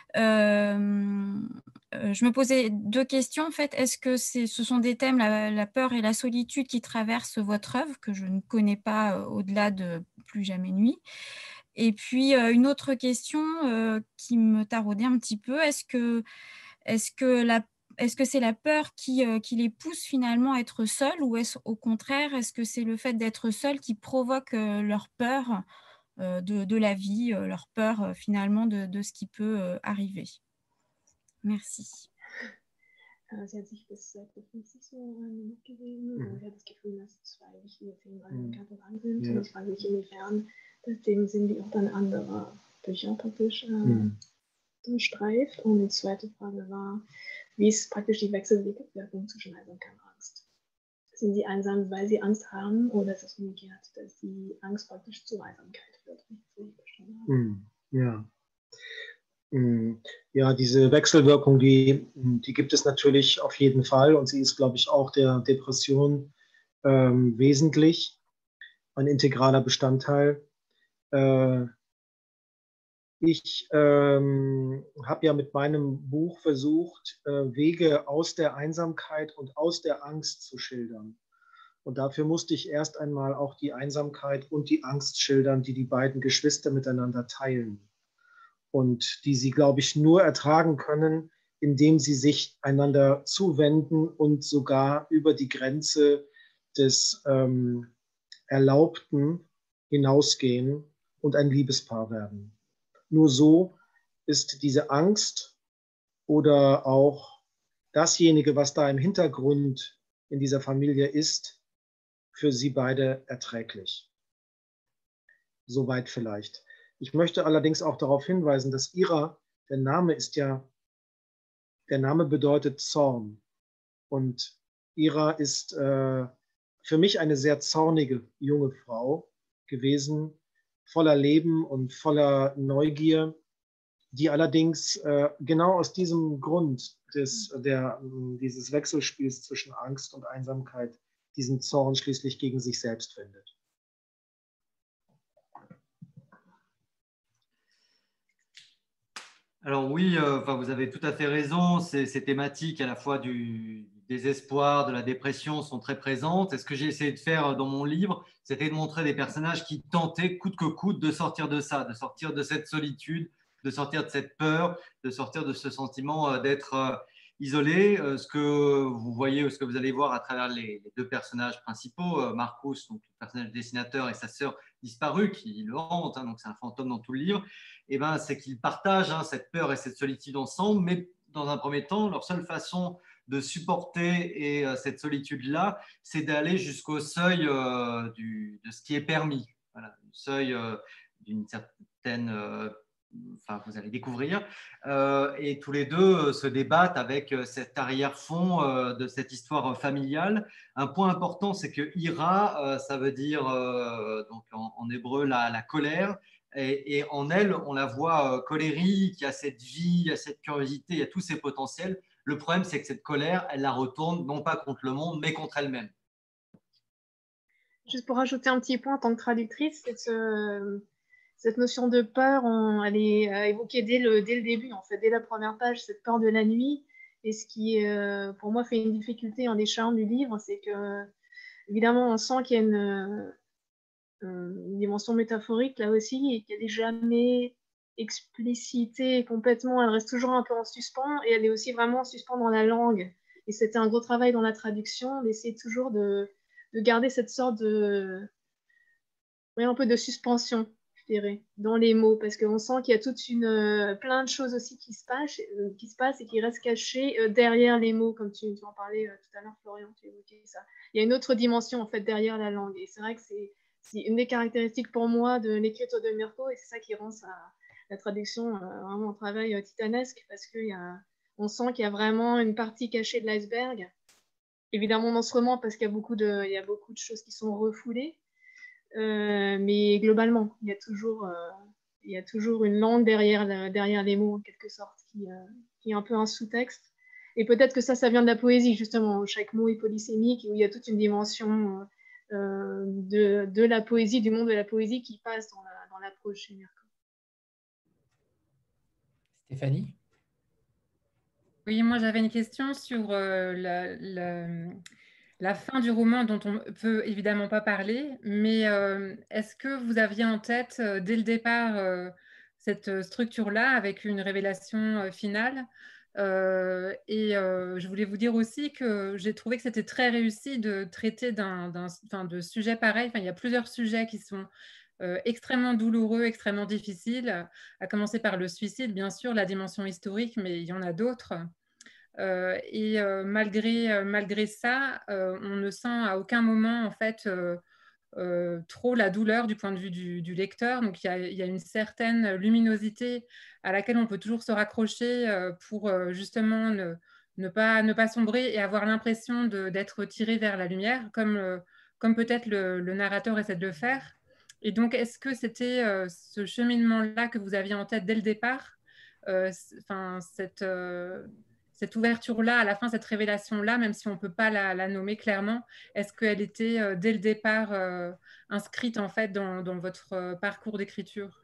Euh, euh, je me posais deux questions. En fait, est-ce que c'est, ce sont des thèmes, la, la peur et la solitude, qui traversent votre œuvre, que je ne connais pas euh, au-delà de Plus jamais nuit? Et puis, euh, une autre question euh, qui me taraudait un petit peu, est-ce que, est-ce que la Est-ce que c'est la peur qui, euh, qui les pousse finalement à être seuls, ou est-ce au contraire, est-ce que c'est le fait d'être seuls qui provoque euh, leur peur De, de la vie, leur peur finalement de, de ce qui peut arriver. Merci. Sie hat sich bis Seite fünfzig so gewesen und sie hat das Gefühl, dass zwei wichtige Themen an den Kapitel dran sind. Ja. Und ich frage mich, inwiefern das Themen sind, die auch dann andere Bücher praktisch äh, mhm. streift. Und die zweite Frage war, wie ist praktisch die Wechselwirkung zwischen Einsamkeit und Angst? Sind sie einsam, weil sie Angst haben, oder ist es umgekehrt, dass die Angst praktisch zur Einsamkeit führt? Mm, ja. Mm, ja, diese Wechselwirkung, die, die gibt es natürlich auf jeden Fall, und sie ist, glaube ich, auch der Depression ähm, wesentlich, ein integraler Bestandteil. Äh, ich ähm, habe ja mit meinem Buch versucht, äh, Wege aus der Einsamkeit und aus der Angst zu schildern. Und dafür musste ich erst einmal auch die Einsamkeit und die Angst schildern, die die beiden Geschwister miteinander teilen. Und die sie, glaube ich, nur ertragen können, indem sie sich einander zuwenden und sogar über die Grenze des ähm, Erlaubten hinausgehen und ein Liebespaar werden. Nur so ist diese Angst oder auch dasjenige, was da im Hintergrund in dieser Familie ist, für sie beide erträglich. Soweit vielleicht. Ich möchte allerdings auch darauf hinweisen, dass Ira, der Name ist ja, der Name bedeutet Zorn. Und Ira ist äh, für mich eine sehr zornige junge Frau, gewesen, voller Leben und voller Neugier, die allerdings äh, genau aus diesem Grund des, der, dieses Wechselspiels zwischen Angst und Einsamkeit diesen Zorn schließlich gegen sich selbst findet. Alors oui, euh, enfin, vous avez tout à fait raison, ces, ces thématiques à la fois du désespoir, de la dépression sont très présentes. Et ce que j'ai essayé de faire dans mon livre, c'était de montrer des personnages qui tentaient coûte que coûte de sortir de ça, de sortir de cette solitude, de sortir de cette peur, de sortir de ce sentiment d'être euh, isolé. Euh, ce que vous voyez, ce que vous allez voir à travers les, les deux personnages principaux, euh, Marcus, donc le personnage dessinateur, et sa sœur disparue qui le hante, hein, donc c'est un fantôme dans tout le livre. Eh ben, c'est qu'ils partagent hein, cette peur et cette solitude ensemble, mais dans un premier temps, leur seule façon de supporter et, euh, cette solitude-là, c'est d'aller jusqu'au seuil euh, du, de ce qui est permis, voilà, le seuil euh, d'une certaine, euh, enfin, vous allez découvrir, euh, et tous les deux euh, se débattent avec euh, cet arrière-fond euh, de cette histoire familiale. Un point important, c'est que Ira, euh, ça veut dire euh, donc en, en hébreu la, la colère. Et, et en elle, on la voit euh, colérique, il y a cette vie, il y a cette curiosité, il y a tous ces potentiels. Le problème, c'est que cette colère, elle la retourne non pas contre le monde, mais contre elle-même. Juste pour rajouter un petit point en tant que traductrice, cette, euh, cette notion de peur, on, elle est euh, évoquée dès le, dès le début, en fait, dès la première page, cette peur de la nuit. Et ce qui, euh, pour moi, fait une difficulté en décharge du livre, c'est que, évidemment, on sent qu'il y a une... une dimension métaphorique là aussi et qu'elle n'est jamais explicitée complètement, elle reste toujours un peu en suspens et elle est aussi vraiment en suspens dans la langue. Et c'était un gros travail dans la traduction d'essayer toujours de, de garder cette sorte de oui, un peu de suspension, je dirais, dans les mots, parce qu'on sent qu'il y a toute une plein de choses aussi qui se passent, euh, qui se passent et qui restent cachées euh, derrière les mots, comme tu, tu en parlais euh, tout à l'heure, Florian, tu évoquais ça. Il y a une autre dimension en fait derrière la langue et c'est vrai que c'est c'est une des caractéristiques pour moi de l'écriture de Mirko et c'est ça qui rend ça, la traduction euh, vraiment un travail euh, titanesque parce qu'on sent qu'il y a vraiment une partie cachée de l'iceberg. Évidemment non seulement parce qu'il y a beaucoup de, il y a beaucoup de choses qui sont refoulées, euh, mais globalement, il y a toujours, euh, il y a toujours une langue derrière, la, derrière les mots en quelque sorte qui, euh, qui est un peu un sous-texte. Et peut-être que ça, ça vient de la poésie justement, où chaque mot est polysémique et où il y a toute une dimension... Euh, Euh, de, de la poésie, du monde de la poésie qui passe dans, la, dans l'approche chez Mirko. Stéphanie ? Oui, moi j'avais une question sur euh, la, la, la fin du roman dont on ne peut évidemment pas parler, mais euh, est-ce que vous aviez en tête euh, dès le départ euh, cette structure-là avec une révélation euh, finale ? Euh, et euh, je voulais vous dire aussi que j'ai trouvé que c'était très réussi de traiter d'un, d'un, enfin, de sujets pareils. Enfin, il y a plusieurs sujets qui sont euh, extrêmement douloureux, extrêmement difficiles, à commencer par le suicide, bien sûr, la dimension historique, mais il y en a d'autres. Euh, et euh, malgré, euh, malgré ça, euh, on ne sent à aucun moment, en fait, euh, Euh, trop la douleur du point de vue du, du lecteur. Donc, il y, a, il y a une certaine luminosité à laquelle on peut toujours se raccrocher euh, pour euh, justement ne, ne, pas, ne pas sombrer et avoir l'impression d'être tiré vers la lumière, comme, euh, comme peut-être le, le narrateur essaie de le faire. Et donc, est-ce que c'était euh, ce cheminement-là que vous aviez en tête dès le départ, euh, cette... Euh, cette ouverture-là, à la fin, cette révélation-là, même si on ne peut pas la, la nommer clairement, est-ce qu'elle était euh, dès le départ euh, inscrite en fait dans, dans votre euh, parcours d'écriture?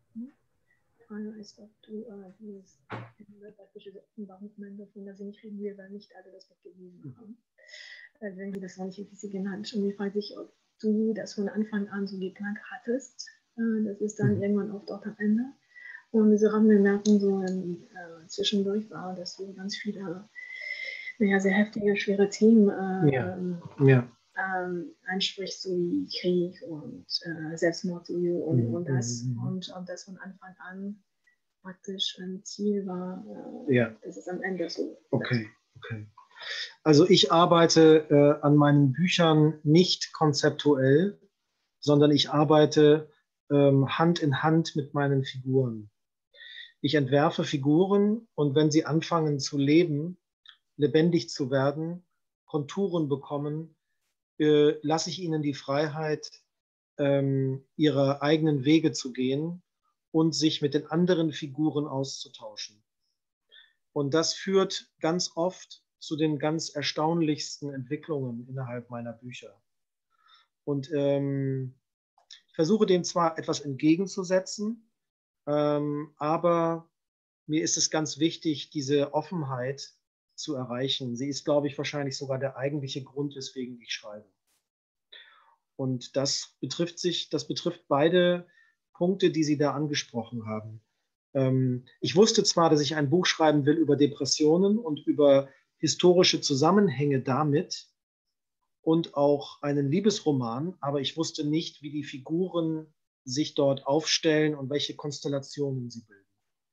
Und diese Randbemerkung so in, äh, zwischendurch war, dass du ganz viele naja, sehr heftige, schwere Themen äh, ja. Ja. Ähm, ansprichst, so wie Krieg und äh, Selbstmordversuche und, mhm. und das. Mhm. Und ob das von Anfang an praktisch ein Ziel war, äh, ja. Das ist am Ende so. Okay, okay. Also ich arbeite äh, an meinen Büchern nicht konzeptuell, sondern ich arbeite ähm, Hand in Hand mit meinen Figuren. Ich entwerfe Figuren und wenn sie anfangen zu leben, lebendig zu werden, Konturen bekommen, äh, lasse ich ihnen die Freiheit, ähm, ihre eigenen Wege zu gehen und sich mit den anderen Figuren auszutauschen. Und das führt ganz oft zu den ganz erstaunlichsten Entwicklungen innerhalb meiner Bücher. Und ähm, ich versuche dem zwar etwas entgegenzusetzen, ähm, aber mir ist es ganz wichtig, diese Offenheit zu erreichen. Sie ist, glaube ich, wahrscheinlich sogar der eigentliche Grund, weswegen ich schreibe. Und das betrifft sich, das betrifft beide Punkte, die Sie da angesprochen haben. Ähm, ich wusste zwar, dass ich ein Buch schreiben will über Depressionen und über historische Zusammenhänge damit und auch einen Liebesroman, aber ich wusste nicht, wie die Figuren sich dort aufstellen und welche Konstellationen sie bilden.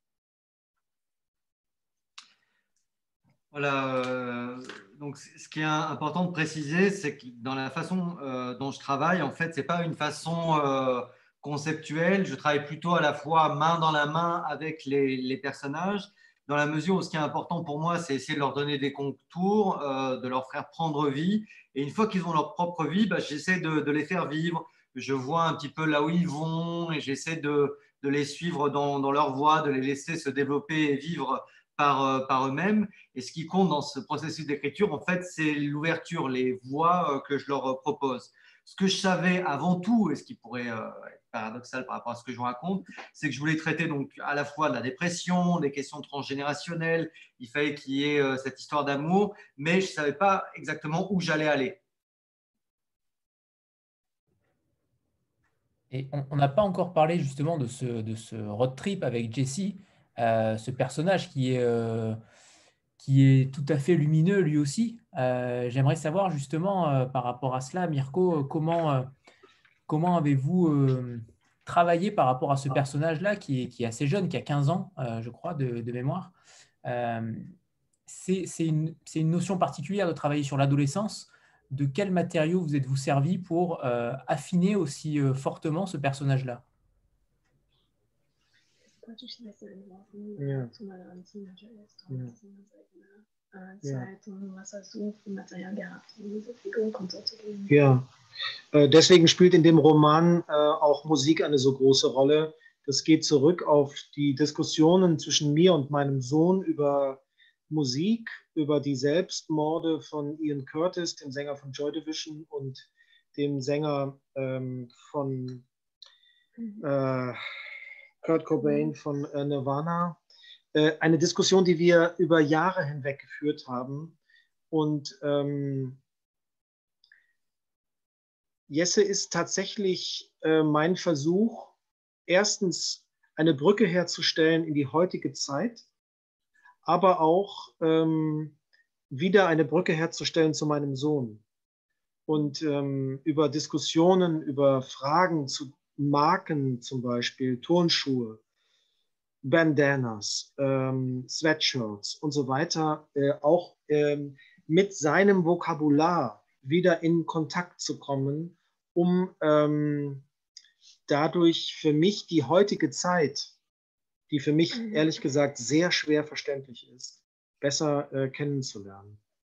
Voilà, euh, donc ce qui est important de préciser, c'est que dans la façon euh, dont je travaille, en fait, ce n'est pas une façon euh, conceptuelle. Je travaille plutôt à la fois main dans la main avec les, les personnages, dans la mesure où ce qui est important pour moi, c'est essayer de leur donner des contours, euh, de leur faire prendre vie. Et une fois qu'ils ont leur propre vie, bah, j'essaie de, de les faire vivre. Je vois un petit peu là où ils vont et j'essaie de, de les suivre dans, dans leur voie, de les laisser se développer et vivre par, par eux-mêmes. Et ce qui compte dans ce processus d'écriture, en fait, c'est l'ouverture, les voies que je leur propose. Ce que je savais avant tout, et ce qui pourrait être paradoxal par rapport à ce que je vous raconte, c'est que je voulais traiter donc à la fois de la dépression, des questions transgénérationnelles, il fallait qu'il y ait cette histoire d'amour, mais je ne savais pas exactement où j'allais aller. Et on n'a pas encore parlé justement de ce, de ce road trip avec Jesse, euh, ce personnage qui est, euh, qui est tout à fait lumineux lui aussi. Euh, J'aimerais savoir justement euh, par rapport à cela, Mirko, comment, euh, comment avez-vous euh, travaillé par rapport à ce personnage-là qui est, qui est assez jeune, qui a quinze ans, euh, je crois, de, de mémoire. Euh, c'est une, une notion particulière de travailler sur l'adolescence. De quel matériau vous êtes-vous servi pour euh, affiner aussi euh, fortement ce personnage-là? Ja. Ja. Ja. Ja. Deswegen spielt in dem Roman äh, auch Musik eine so große Rolle. Das geht zurück auf die Diskussionen zwischen mir und meinem Sohn über Musik, über die Selbstmorde von Ian Curtis, dem Sänger von Joy Division, und dem Sänger ähm, von äh, Kurt Cobain von äh, Nirvana. Äh, eine Diskussion, die wir über Jahre hinweg geführt haben. Und ähm, Jesse ist tatsächlich äh, mein Versuch, erstens eine Brücke herzustellen in die heutige Zeit, aber auch ähm, wieder eine Brücke herzustellen zu meinem Sohn. Und ähm, über Diskussionen, über Fragen zu Marken zum Beispiel, Turnschuhe, Bandanas, ähm, Sweatshirts und so weiter, äh, auch ähm, mit seinem Vokabular wieder in Kontakt zu kommen, um ähm, dadurch für mich die heutige Zeit, die für mich ehrlich gesagt sehr schwer verständlich ist, besser äh, kennenzulernen.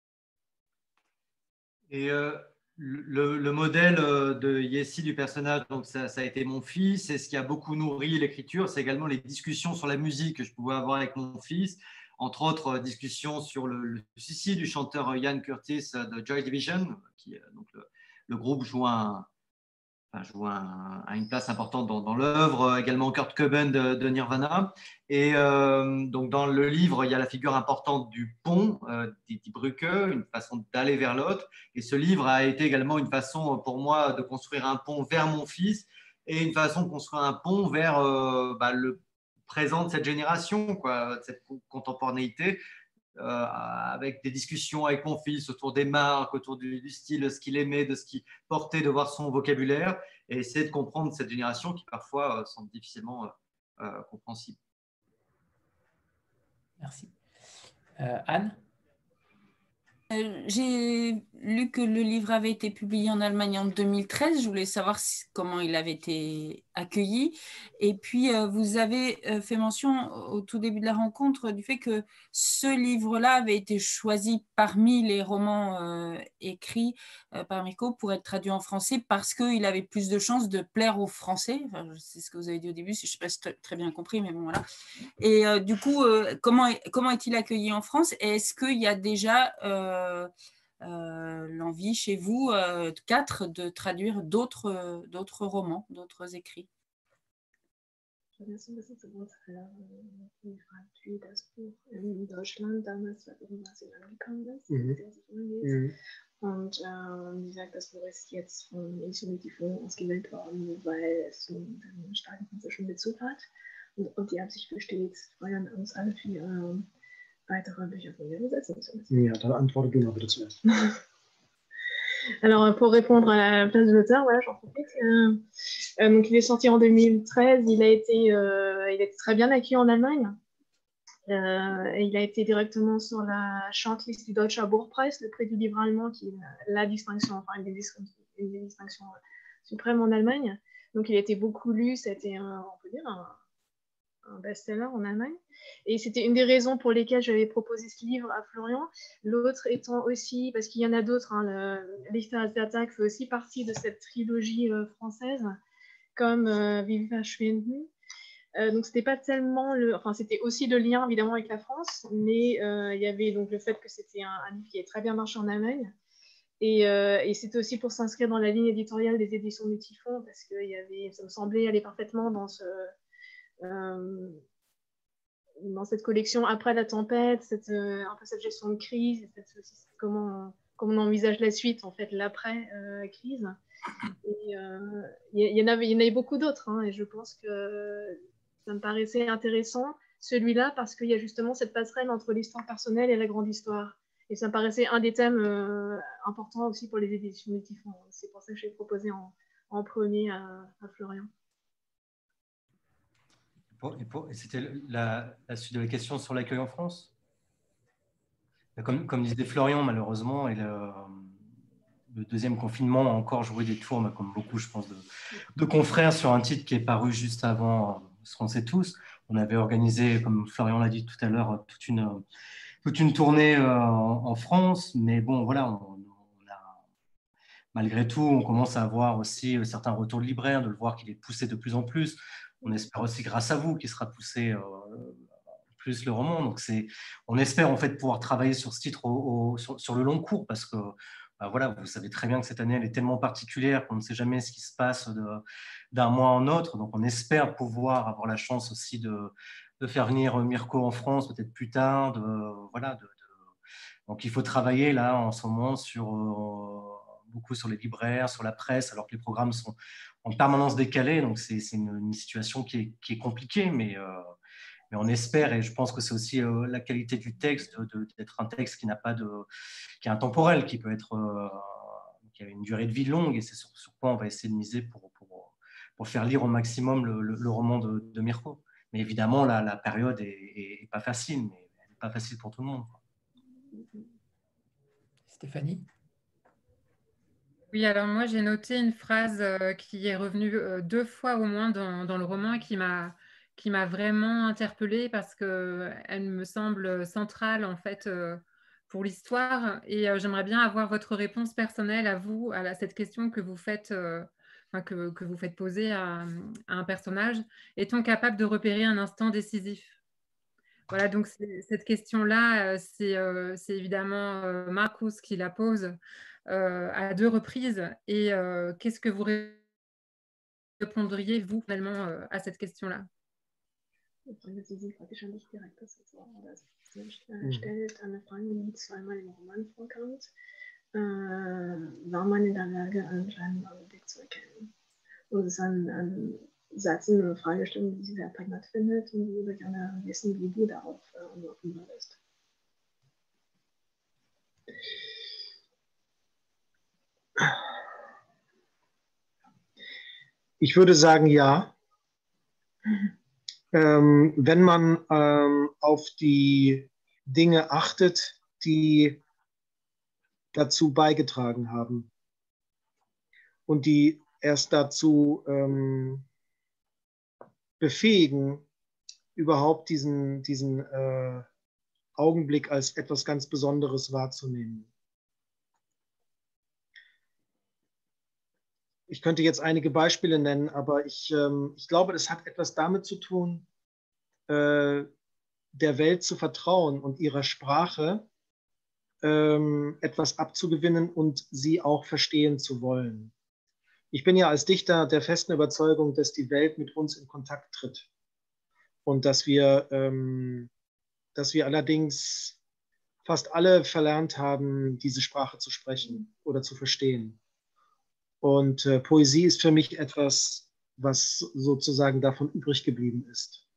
Et euh, le, le modèle de Jesse, du personnage, donc ça, ça a été mon fils, et ce qui a beaucoup nourri l'écriture, c'est également les discussions sur la musique que je pouvais avoir avec mon fils, entre autres discussions sur le, le suicide du chanteur Ian Curtis de Joy Division, qui donc le, le groupe joue un Enfin, joue un, a une place importante dans, dans l'œuvre, également Kurt Cobain de, de Nirvana. Et euh, donc dans le livre, il y a la figure importante du pont, euh, die, die Brücke, une façon d'aller vers l'autre. Et ce livre a été également une façon pour moi de construire un pont vers mon fils et une façon de construire un pont vers euh, bah, le présent de cette génération, quoi, de cette contemporanéité. Euh, avec des discussions avec mon fils autour des marques, autour du, du style, de ce qu'il aimait, de ce qu'il portait, de voir son vocabulaire et essayer de comprendre cette génération qui parfois euh, semble difficilement euh, euh, compréhensible. Merci. Euh, Anne? Euh, j'ai lu que le livre avait été publié en Allemagne en deux mille treize. Je voulais savoir si, comment il avait été accueilli. Et puis, euh, vous avez euh, fait mention au tout début de la rencontre du fait que ce livre-là avait été choisi parmi les romans euh, écrits euh, par Mirko pour être traduit en français parce qu'il avait plus de chances de plaire aux Français. Enfin, c'est ce que vous avez dit au début, je ne sais pas si j'ai très bien compris, mais bon, voilà. Et euh, du coup, euh, comment, comment est-il accueilli en France? Et est-ce qu'il y a déjà euh, euh, l'envie chez vous, euh, quatre, de traduire d'autres euh, d'autres romans, d'autres écrits? Ich vergesse ein bisschen zu Wurzeln, wie wie das Buch in Deutschland damals, was in angekommen ist, Mhm. der sich umgeht. Mhm. Und ähm, wie gesagt, das Buch ist jetzt von Infinity ausgewählt worden, weil es einen, einen starken französischen Bezug hat. Und, und die Absicht besteht, Florian uns alle für ähm, weitere Bücher von mir übersetzen zu lassen. Ja, dann antworte du mal bitte zuerst. Alors, pour répondre à la place de l'auteur, voilà, j'en profite. Euh, euh, donc, il est sorti en deux mille treize. Il a été, euh, il a été très bien accueilli en Allemagne. Euh, et il a été directement sur la shortlist du Deutscher Buchpreis, le prix du livre allemand, qui est la distinction, enfin, une des, une des distinctions suprêmes en Allemagne. Donc, il a été beaucoup lu. C'était, un, on peut dire, un, un best-seller en Allemagne. Et c'était une des raisons pour lesquelles j'avais proposé ce livre à Florian. L'autre étant aussi, parce qu'il y en a d'autres, hein, le Lichter als der Tag fait aussi partie de cette trilogie euh, française, comme euh, Wie wir verschwinden. Euh, donc c'était pas tellement le, enfin c'était aussi le lien évidemment avec la France, mais euh, il y avait donc le fait que c'était un, un livre qui avait très bien marché en Allemagne. Et, euh, et c'était aussi pour s'inscrire dans la ligne éditoriale des éditions du Typhon, parce que il y avait, ça me semblait aller parfaitement dans ce Euh, dans cette collection après la tempête, cette, euh, un peu cette gestion de crise, cette, cette, comment, comment on envisage la suite, en fait, l'après-crise. Euh, et il euh, y, y, en avait, y en avait beaucoup d'autres, hein, et je pense que ça me paraissait intéressant, celui-là, parce qu'il y a justement cette passerelle entre l'histoire personnelle et la grande histoire. Et ça me paraissait un des thèmes euh, importants aussi pour les éditions du Typhon. C'est pour ça que j'ai proposé en, en premier à, à Florian. Et, et c'était la, la suite de la question sur l'accueil en France. Comme, comme disait Florian, malheureusement, et le, le deuxième confinement a encore joué des tours, comme beaucoup, je pense, de, de confrères sur un titre qui est paru juste avant ce qu'on sait tous. On avait organisé, comme Florian l'a dit tout à l'heure, toute une, toute une tournée en, en France, mais bon, voilà, on, on a, malgré tout, on commence à avoir aussi certains retours de libraires, de le voir qu'il est poussé de plus en plus. On espère aussi, grâce à vous, qu'il sera poussé euh, plus le roman. Donc, c'est, on espère en fait pouvoir travailler sur ce titre au, au, sur, sur le long cours, parce que bah, voilà, vous savez très bien que cette année, elle est tellement particulière qu'on ne sait jamais ce qui se passe de, d'un mois en autre. Donc, on espère pouvoir avoir la chance aussi de, de faire venir Mirko en France peut-être plus tard. De, voilà, de, de... Donc, il faut travailler là en ce moment sur, euh, beaucoup sur les libraires, sur la presse, alors que les programmes sont en permanence décalés. Donc, c'est, c'est une, une situation qui est, qui est compliquée, mais... Euh, Mais on espère, et je pense que c'est aussi euh, la qualité du texte, de, de, d'être un texte qui n'a pas de, qui est intemporel, qui peut être, euh, qui a une durée de vie longue, et c'est sur, sur quoi on va essayer de miser pour, pour, pour faire lire au maximum le, le, le roman de, de Mirko. Mais évidemment, la, la période est, est, est pas facile, mais elle n'est pas facile pour tout le monde. Stéphanie? Oui, alors moi j'ai noté une phrase euh, qui est revenue euh, deux fois au moins dans, dans le roman et qui m'a qui m'a vraiment interpellée parce qu'elle me semble centrale en fait euh, pour l'histoire. Et euh, j'aimerais bien avoir votre réponse personnelle à vous, à la, cette question que vous faites, euh, enfin, que, que vous faites poser à, à un personnage. Est-on capable de repérer un instant décisif? Voilà, donc cette question-là, euh, c'est euh, évidemment euh, Marcus qui la pose euh, à deux reprises. Et euh, qu'est-ce que vous répondriez, vous, finalement, euh, à cette question-là? Sie praktisch an dich direkt, das ist so, das stellt eine Frage, die zweimal im Roman vorkommt. Äh, war man in der Lage, anscheinend einen Blick zu erkennen? Und es ist ein, ein Satz, eine Fragestellung, die sie sehr prägnant findet, und ich würde gerne wissen, wie du darauf äh, antworten würdest. Ich würde sagen, ja. Ähm, wenn man ähm, auf die Dinge achtet, die dazu beigetragen haben und die erst dazu ähm, befähigen, überhaupt diesen, diesen äh, Augenblick als etwas ganz Besonderes wahrzunehmen. Ich könnte jetzt einige Beispiele nennen, aber ich, ähm, ich glaube, es hat etwas damit zu tun, äh, der Welt zu vertrauen und ihrer Sprache ähm, etwas abzugewinnen und sie auch verstehen zu wollen. Ich bin ja als Dichter der festen Überzeugung, dass die Welt mit uns in Kontakt tritt und dass wir, ähm, dass wir allerdings fast alle verlernt haben, diese Sprache zu sprechen oder zu verstehen. Und äh, Poesie ist für mich etwas, was sozusagen davon übrig geblieben ist.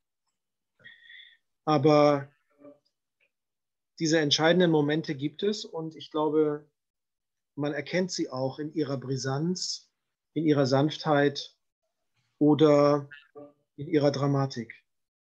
Aber diese entscheidenden Momente gibt es und ich glaube, man erkennt sie auch in ihrer Brisanz, in ihrer Sanftheit oder in ihrer Dramatik.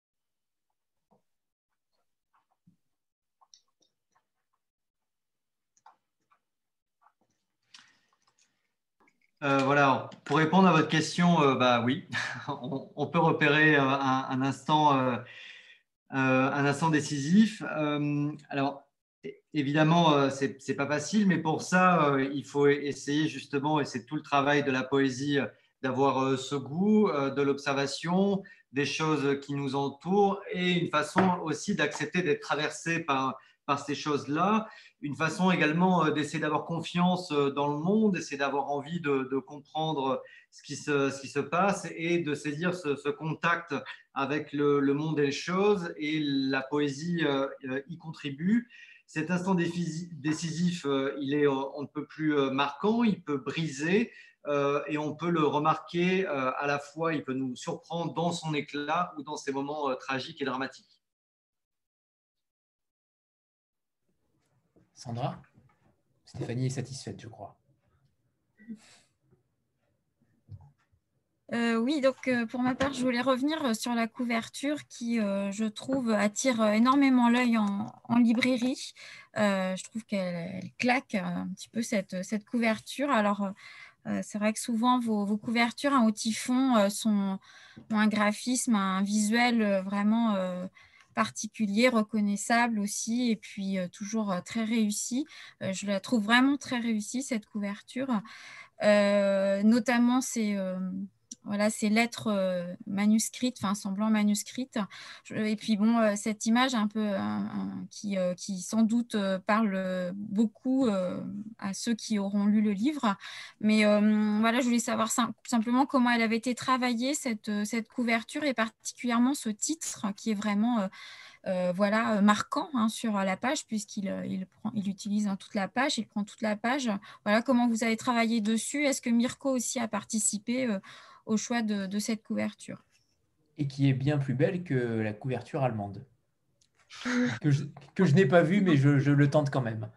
Euh, voilà, pour répondre à votre question, euh, bah oui, on, on peut repérer euh, un, un, instant, euh, euh, un instant décisif. Euh, alors, évidemment, euh, c'est, c'est pas facile, mais pour ça, euh, il faut essayer justement, et c'est tout le travail de la poésie, euh, d'avoir euh, ce goût euh, de l'observation, des choses qui nous entourent, et une façon aussi d'accepter d'être traversé par, par ces choses-là. Une façon également euh, d'essayer d'avoir confiance euh, dans le monde, d'essayer d'avoir envie de, de comprendre ce qui, se, ce qui se passe et de saisir ce, ce contact avec le, le monde et les choses. Et la poésie euh, y contribue. Cet instant décisif, euh, il est, on ne peut plus euh, marquant, il peut briser euh, et on peut le remarquer euh, à la fois, il peut nous surprendre dans son éclat ou dans ses moments euh, tragiques et dramatiques. Sandra? Stéphanie est satisfaite, je crois. Euh, oui, donc euh, pour ma part, je voulais revenir sur la couverture qui, euh, je trouve, attire énormément l'œil en, en librairie. Euh, je trouve qu'elle elle claque un petit peu cette, cette couverture. Alors, euh, c'est vrai que souvent, vos, vos couvertures en haut typhon euh, sont, ont un graphisme, un visuel euh, vraiment euh, particulier, reconnaissable aussi, et puis euh, toujours euh, très réussi. Euh, je la trouve vraiment très réussie, cette couverture. Euh, notamment, c'est... Euh, Voilà, ces lettres euh, manuscrites, enfin semblant manuscrites. Je, et puis bon, euh, cette image un peu un, un, qui, euh, qui sans doute euh, parle beaucoup euh, à ceux qui auront lu le livre. Mais euh, voilà, je voulais savoir sim simplement comment elle avait été travaillée, cette, cette couverture, et particulièrement ce titre qui est vraiment euh, euh, voilà, marquant hein, sur la page, puisqu'il il prend, il utilise hein, toute la page, il prend toute la page. Voilà comment vous avez travaillé dessus. Est-ce que Mirko aussi a participé euh, au choix de, de cette couverture? Et qui est bien plus belle que la couverture allemande. que je, que je n'ai pas vue, mais je, je le tente quand même.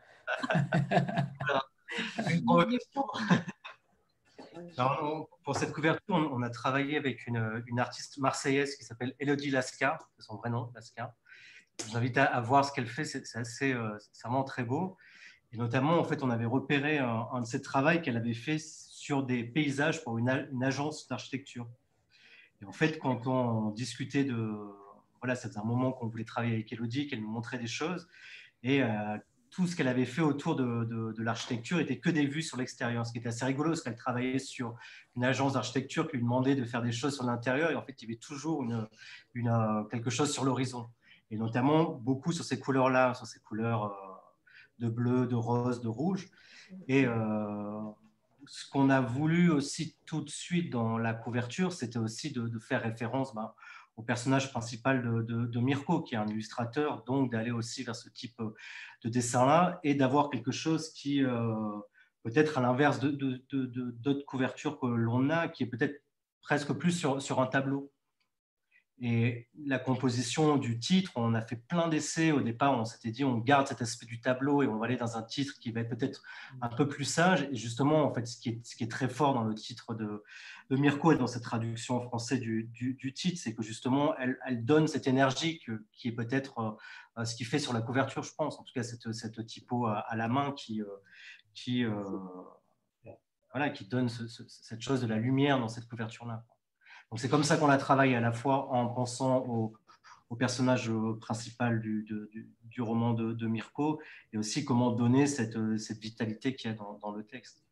Alors, pour cette couverture, on a travaillé avec une, une artiste marseillaise qui s'appelle Elodie Lascar, c'est son vrai nom, Lascar. Je vous invite à, à voir ce qu'elle fait, c'est assez, euh, c'est vraiment très beau. Et notamment, en fait, on avait repéré un, un de ses travaux qu'elle avait fait sur des paysages pour une, une agence d'architecture. Et en fait, quand on discutait de... Voilà, ça faisait un moment qu'on voulait travailler avec Elodie, qu'elle nous montrait des choses. Et euh, tout ce qu'elle avait fait autour de, de, de l'architecture était que des vues sur l'extérieur. Ce qui était assez rigolo, parce qu'elle travaillait sur une agence d'architecture qui lui demandait de faire des choses sur l'intérieur. Et en fait, il y avait toujours une, une, quelque chose sur l'horizon. Et notamment, beaucoup sur ces couleurs-là, sur ces couleurs euh, de bleu, de rose, de rouge. Et... Euh, ce qu'on a voulu aussi tout de suite dans la couverture, c'était aussi de, de faire référence ben, au personnage principal de, de, de Mirko, qui est un illustrateur, donc d'aller aussi vers ce type de dessin-là et d'avoir quelque chose qui, euh, peut-être à l'inverse de, de, de, de, d'autres couvertures que l'on a, qui est peut-être presque plus sur, sur un tableau. Et la composition du titre, on a fait plein d'essais. Au départ, on s'était dit, on garde cet aspect du tableau et on va aller dans un titre qui va être peut-être un peu plus sage. Et justement, en fait, ce qui est, ce qui est très fort dans le titre de, de Mirko et dans cette traduction en français du, du, du titre, c'est que justement, elle, elle donne cette énergie que, qui est peut-être euh, ce qui fait sur la couverture, je pense. En tout cas, cette, cette typo à, à la main qui, euh, qui, euh, voilà, qui donne ce, ce, cette chose de la lumière dans cette couverture-là. Donc c'est comme ça qu'on a travaillé, à la fois en pensant au, au personnage principal du, de, du, du roman de, de Mirko, et aussi comment donner cette, cette vitalité qu'il y a dans, dans le texte.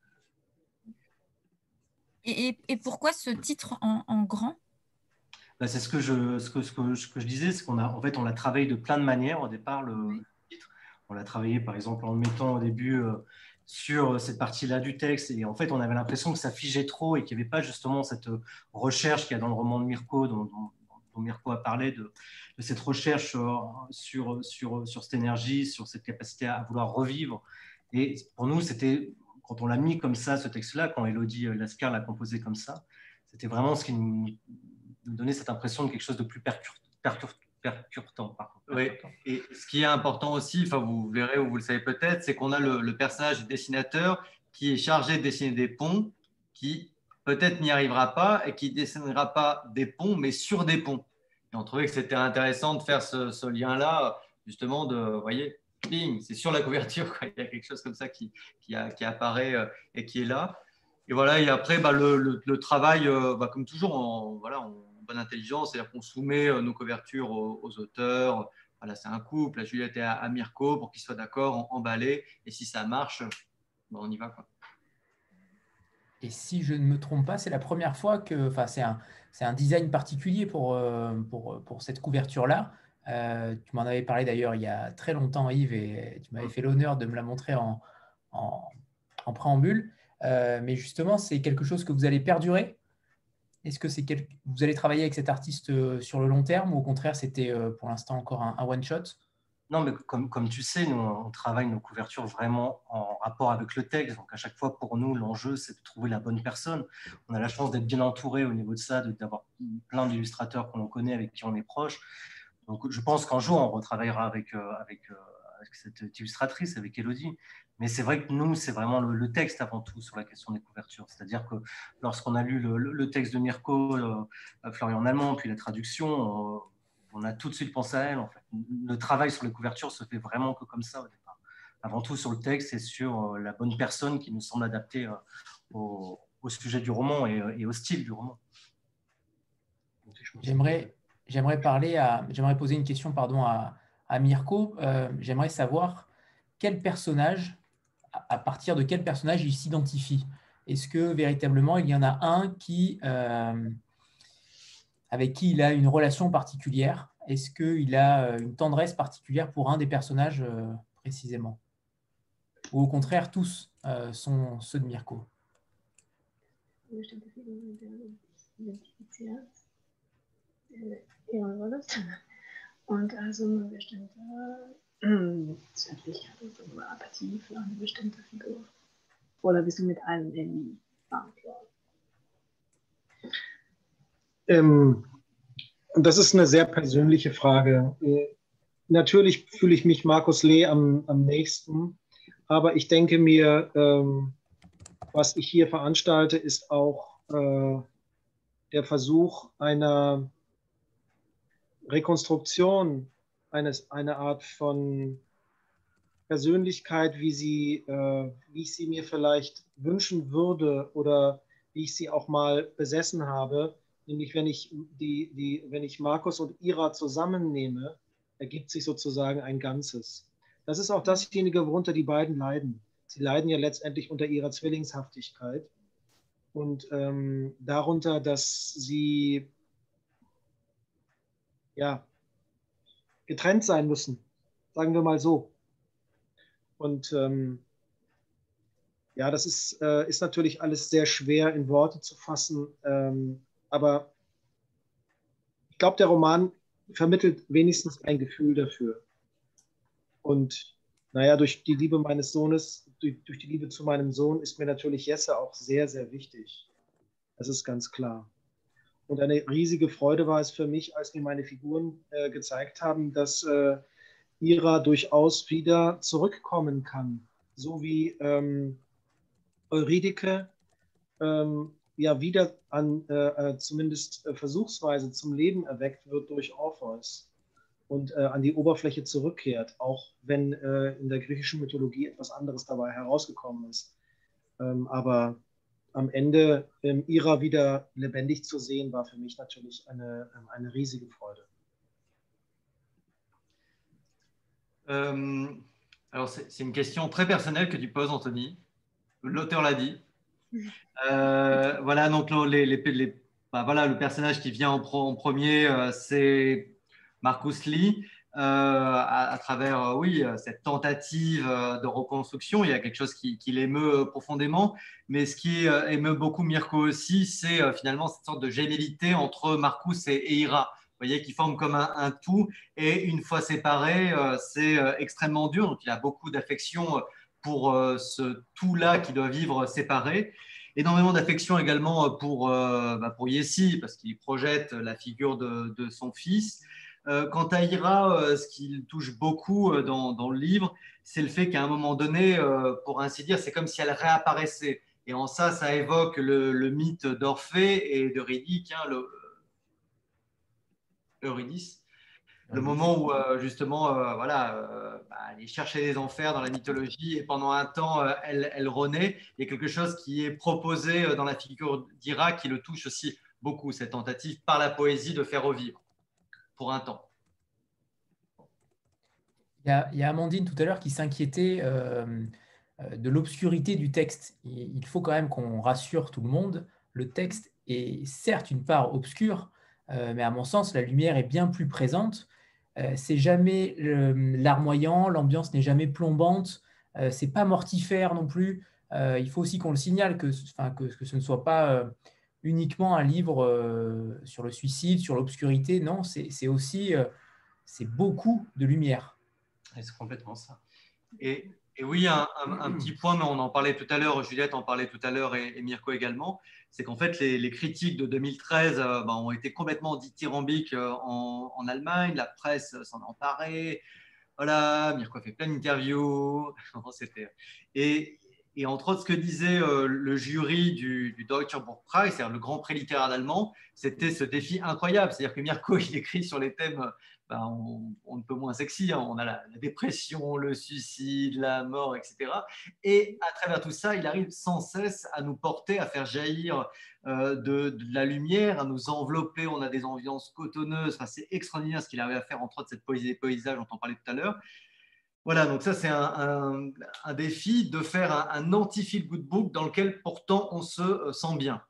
Et, et pourquoi ce titre en, en grand? Ben, c'est ce que je, ce que, ce que, ce que je disais, c'est qu'on a, en fait, on l'a travaillé de plein de manières au départ, le, Oui. le titre. On l'a travaillé, par exemple, en le mettant au début euh, sur cette partie-là du texte. Et en fait, on avait l'impression que ça figeait trop et qu'il n'y avait pas justement cette recherche qu'il y a dans le roman de Mirko, dont, dont, dont Mirko a parlé, de, de cette recherche euh, sur, sur, sur cette énergie, sur cette capacité à vouloir revivre. Et pour nous, c'était, quand on l'a mis comme ça, ce texte-là, quand Élodie Lascar l'a composé comme ça, c'était vraiment ce qui nous, nous donnait cette impression de quelque chose de plus percur, percur, percutant. Par contre, oui, et ce qui est important aussi, enfin vous verrez ou vous le savez peut-être, c'est qu'on a le, le personnage du dessinateur qui est chargé de dessiner des ponts, qui peut-être n'y arrivera pas et qui ne dessinera pas des ponts, mais sur des ponts. Et on trouvait que c'était intéressant de faire ce, ce lien-là, justement, de, vous voyez, bing, c'est sur la couverture, quoi. Il y a quelque chose comme ça qui, qui, a, qui apparaît euh, et qui est là. Et voilà, et après, bah, le, le, le travail, euh, bah, comme toujours, en, voilà, en bonne intelligence, c'est-à-dire qu'on soumet euh, nos couvertures aux, aux auteurs. Voilà, c'est un couple, la Juliette et à, à Mirko, pour qu'ils soient d'accord, emballés. Et si ça marche, bah, on y va, quoi. Et si je ne me trompe pas, c'est la première fois que, enfin, c'est un, c'est un design particulier pour, euh, pour, pour cette couverture-là. Euh, tu m'en avais parlé d'ailleurs il y a très longtemps, Yves, et tu m'avais fait l'honneur de me la montrer en, en, en préambule. Euh, mais justement, c'est quelque chose que vous allez perdurer. Est-ce que c'est quel... vous allez travailler avec cet artiste euh, sur le long terme, ou au contraire, c'était euh, pour l'instant encore un, un one-shot? Non, mais comme, comme tu sais, nous, on travaille nos couvertures vraiment en rapport avec le texte. Donc, à chaque fois, pour nous, l'enjeu, c'est de trouver la bonne personne. On a la chance d'être bien entouré au niveau de ça, d'avoir plein d'illustrateurs qu'on connaît, avec qui on est proche. Donc, je pense qu'un jour, on retravaillera avec, euh, avec, euh, avec cette illustratrice, avec Élodie. Mais c'est vrai que nous, c'est vraiment le, le texte avant tout sur la question des couvertures. C'est-à-dire que lorsqu'on a lu le, le texte de Mirko, euh, Florian Allemand, puis la traduction, euh, on a tout de suite pensé à elle. En fait. Le travail sur les couvertures se fait vraiment que comme ça au départ. Avant tout sur le texte et sur la bonne personne qui nous semble adaptée au, au sujet du roman et, et au style du roman. J'aimerais, j'aimerais parler à, j'aimerais poser une question, pardon, à, à Mirko. Euh, j'aimerais savoir quel personnage, à partir de quel personnage il s'identifie. Est-ce que véritablement il y en a un qui euh, avec qui il a une relation particulière? Est-ce qu'il a une tendresse particulière pour un des personnages euh, précisément? Ou au contraire, tous euh, sont ceux de Mirko? Und also eine bestimmte Zärtlichkeit oder Apathie für eine bestimmte Figur. Oder bist du mit allem irgendwie verantwortlich? Ähm, das ist eine sehr persönliche Frage. Äh, natürlich fühle ich mich Markus Lee am, am nächsten, aber ich denke mir, ähm, was ich hier veranstalte, ist auch äh, der Versuch einer Rekonstruktion, eines, eine Art von Persönlichkeit, wie, sie, äh, wie ich sie mir vielleicht wünschen würde oder wie ich sie auch mal besessen habe. Nämlich, wenn ich, die, die, wenn ich Markus und Ira zusammennehme, ergibt sich sozusagen ein Ganzes. Das ist auch dasjenige, worunter die beiden leiden. Sie leiden ja letztendlich unter ihrer Zwillingshaftigkeit und ähm, darunter, dass sie ja, getrennt sein müssen, sagen wir mal so. Und ähm, ja, das ist, äh, ist natürlich alles sehr schwer in Worte zu fassen, ähm, aber ich glaube, der Roman vermittelt wenigstens ein Gefühl dafür. Und naja, durch die Liebe meines Sohnes, durch, durch die Liebe zu meinem Sohn ist mir natürlich Jesse auch sehr, sehr wichtig. Das ist ganz klar. Und eine riesige Freude war es für mich, als mir meine Figuren äh, gezeigt haben, dass äh, Ira durchaus wieder zurückkommen kann. So wie ähm, Eurydike ähm, ja wieder an, äh, zumindest äh, versuchsweise zum Leben erweckt wird durch Orpheus. und äh, an die Oberfläche zurückkehrt, auch wenn äh, in der griechischen Mythologie etwas anderes dabei herausgekommen ist. Ähm, aber am Ende ähm, Ira wieder lebendig zu sehen, war für mich natürlich eine, eine riesige Freude. Euh, alors, c'est une question très personnelle que tu poses, Anthony. L'auteur l'a dit. Euh, voilà, donc les, les, les, bah, voilà, le personnage qui vient en, pro, en premier, euh, c'est Marcus Lee. Euh, à, à travers, euh, oui, cette tentative euh, de reconstruction, il y a quelque chose qui, qui l'émeut profondément. Mais ce qui euh, émeut beaucoup Mirko aussi, c'est euh, finalement cette sorte de gémellité entre Marcus et, et Ira. Vous voyez, qui forment comme un, un tout. Et une fois séparés, euh, c'est euh, extrêmement dur. Donc, il a beaucoup d'affection pour euh, ce tout-là qui doit vivre séparé. Énormément d'affection également pour, euh, bah pour Yessi, parce qu'il projette la figure de, de son fils. Euh, quant à Ira, euh, ce qui touche beaucoup euh, dans, dans le livre, c'est le fait qu'à un moment donné, euh, pour ainsi dire, c'est comme si elle réapparaissait. Et en ça, ça évoque le, le mythe d'Orphée et d'Eurydice, hein, le, Eurydice, le moment où euh, justement, euh, voilà, euh, bah, elle cherchait des enfers dans la mythologie et pendant un temps, euh, elle, elle renaît. Il y a quelque chose qui est proposé euh, dans la figure d'Ira qui le touche aussi beaucoup, cette tentative par la poésie de faire revivre pour un temps. Il y a, il y a Amandine tout à l'heure qui s'inquiétait euh, de l'obscurité du texte. Il faut quand même qu'on rassure tout le monde. Le texte est certes une part obscure, euh, mais à mon sens, la lumière est bien plus présente. Euh, c'est jamais larmoyant, l'ambiance n'est jamais plombante, euh, c'est pas mortifère non plus. Euh, il faut aussi qu'on le signale que, enfin, que, que ce ne soit pas euh, uniquement un livre euh, sur le suicide, sur l'obscurité. Non, c'est aussi euh, c'est beaucoup de lumière. C'est complètement ça. Et, et oui, un, un, un petit point, mais on en parlait tout à l'heure, Juliette en parlait tout à l'heure et, et Mirko également, c'est qu'en fait, les, les critiques de deux mille treize euh, ben, ont été complètement dithyrambiques euh, en, en Allemagne, la presse s'en est emparée, voilà, Mirko a fait plein d'interviews, et, et entre autres, ce que disait euh, le jury du, du Deutscher Buchpreis, c'est-à-dire le grand prix littéraire allemand, c'était ce défi incroyable, c'est-à-dire que Mirko, il écrit sur les thèmes ben, on, on ne peut moins sexy, hein. On a la, la dépression, le suicide, la mort, et cetera. Et à travers tout ça, il arrive sans cesse à nous porter, à faire jaillir euh, de, de la lumière, à nous envelopper. On a des ambiances cotonneuses. Enfin, c'est extraordinaire ce qu'il arrive à faire, entre autres, cette poésie des paysages dont on parlait tout à l'heure. Voilà, donc ça, c'est un, un, un défi de faire un, un anti-feel good book dans lequel pourtant on se sent bien.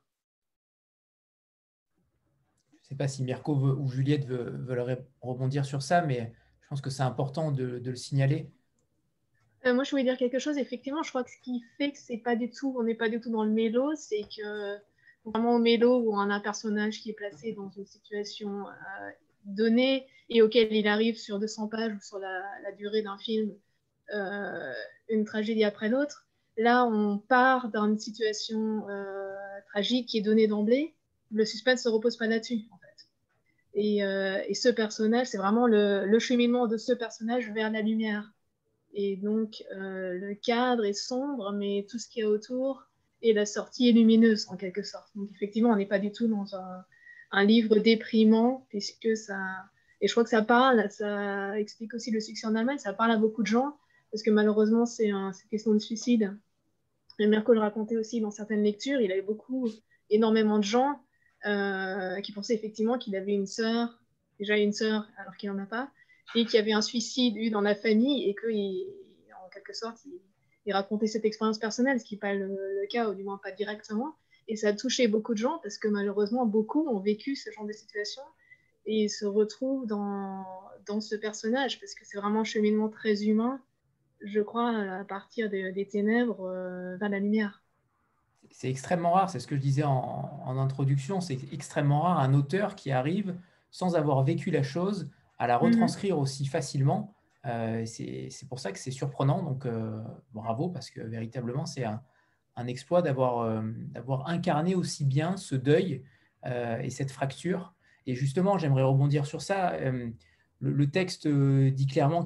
Je ne sais pas si Mirko veut, ou Juliette veut, veulent rebondir sur ça, mais je pense que c'est important de, de le signaler. Euh, moi, je voulais dire quelque chose. Effectivement, je crois que ce qui fait que c'est pas du tout, on n'est pas du tout dans le mélo, c'est que vraiment au mélo où on a un personnage qui est placé dans une situation euh, donnée et auquel il arrive sur deux cents pages ou sur la, la durée d'un film, euh, une tragédie après l'autre. Là, on part d'une situation euh, tragique qui est donnée d'emblée. Le suspense ne se repose pas là-dessus, en fait. Et, euh, et ce personnage, c'est vraiment le, le cheminement de ce personnage vers la lumière. Et donc, euh, le cadre est sombre, mais tout ce qu'il y a autour, et la sortie est lumineuse, en quelque sorte. Donc, effectivement, on n'est pas du tout dans un, un livre déprimant, puisque ça... Et je crois que ça parle, ça explique aussi le succès en Allemagne, ça parle à beaucoup de gens, parce que malheureusement, c'est un, une question de suicide. Et Mirko le racontait aussi dans certaines lectures, il avait beaucoup, énormément de gens euh, qui pensaient effectivement qu'il avait une sœur, déjà une sœur alors qu'il n'en a pas, et qu'il y avait un suicide eu dans la famille et qu'en quelque sorte, il, il racontait cette expérience personnelle, ce qui n'est pas le, le cas, ou du moins pas directement. Et ça a touché beaucoup de gens parce que malheureusement, beaucoup ont vécu ce genre de situation et se retrouvent dans, dans ce personnage parce que c'est vraiment un cheminement très humain, je crois, à partir de, des ténèbres euh, vers la lumière. C'est extrêmement rare, c'est ce que je disais en, en introduction, c'est extrêmement rare un auteur qui arrive sans avoir vécu la chose à la retranscrire mmh. aussi facilement. Euh, c'est pour ça que c'est surprenant, donc euh, bravo, parce que véritablement c'est un, un exploit d'avoir euh, d'avoir incarné aussi bien ce deuil euh, et cette fracture. Et justement, j'aimerais rebondir sur ça. Euh, le, le texte euh, dit clairement,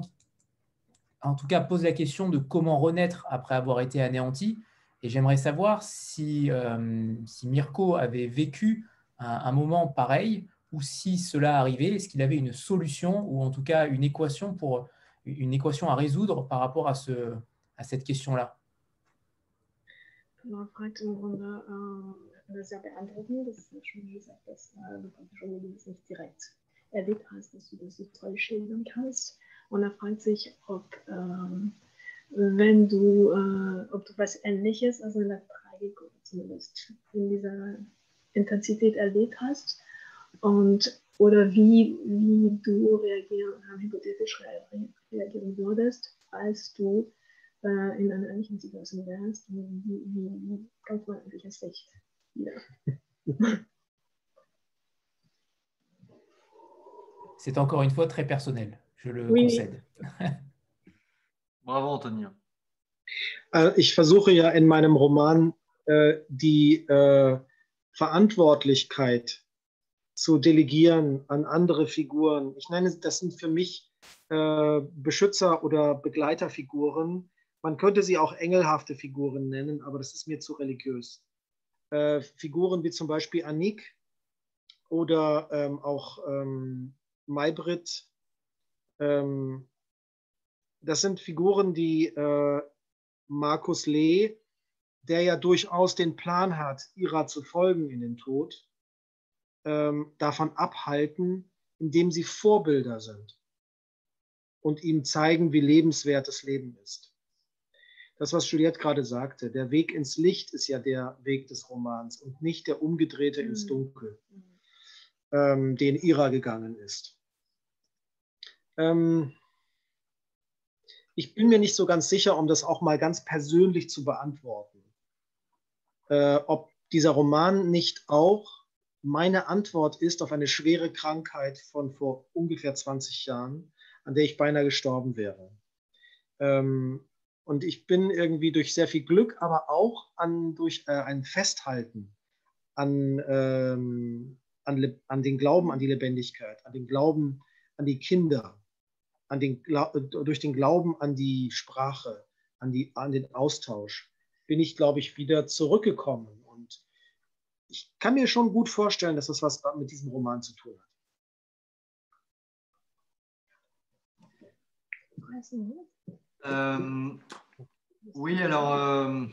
en tout cas pose la question de comment renaître après avoir été anéanti. Et j'aimerais savoir si, euh, si Mirko avait vécu un, un moment pareil ou si cela arrivait, est-ce qu'il avait une solution ou en tout cas une équation, pour, une équation à résoudre par rapport à, ce, à cette question-là? Man fragt im Grunde, äh, das ja beantworten, das ist ja schon gesagt, dass äh, du praktisch das nicht direkt erlebt hast, dass du das so toll schildern kannst. Und er fragt sich, ob, ähm, wenn du, äh, ob du was Ähnliches, also in der Tragik oder zumindest in dieser Intensität erlebt hast, und oder wie, wie du reagieren, hypothetisch reagieren würdest, als du äh, in einer ähnlichen Situation wärst. Wie, wie, wie kommt man eigentlich ins Licht wieder? C'est encore une fois très personnel, je le Oui. concède. Bravo, Anthony. Ich versuche ja in meinem Roman äh, die äh, Verantwortlichkeit zu delegieren an andere Figuren. Ich nenne, das sind für mich äh, Beschützer- oder Begleiterfiguren. Man könnte sie auch engelhafte Figuren nennen, aber das ist mir zu religiös. Äh, Figuren wie zum Beispiel Annick oder ähm, auch ähm, Maybrit. Ähm, das sind Figuren, die äh, Markus Lee, der ja durchaus den Plan hat, Ira zu folgen in den Tod, ähm, davon abhalten, indem sie Vorbilder sind und ihm zeigen, wie lebenswert das Leben ist. Das, was Juliette gerade sagte, der Weg ins Licht ist ja der Weg des Romans und nicht der umgedrehte mhm. ins Dunkel, ähm, den Ira gegangen ist. Ähm, ich bin mir nicht so ganz sicher, um das auch mal ganz persönlich zu beantworten, äh, ob dieser Roman nicht auch meine Antwort ist auf eine schwere Krankheit von vor ungefähr zwanzig Jahren, an der ich beinahe gestorben wäre. Ähm, und ich bin irgendwie durch sehr viel Glück, aber auch an, durch äh, ein Festhalten an, ähm, an, an den Glauben an die Lebendigkeit, an den Glauben an die Kinder, an den, durch den Glauben an die Sprache, an, die, an den Austausch, bin ich, glaube ich, wieder zurückgekommen. Und ich kann mir schon gut vorstellen, dass das was mit diesem Roman zu tun hat. Euh, oui, alors, euh,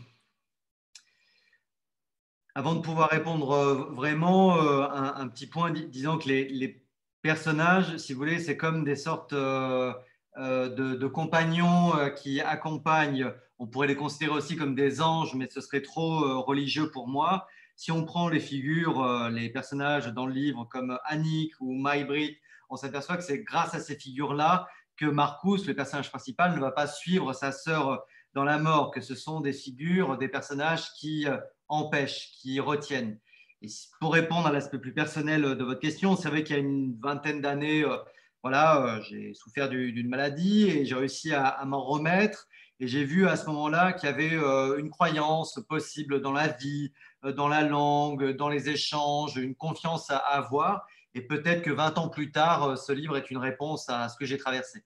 avant de pouvoir répondre vraiment, euh, un, un petit point, dis, disant que les, les personnages, si vous voulez, c'est comme des sortes euh, euh, de, de compagnons euh, qui accompagnent, on pourrait les considérer aussi comme des anges, mais ce serait trop euh, religieux pour moi. Si on prend les figures, euh, les personnages dans le livre comme Annick ou Maybrit, on s'aperçoit que c'est grâce à ces figures-là que Marcus, le personnage principal, ne va pas suivre sa sœur dans la mort, que ce sont des figures, des personnages qui euh, empêchent, qui retiennent. Et pour répondre à l'aspect plus personnel de votre question, c'est vrai qu'il y a une vingtaine d'années, euh, voilà, euh, j'ai souffert du, d'une maladie et j'ai réussi à, à m'en remettre. Et j'ai vu à ce moment-là qu'il y avait euh, une croyance possible dans la vie, euh, dans la langue, dans les échanges, une confiance à, à avoir. Et peut-être que vingt ans plus tard, ce livre est une réponse à ce que j'ai traversé.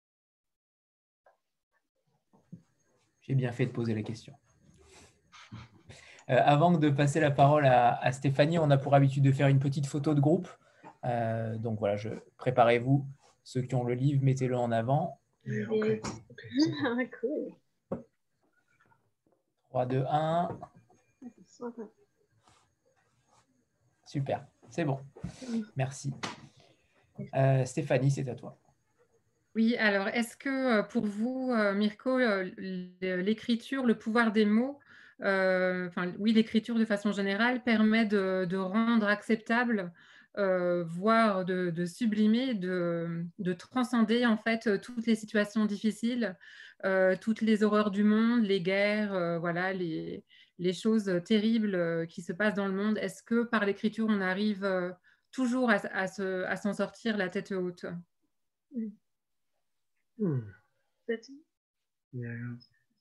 J'ai bien fait de poser la question. Euh, avant de passer la parole à, à Stéphanie, on a pour habitude de faire une petite photo de groupe. Euh, donc voilà, je, préparez-vous. Ceux qui ont le livre, mettez-le en avant. Okay. Okay. Cool. trois, deux, un. Super, c'est bon. Merci. Euh, Stéphanie, c'est à toi. Oui, alors est-ce que pour vous, Mirko, l'écriture, le pouvoir des mots, euh, enfin oui, l'écriture de façon générale permet de, de rendre acceptable, euh, voire de, de sublimer, de, de transcender en fait toutes les situations difficiles, euh, toutes les horreurs du monde, les guerres, euh, voilà, les, les choses terribles qui se passent dans le monde. Est-ce que par l'écriture, on arrive toujours à, à, se, à s'en sortir la tête haute? Hm. Ja, ja.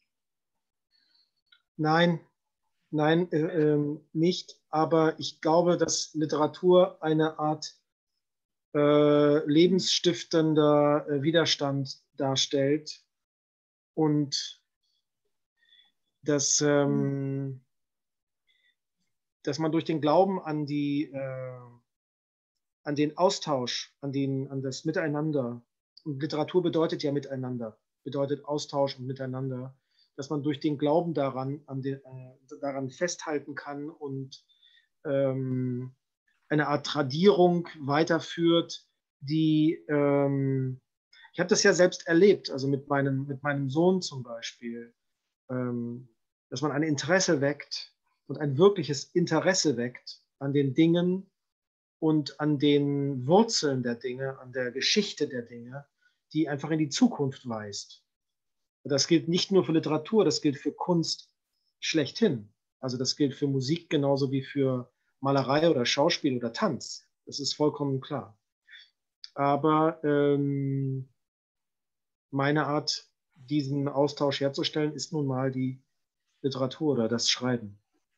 Nein, nein, äh, äh, nicht. Aber ich glaube, dass Literatur eine Art äh, lebensstiftender äh, Widerstand darstellt und dass, ähm, dass man durch den Glauben an die, äh, an den Austausch, an, den, an das Miteinander. Und Literatur bedeutet ja Miteinander, bedeutet Austausch und Miteinander, dass man durch den Glauben daran, an den, äh, daran festhalten kann und ähm, eine Art Tradierung weiterführt, die, ähm, ich habe das ja selbst erlebt, also mit meinem, mit meinem Sohn zum Beispiel, ähm, dass man ein Interesse weckt und ein wirkliches Interesse weckt an den Dingen und an den Wurzeln der Dinge, an der Geschichte der Dinge, die einfach in die Zukunft weist. Das gilt nicht nur für Literatur, das gilt für Kunst schlechthin. Also das gilt für Musik genauso wie für Malerei oder Schauspiel oder Tanz. Das ist vollkommen klar. Aber ähm, meine Art, diesen Austausch herzustellen, ist nun mal die Literatur oder das Schreiben.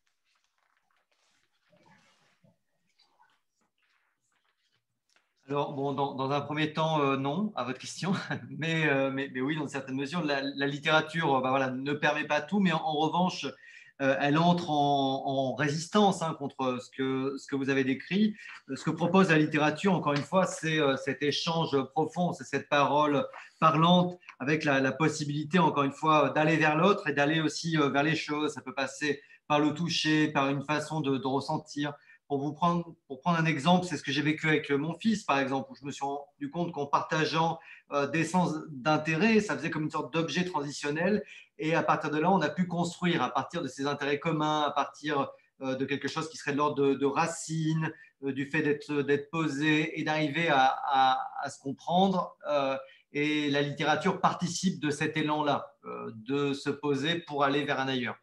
Alors, bon, dans, dans un premier temps, euh, non, à votre question, mais, euh, mais, mais oui, dans une certaine mesure, la, la littérature bah, voilà, ne permet pas tout, mais en, en revanche, euh, elle entre en, en résistance hein, contre ce que, ce que vous avez décrit. Ce que propose la littérature, encore une fois, c'est euh, cet échange profond, c'est cette parole parlante avec la, la possibilité, encore une fois, d'aller vers l'autre et d'aller aussi euh, vers les choses. Ça peut passer par le toucher, par une façon de, de ressentir. Pour vous prendre, pour prendre un exemple, c'est ce que j'ai vécu avec mon fils, par exemple, où je me suis rendu compte qu'en partageant euh, des sens d'intérêt, ça faisait comme une sorte d'objet transitionnel. Et à partir de là, on a pu construire à partir de ces intérêts communs, à partir euh, de quelque chose qui serait de l'ordre de, de racines, euh, du fait d'être, d'être posé et d'arriver à, à, à se comprendre. Euh, et la littérature participe de cet élan-là, euh, de se poser pour aller vers un ailleurs,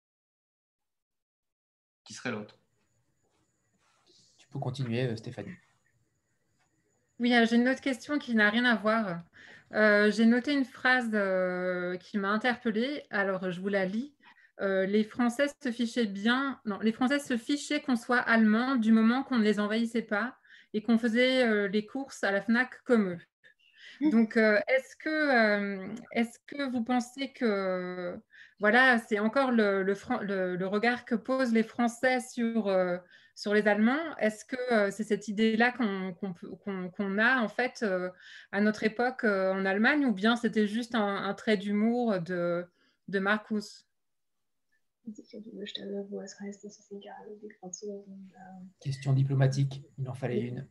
qui serait l'autre. Pour continuer, Stéphanie. Oui, j'ai une autre question qui n'a rien à voir. Euh, j'ai noté une phrase euh, qui m'a interpellée. Alors, je vous la lis. Euh, les Français se fichaient bien. Non, les Français se fichaient qu'on soit allemand du moment qu'on ne les envahissait pas et qu'on faisait euh, les courses à la Fnac comme eux. Donc, euh, est-ce que, euh, est-ce que vous pensez que, voilà, c'est encore le, le, le, le regard que posent les Français sur, euh, sur les Allemands? Est-ce que euh, c'est cette idée-là qu'on, qu'on, qu'on, qu'on a, en fait, euh, à notre époque euh, en Allemagne, ou bien c'était juste un, un trait d'humour de, de Marcus? Question diplomatique, il en fallait une.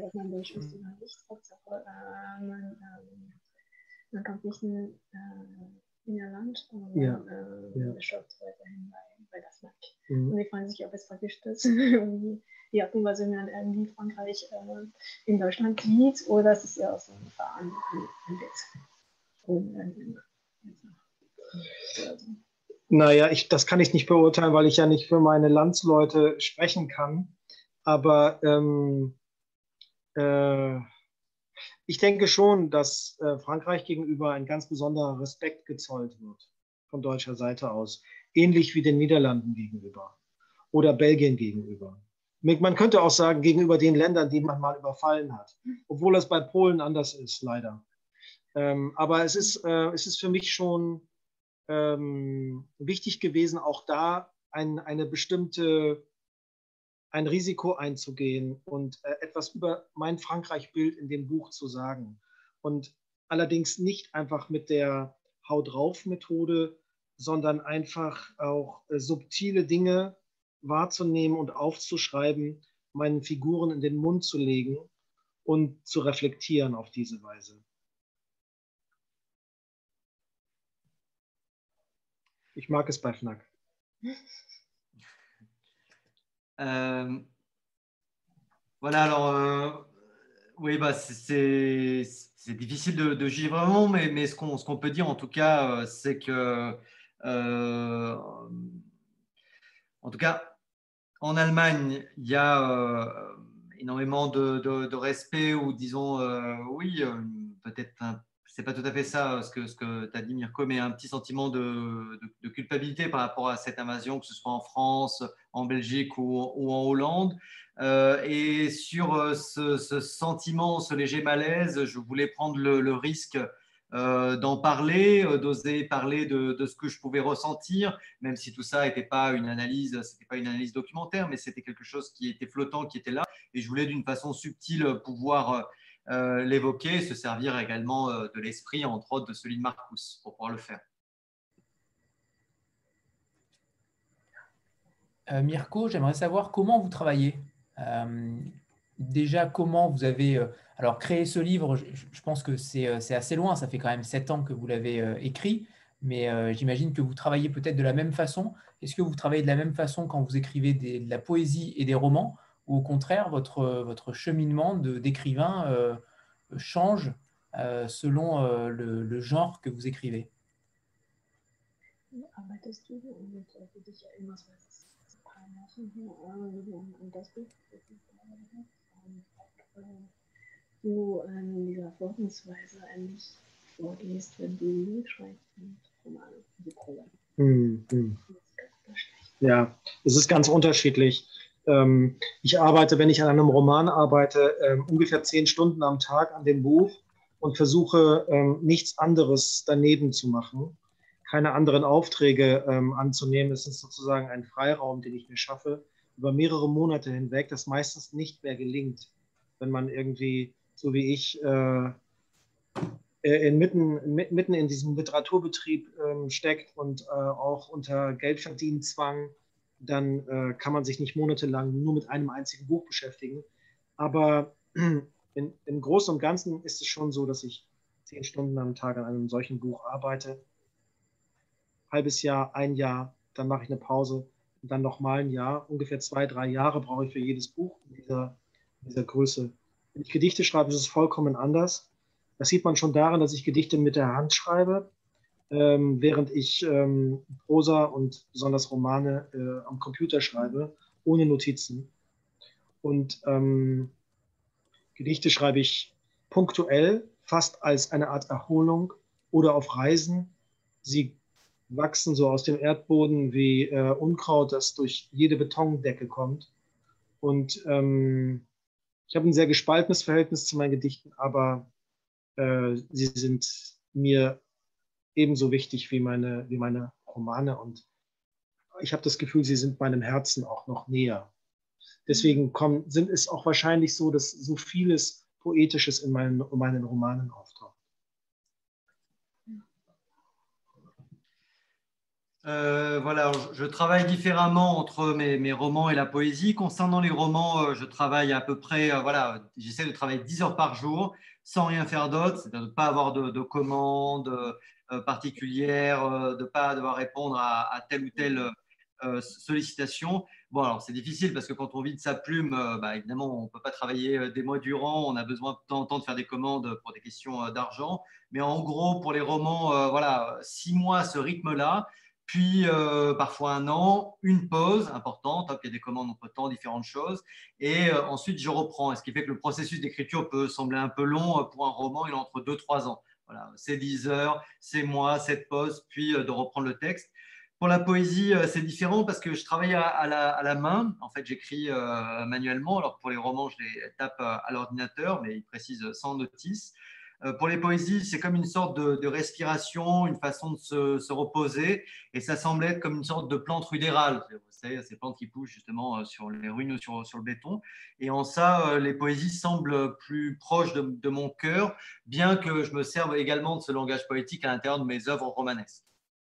Man kommt nicht in, äh, in ihr Land, sondern ja. äh, ja. beschafft weiterhin bei, bei der Fnac. Mhm. Und die fragen sich, ob es praktisch das irgendwie die Art und Weise, wie man irgendwie Frankreich äh, in Deutschland sieht, oder ist es eher so ein Verein ein Witz. Naja, ich, das kann ich nicht beurteilen, weil ich ja nicht für meine Landsleute sprechen kann. Aber ähm, äh, ich denke schon, dass äh, Frankreich gegenüber ein ganz besonderer Respekt gezollt wird von deutscher Seite aus. Ähnlich wie den Niederlanden gegenüber oder Belgien gegenüber. Man könnte auch sagen, gegenüber den Ländern, die man mal überfallen hat. Obwohl das bei Polen anders ist, leider. Ähm, aber es ist, äh, es ist für mich schon ähm, wichtig gewesen, auch da ein, eine bestimmte ein Risiko einzugehen und äh, etwas über mein Frankreich-Bild in dem Buch zu sagen. Und allerdings nicht einfach mit der Hau-drauf-Methode, sondern einfach auch äh, subtile Dinge wahrzunehmen und aufzuschreiben, meinen Figuren in den Mund zu legen und zu reflektieren auf diese Weise. Ich mag es bei Fnac. Euh, voilà, alors, euh, oui, bah, c'est difficile de, de juger vraiment, mais, mais ce qu'on ce qu'on peut dire en tout cas, euh, c'est que, euh, en tout cas, en Allemagne, il y a euh, énormément de, de, de respect, ou disons, euh, oui, euh, peut-être un c'est pas tout à fait ça ce que, ce que tu as dit, Mirko, mais un petit sentiment de, de, de culpabilité par rapport à cette invasion, que ce soit en France, en Belgique ou, ou en Hollande. Euh, et sur ce, ce sentiment, ce léger malaise, je voulais prendre le, le risque euh, d'en parler, euh, d'oser parler de, de ce que je pouvais ressentir, même si tout ça n'était pas une analyse, c'était pas une analyse documentaire, mais c'était quelque chose qui était flottant, qui était là, et je voulais d'une façon subtile pouvoir euh, l'évoquer, se servir également euh, de l'esprit, entre autres de celui de Marcus, pour pouvoir le faire. Euh, Mirko, j'aimerais savoir comment vous travaillez. Euh, déjà, comment vous avez euh, alors créé ce livre. Je, je pense que c'est euh, c'est assez loin, ça fait quand même sept ans que vous l'avez euh, écrit, mais euh, j'imagine que vous travaillez peut-être de la même façon. Est-ce que vous travaillez de la même façon quand vous écrivez des, de la poésie et des romans, ou au contraire, votre, votre cheminement de- d'écrivain euh, change euh, selon euh, le, le genre que vous écrivez? Arbeitest du und äh, für dich ja irgendwas, was und das Buch, du in dieser Vorgehensweise eigentlich vorgehst, wenn du schreibst und Romane, die Prosa. Hm, hm. Ja, es ist ganz unterschiedlich. Ähm, ich arbeite, wenn ich an einem Roman arbeite, ähm, ungefähr zehn Stunden am Tag an dem Buch und versuche, ähm, nichts anderes daneben zu machen, keine anderen Aufträge ähm, anzunehmen. Es ist sozusagen ein Freiraum, den ich mir schaffe, über mehrere Monate hinweg, das meistens nicht mehr gelingt, wenn man irgendwie, so wie ich, äh, in mitten, mitten in diesem Literaturbetrieb ähm, steckt und äh, auch unter Geldverdienenzwang, dann äh, kann man sich nicht monatelang nur mit einem einzigen Buch beschäftigen. Aber in, im Großen und Ganzen ist es schon so, dass ich zehn Stunden am Tag an einem solchen Buch arbeite. Halbes Jahr, ein Jahr, dann mache ich eine Pause und dann nochmal ein Jahr. Ungefähr zwei, drei Jahre brauche ich für jedes Buch in dieser, in dieser Größe. Wenn ich Gedichte schreibe, ist es vollkommen anders. Das sieht man schon daran, dass ich Gedichte mit der Hand schreibe, ähm, während ich ähm, Prosa und besonders Romane äh, am Computer schreibe, ohne Notizen. Und ähm, Gedichte schreibe ich punktuell, fast als eine Art Erholung oder auf Reisen. Sie wachsen so aus dem Erdboden wie äh, Unkraut, das durch jede Betondecke kommt. Und ähm, ich habe ein sehr gespaltenes Verhältnis zu meinen Gedichten, aber äh, sie sind mir ebenso wichtig wie meine, wie meine Romane. Und ich habe das Gefühl, sie sind meinem Herzen auch noch näher. Deswegen kommen, sind es auch wahrscheinlich so, dass so vieles Poetisches in meinen, in meinen Romanen auftaucht. Euh, voilà, je travaille différemment entre mes, mes romans et la poésie. Concernant les romans, euh, je travaille à peu près, euh, voilà, j'essaie de travailler dix heures par jour sans rien faire d'autre, c'est-à-dire de ne pas avoir de, de commandes euh, particulières, euh, de ne pas devoir répondre à, à telle ou telle euh, sollicitation. Bon, alors c'est difficile parce que quand on vit de sa plume, euh, bah, évidemment, on ne peut pas travailler des mois durant, on a besoin de temps en temps de faire des commandes pour des questions euh, d'argent. Mais en gros, pour les romans, euh, voilà, six mois à ce rythme-là. Puis euh, parfois un an, une pause importante, hop, il y a des commandes entre-temps, différentes choses, et euh, ensuite je reprends. Ce qui fait que le processus d'écriture peut sembler un peu long pour un roman, il est entre deux trois ans. Voilà, c'est dix heures, c'est moi, cette pause, puis euh, de reprendre le texte. Pour la poésie, euh, c'est différent parce que je travaille à, à, la, à la main. En fait, j'écris euh, manuellement. Alors pour les romans, je les tape à, à l'ordinateur, mais ils précisent sans notice. Pour les poésies, c'est comme une sorte de, de respiration, une façon de se, se reposer, et ça semble être comme une sorte de plante rudérale. Vous savez, ces plantes qui poussent justement sur les ruines ou sur, sur le béton. Et en ça, les poésies semblent plus proches de, de mon cœur, bien que je me serve également de ce langage poétique à l'intérieur de mes œuvres romanesques.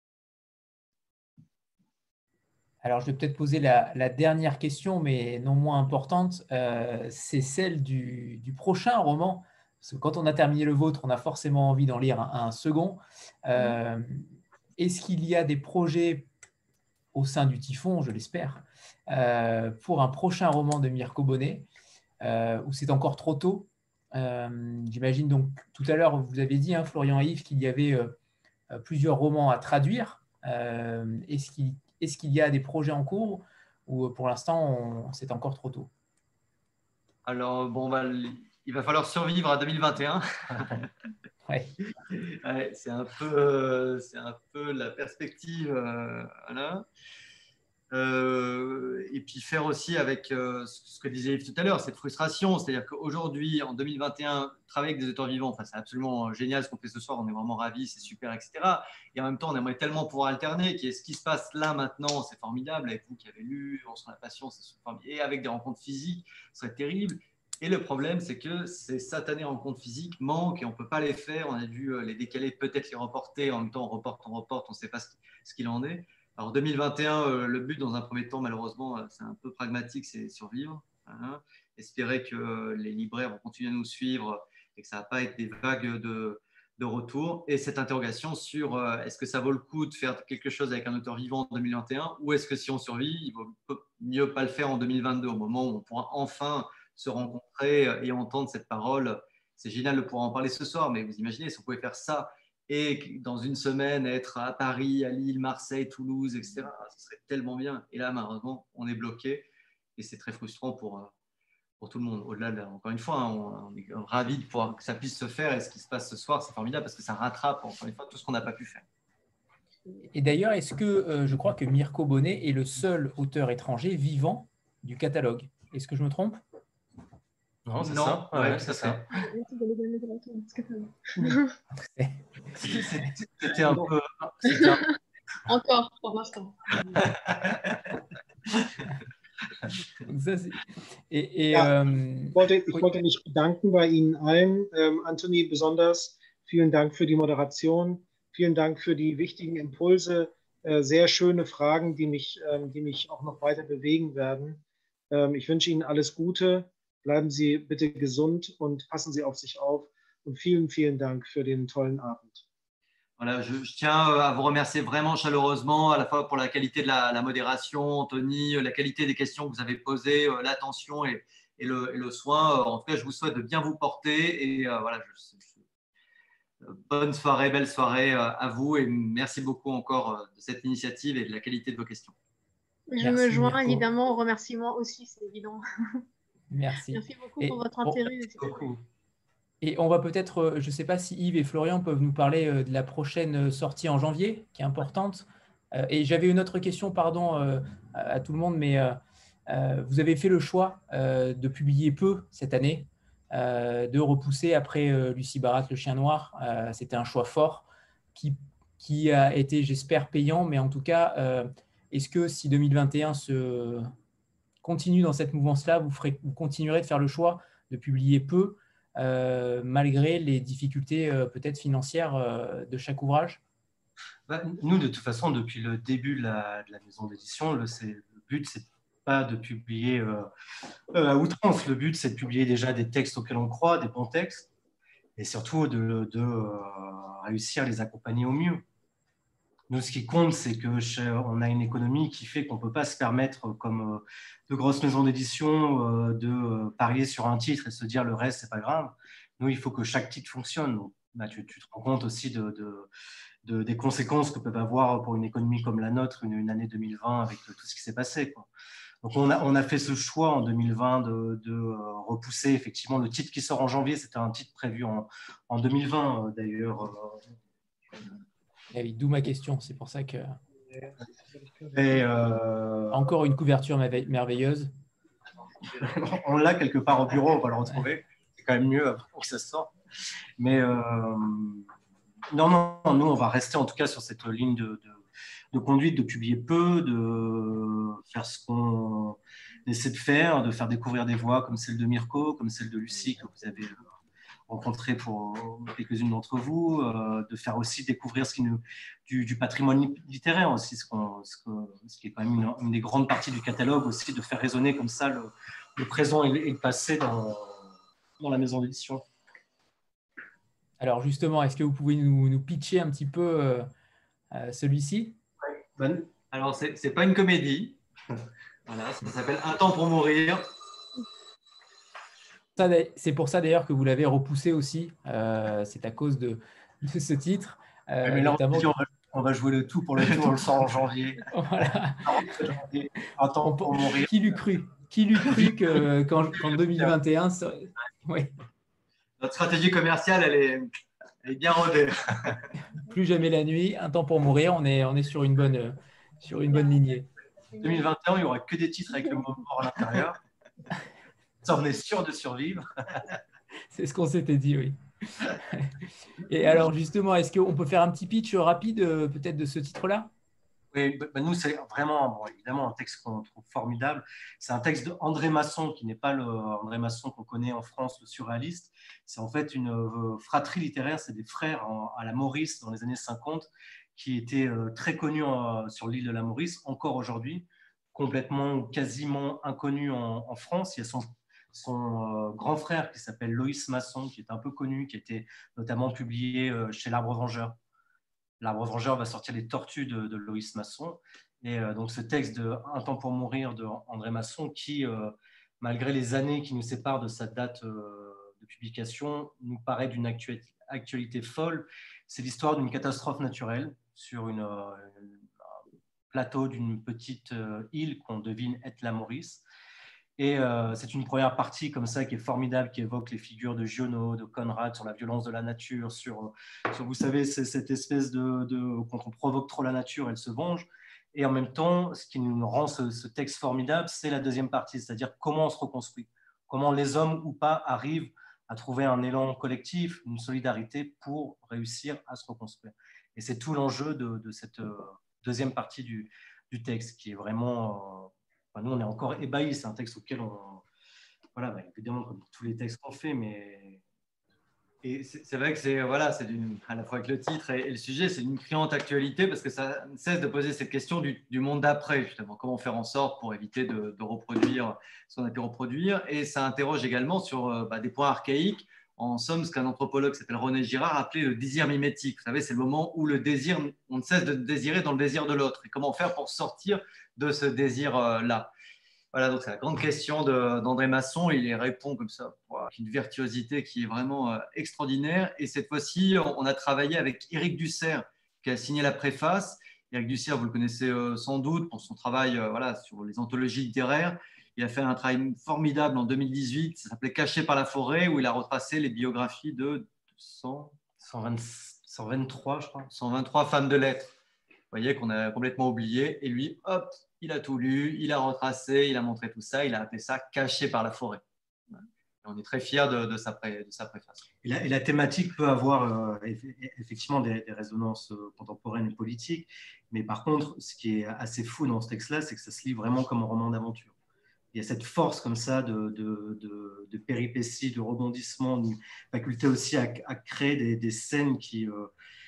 Alors, je vais peut-être poser la, la dernière question, mais non moins importante. Euh, c'est celle du, du prochain roman. Parce que quand on a terminé le vôtre, on a forcément envie d'en lire un, un second. Euh, est-ce qu'il y a des projets au sein du Typhon, je l'espère, euh, pour un prochain roman de Mirko Bonnet, euh, ou c'est encore trop tôt? euh, J'imagine donc, tout à l'heure, vous avez dit, hein, Florian et Yves, qu'il y avait euh, plusieurs romans à traduire. Euh, est-ce qu'il, est-ce qu'il y a des projets en cours, ou pour l'instant, c'est encore trop tôt? Alors, bon, bah, il va falloir survivre à deux mille vingt et un. Ouais. Ouais, c'est un peu, euh, c'est un peu la perspective. Euh, voilà. Euh, et puis faire aussi avec euh, ce que disait Yves tout à l'heure, cette frustration. C'est-à-dire qu'aujourd'hui, en deux mille vingt et un, travailler avec des auteurs vivants, enfin, c'est absolument génial ce qu'on fait ce soir, on est vraiment ravis, c'est super, et cetera. Et en même temps, on aimerait tellement pouvoir alterner, qui est ce qui se passe là maintenant, c'est formidable, avec vous qui avez lu, On sent la passion, c'est formidable, et avec des rencontres physiques, ce serait terrible. Et le problème, c'est que ces satanées rencontres physiques manquent et on ne peut pas les faire. On a dû les décaler, peut-être les reporter. En même temps, on reporte, on reporte, on ne sait pas ce qu'il en est. Alors, deux mille vingt et un, euh, le but, dans un premier temps, malheureusement, c'est un peu pragmatique, c'est survivre. Hein. Espérer que les libraires vont continuer à nous suivre et que ça ne va pas être des vagues de, de retour. Et cette interrogation sur euh, est-ce que ça vaut le coup de faire quelque chose avec un auteur vivant en deux mille vingt et un ou est-ce que si on survit, il vaut mieux pas le faire en deux mille vingt-deux, au moment où on pourra enfin se rencontrer et entendre cette parole. C'est génial de pouvoir en parler ce soir, mais vous imaginez, si on pouvait faire ça et dans une semaine être à Paris, à Lille, Marseille, Toulouse, et cetera, ce serait tellement bien. Et là, malheureusement, on est bloqué et c'est très frustrant pour, pour tout le monde. Au-delà de, encore une fois, hein, on est ravis de pouvoir que ça puisse se faire et ce qui se passe ce soir, c'est formidable parce que ça rattrape, encore une fois, tout ce qu'on n'a pas pu faire. Et d'ailleurs, est-ce que euh, je crois que Mirko Bonnet est le seul auteur étranger vivant du catalogue? Est-ce que je me trompe? Non, c'est non, ça. ouais, ouais, c'est ça. C'était un peu. Un... Encore, pour l'instant. et, et, ja, ähm, ich, wollte, ich wollte mich bedanken bei Ihnen allen. Ähm, Anthony, besonders vielen Dank für die Moderation. Vielen Dank für die wichtigen Impulse. Äh, sehr schöne Fragen, die mich, ähm, die mich auch noch weiter bewegen werden. Ähm, ich wünsche Ihnen alles Gute. Bleiben Sie bitte gesund und passen Sie auf sich auf. Und vielen, vielen Dank für den tollen Abend. Voilà, je, je tiens à vous remercier vraiment chaleureusement, à la fois pour la qualité de la, la modération, Anthony, la qualité des questions que vous avez posées, l'attention et, et, le, et le soin. En tout cas, je vous souhaite de bien vous porter et euh, voilà, je, je, bonne soirée, belle soirée à vous et merci beaucoup encore de cette initiative et de la qualité de vos questions. Je merci, me joins Mirko. évidemment aux remerciements aussi, c'est évident. Merci. Merci beaucoup et, pour votre bon, intérêt. beaucoup. Et on va peut-être, je ne sais pas si Yves et Florian peuvent nous parler de la prochaine sortie en janvier, qui est importante. Et j'avais une autre question, pardon, à tout le monde, mais vous avez fait le choix de publier peu cette année, de repousser après Lucie Barat, Le Chien Noir. C'était un choix fort qui, qui a été, j'espère, payant, mais en tout cas, est-ce que si deux mille vingt et un se continue dans cette mouvance-là, vous, ferez, vous continuerez de faire le choix de publier peu, Euh, malgré les difficultés euh, peut-être financières euh, de chaque ouvrage? Bah, nous, de toute façon, depuis le début de la, de la maison d'édition, le, le but, c'est pas de publier euh, euh, à outrance. Le but, c'est de publier déjà des textes auxquels on croit, des bons textes, et surtout de, de euh, réussir à les accompagner au mieux. Nous, ce qui compte, c'est qu'on a une économie qui fait qu'on ne peut pas se permettre, comme de grosses maisons d'édition, de parier sur un titre et se dire le reste, ce n'est pas grave. Nous, il faut que chaque titre fonctionne. Donc, bah, tu, tu te rends compte aussi de, de, de, des conséquences que peuvent avoir pour une économie comme la nôtre une, une année deux mille vingt avec tout ce qui s'est passé, quoi. Donc, on a, on a fait ce choix en deux mille vingt de, de repousser effectivement le titre qui sort en janvier. C'était un titre prévu en, en deux mille vingt, d'ailleurs. Eh oui, d'où ma question, c'est pour ça que… Et euh... Encore une couverture merveilleuse. On l'a quelque part au bureau, on va le retrouver. C'est quand même mieux pour que ça sorte. Mais euh... non, non, nous, on va rester en tout cas sur cette ligne de, de, de conduite, de publier peu, de faire ce qu'on essaie de faire, de faire découvrir des voix comme celle de Mirko, comme celle de Lucie que vous avez rencontrer pour quelques-unes d'entre vous, euh, de faire aussi découvrir ce qui nous, du, du patrimoine littéraire aussi, ce, qu'on, ce, que, ce qui est quand même une, une des grandes parties du catalogue aussi, de faire résonner comme ça le, le présent et le, et le passé dans, dans la maison d'édition. Alors justement, est-ce que vous pouvez nous, nous pitcher un petit peu euh, euh, celui-ci? Ouais. Bonne. Alors, ce n'est pas une comédie. Voilà, ça s'appelle Un temps pour mourir. C'est pour ça d'ailleurs que vous l'avez repoussé aussi. Euh, c'est à cause de, de ce titre. Euh, ouais, mais là, notamment... on, va, on va jouer le tout pour le tout, on le sort en janvier. Voilà. Attends, on, pour mourir. Qui l'eût cru? Qui l'eût cru que, qu'en, qu'en deux mille vingt et un, ça... oui. Notre stratégie commerciale, elle est, elle est bien rodée. Plus jamais la nuit, Un temps pour mourir, on est, on est sur, une bonne, sur une bonne lignée. deux mille vingt et un, il n'y aura que des titres avec le mot mort à l'intérieur. Ça, on est sûr de survivre. C'est ce qu'on s'était dit, oui. Et alors, justement, est-ce qu'on peut faire un petit pitch rapide, euh, peut-être, de ce titre-là? Oui, bah, nous, c'est vraiment, bon, évidemment, un texte qu'on trouve formidable. C'est un texte d'André Masson, qui n'est pas le André Masson qu'on connaît en France, le surréaliste. C'est en fait une euh, fratrie littéraire, c'est des frères en, à la Maurice dans les années cinquante, qui étaient euh, très connus en, sur l'île de la Maurice, encore aujourd'hui, complètement ou quasiment inconnus en, en France. Il y a son, son euh, grand frère qui s'appelle Loïs Masson, qui est un peu connu, qui a été notamment publié euh, chez l'Arbre Vengeur. L'Arbre Vengeur va sortir les Tortues de, de Loïs Masson. Et euh, donc ce texte de Un temps pour mourir de André Masson, qui, euh, malgré les années qui nous séparent de sa date euh, de publication, nous paraît d'une actualité, actualité folle. C'est l'histoire d'une catastrophe naturelle sur une, euh, un plateau d'une petite euh, île qu'on devine être la Maurice. Et euh, c'est une première partie comme ça qui est formidable, qui évoque les figures de Giono, de Conrad sur la violence de la nature, sur, sur vous savez, c'est cette espèce de, de… Quand on provoque trop la nature, elle se venge. Et en même temps, ce qui nous rend ce, ce texte formidable, c'est la deuxième partie, c'est-à-dire comment on se reconstruit, comment les hommes ou pas arrivent à trouver un élan collectif, une solidarité pour réussir à se reconstruire. Et c'est tout l'enjeu de, de cette deuxième partie du, du texte, qui est vraiment… Euh, Enfin, nous, on est encore ébahis. C'est un texte auquel on… Voilà, bah, évidemment, comme tous les textes qu'on fait, mais… Et c'est vrai que c'est voilà, c'est à la fois avec le titre et, et le sujet, c'est une criante actualité parce que ça ne cesse de poser cette question du, du monde d'après, justement. Comment faire en sorte pour éviter de, de reproduire ce qu'on a pu reproduire. Et ça interroge également sur bah, des points archaïques. En somme, ce qu'un anthropologue qui s'appelle René Girard appelait le désir mimétique. Vous savez, c'est le moment où le désir, on ne cesse de désirer dans le désir de l'autre. Et comment faire pour sortir de ce désir-là? Voilà, donc c'est la grande question d'André Masson. Il y répond comme ça, avec une virtuosité qui est vraiment extraordinaire. Et cette fois-ci, on a travaillé avec Éric Dussert, qui a signé la préface. Éric Dussert, vous le connaissez sans doute pour son travail voilà, sur les anthologies littéraires. Il a fait un travail formidable en deux mille dix-huit, ça s'appelait Caché par la forêt, où il a retracé les biographies de cent, cent vingt, cent vingt-trois, je crois. cent vingt-trois femmes de lettres. Vous voyez qu'on a complètement oublié. Et lui, hop, il a tout lu, il a retracé, il a montré tout ça, il a appelé ça Caché par la forêt. Et on est très fiers de, de, sa, pré, de sa préface. Et la, et la thématique peut avoir euh, effectivement des, des résonances contemporaines et politiques, mais par contre, ce qui est assez fou dans ce texte-là, c'est que ça se lit vraiment comme un roman d'aventure. Il y a cette force comme ça de, de, de, de péripéties, de rebondissements, une faculté aussi à, à créer des, des scènes qui, euh,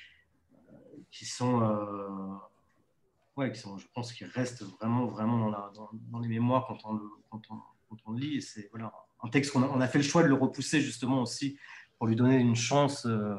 qui sont, euh, ouais, qui sont, je pense, qui restent vraiment, vraiment dans, la, dans, dans les mémoires quand on le, quand on, quand on le lit. Et c'est voilà, un texte qu'on a, on a fait le choix de le repousser justement aussi pour lui donner une chance euh,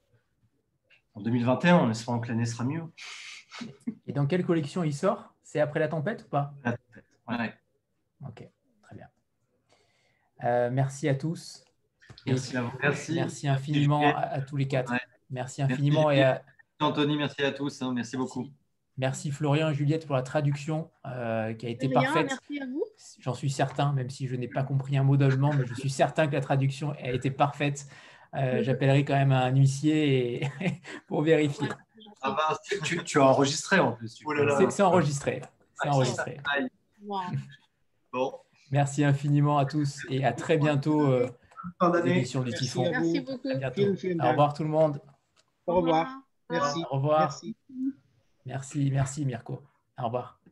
en deux mille vingt et un, en espérant que l'année sera mieux. Et dans quelle collection il sort? C'est Après la tempête ou pas? La tempête, ouais. Ouais. Ok, très bien. Euh, merci à tous. Merci et à vous. Merci. Merci infiniment à, à tous les quatre. Ouais. Merci infiniment. Merci, et à... Anthony, merci à tous. Hein, merci, merci beaucoup. Merci Florian et Juliette pour la traduction euh, qui a été Rien, parfaite. merci à vous. J'en suis certain, même si je n'ai pas compris un mot d'allemand, mais je suis certain que la traduction a été parfaite. Euh, J'appellerai quand même un huissier et... pour vérifier. Ah bah, tu, tu as enregistré en plus. C'est enregistré. C'est enregistré. Wow. Bon. Merci infiniment à tous et à très bientôt. Euh, Fin d'année. éditions du Merci Typhon. à vous. Merci beaucoup. À bientôt. Vielen, vielen Au Dank. revoir tout le monde. Au revoir. Merci. Au revoir. Merci. Merci, merci Mirko. Au revoir.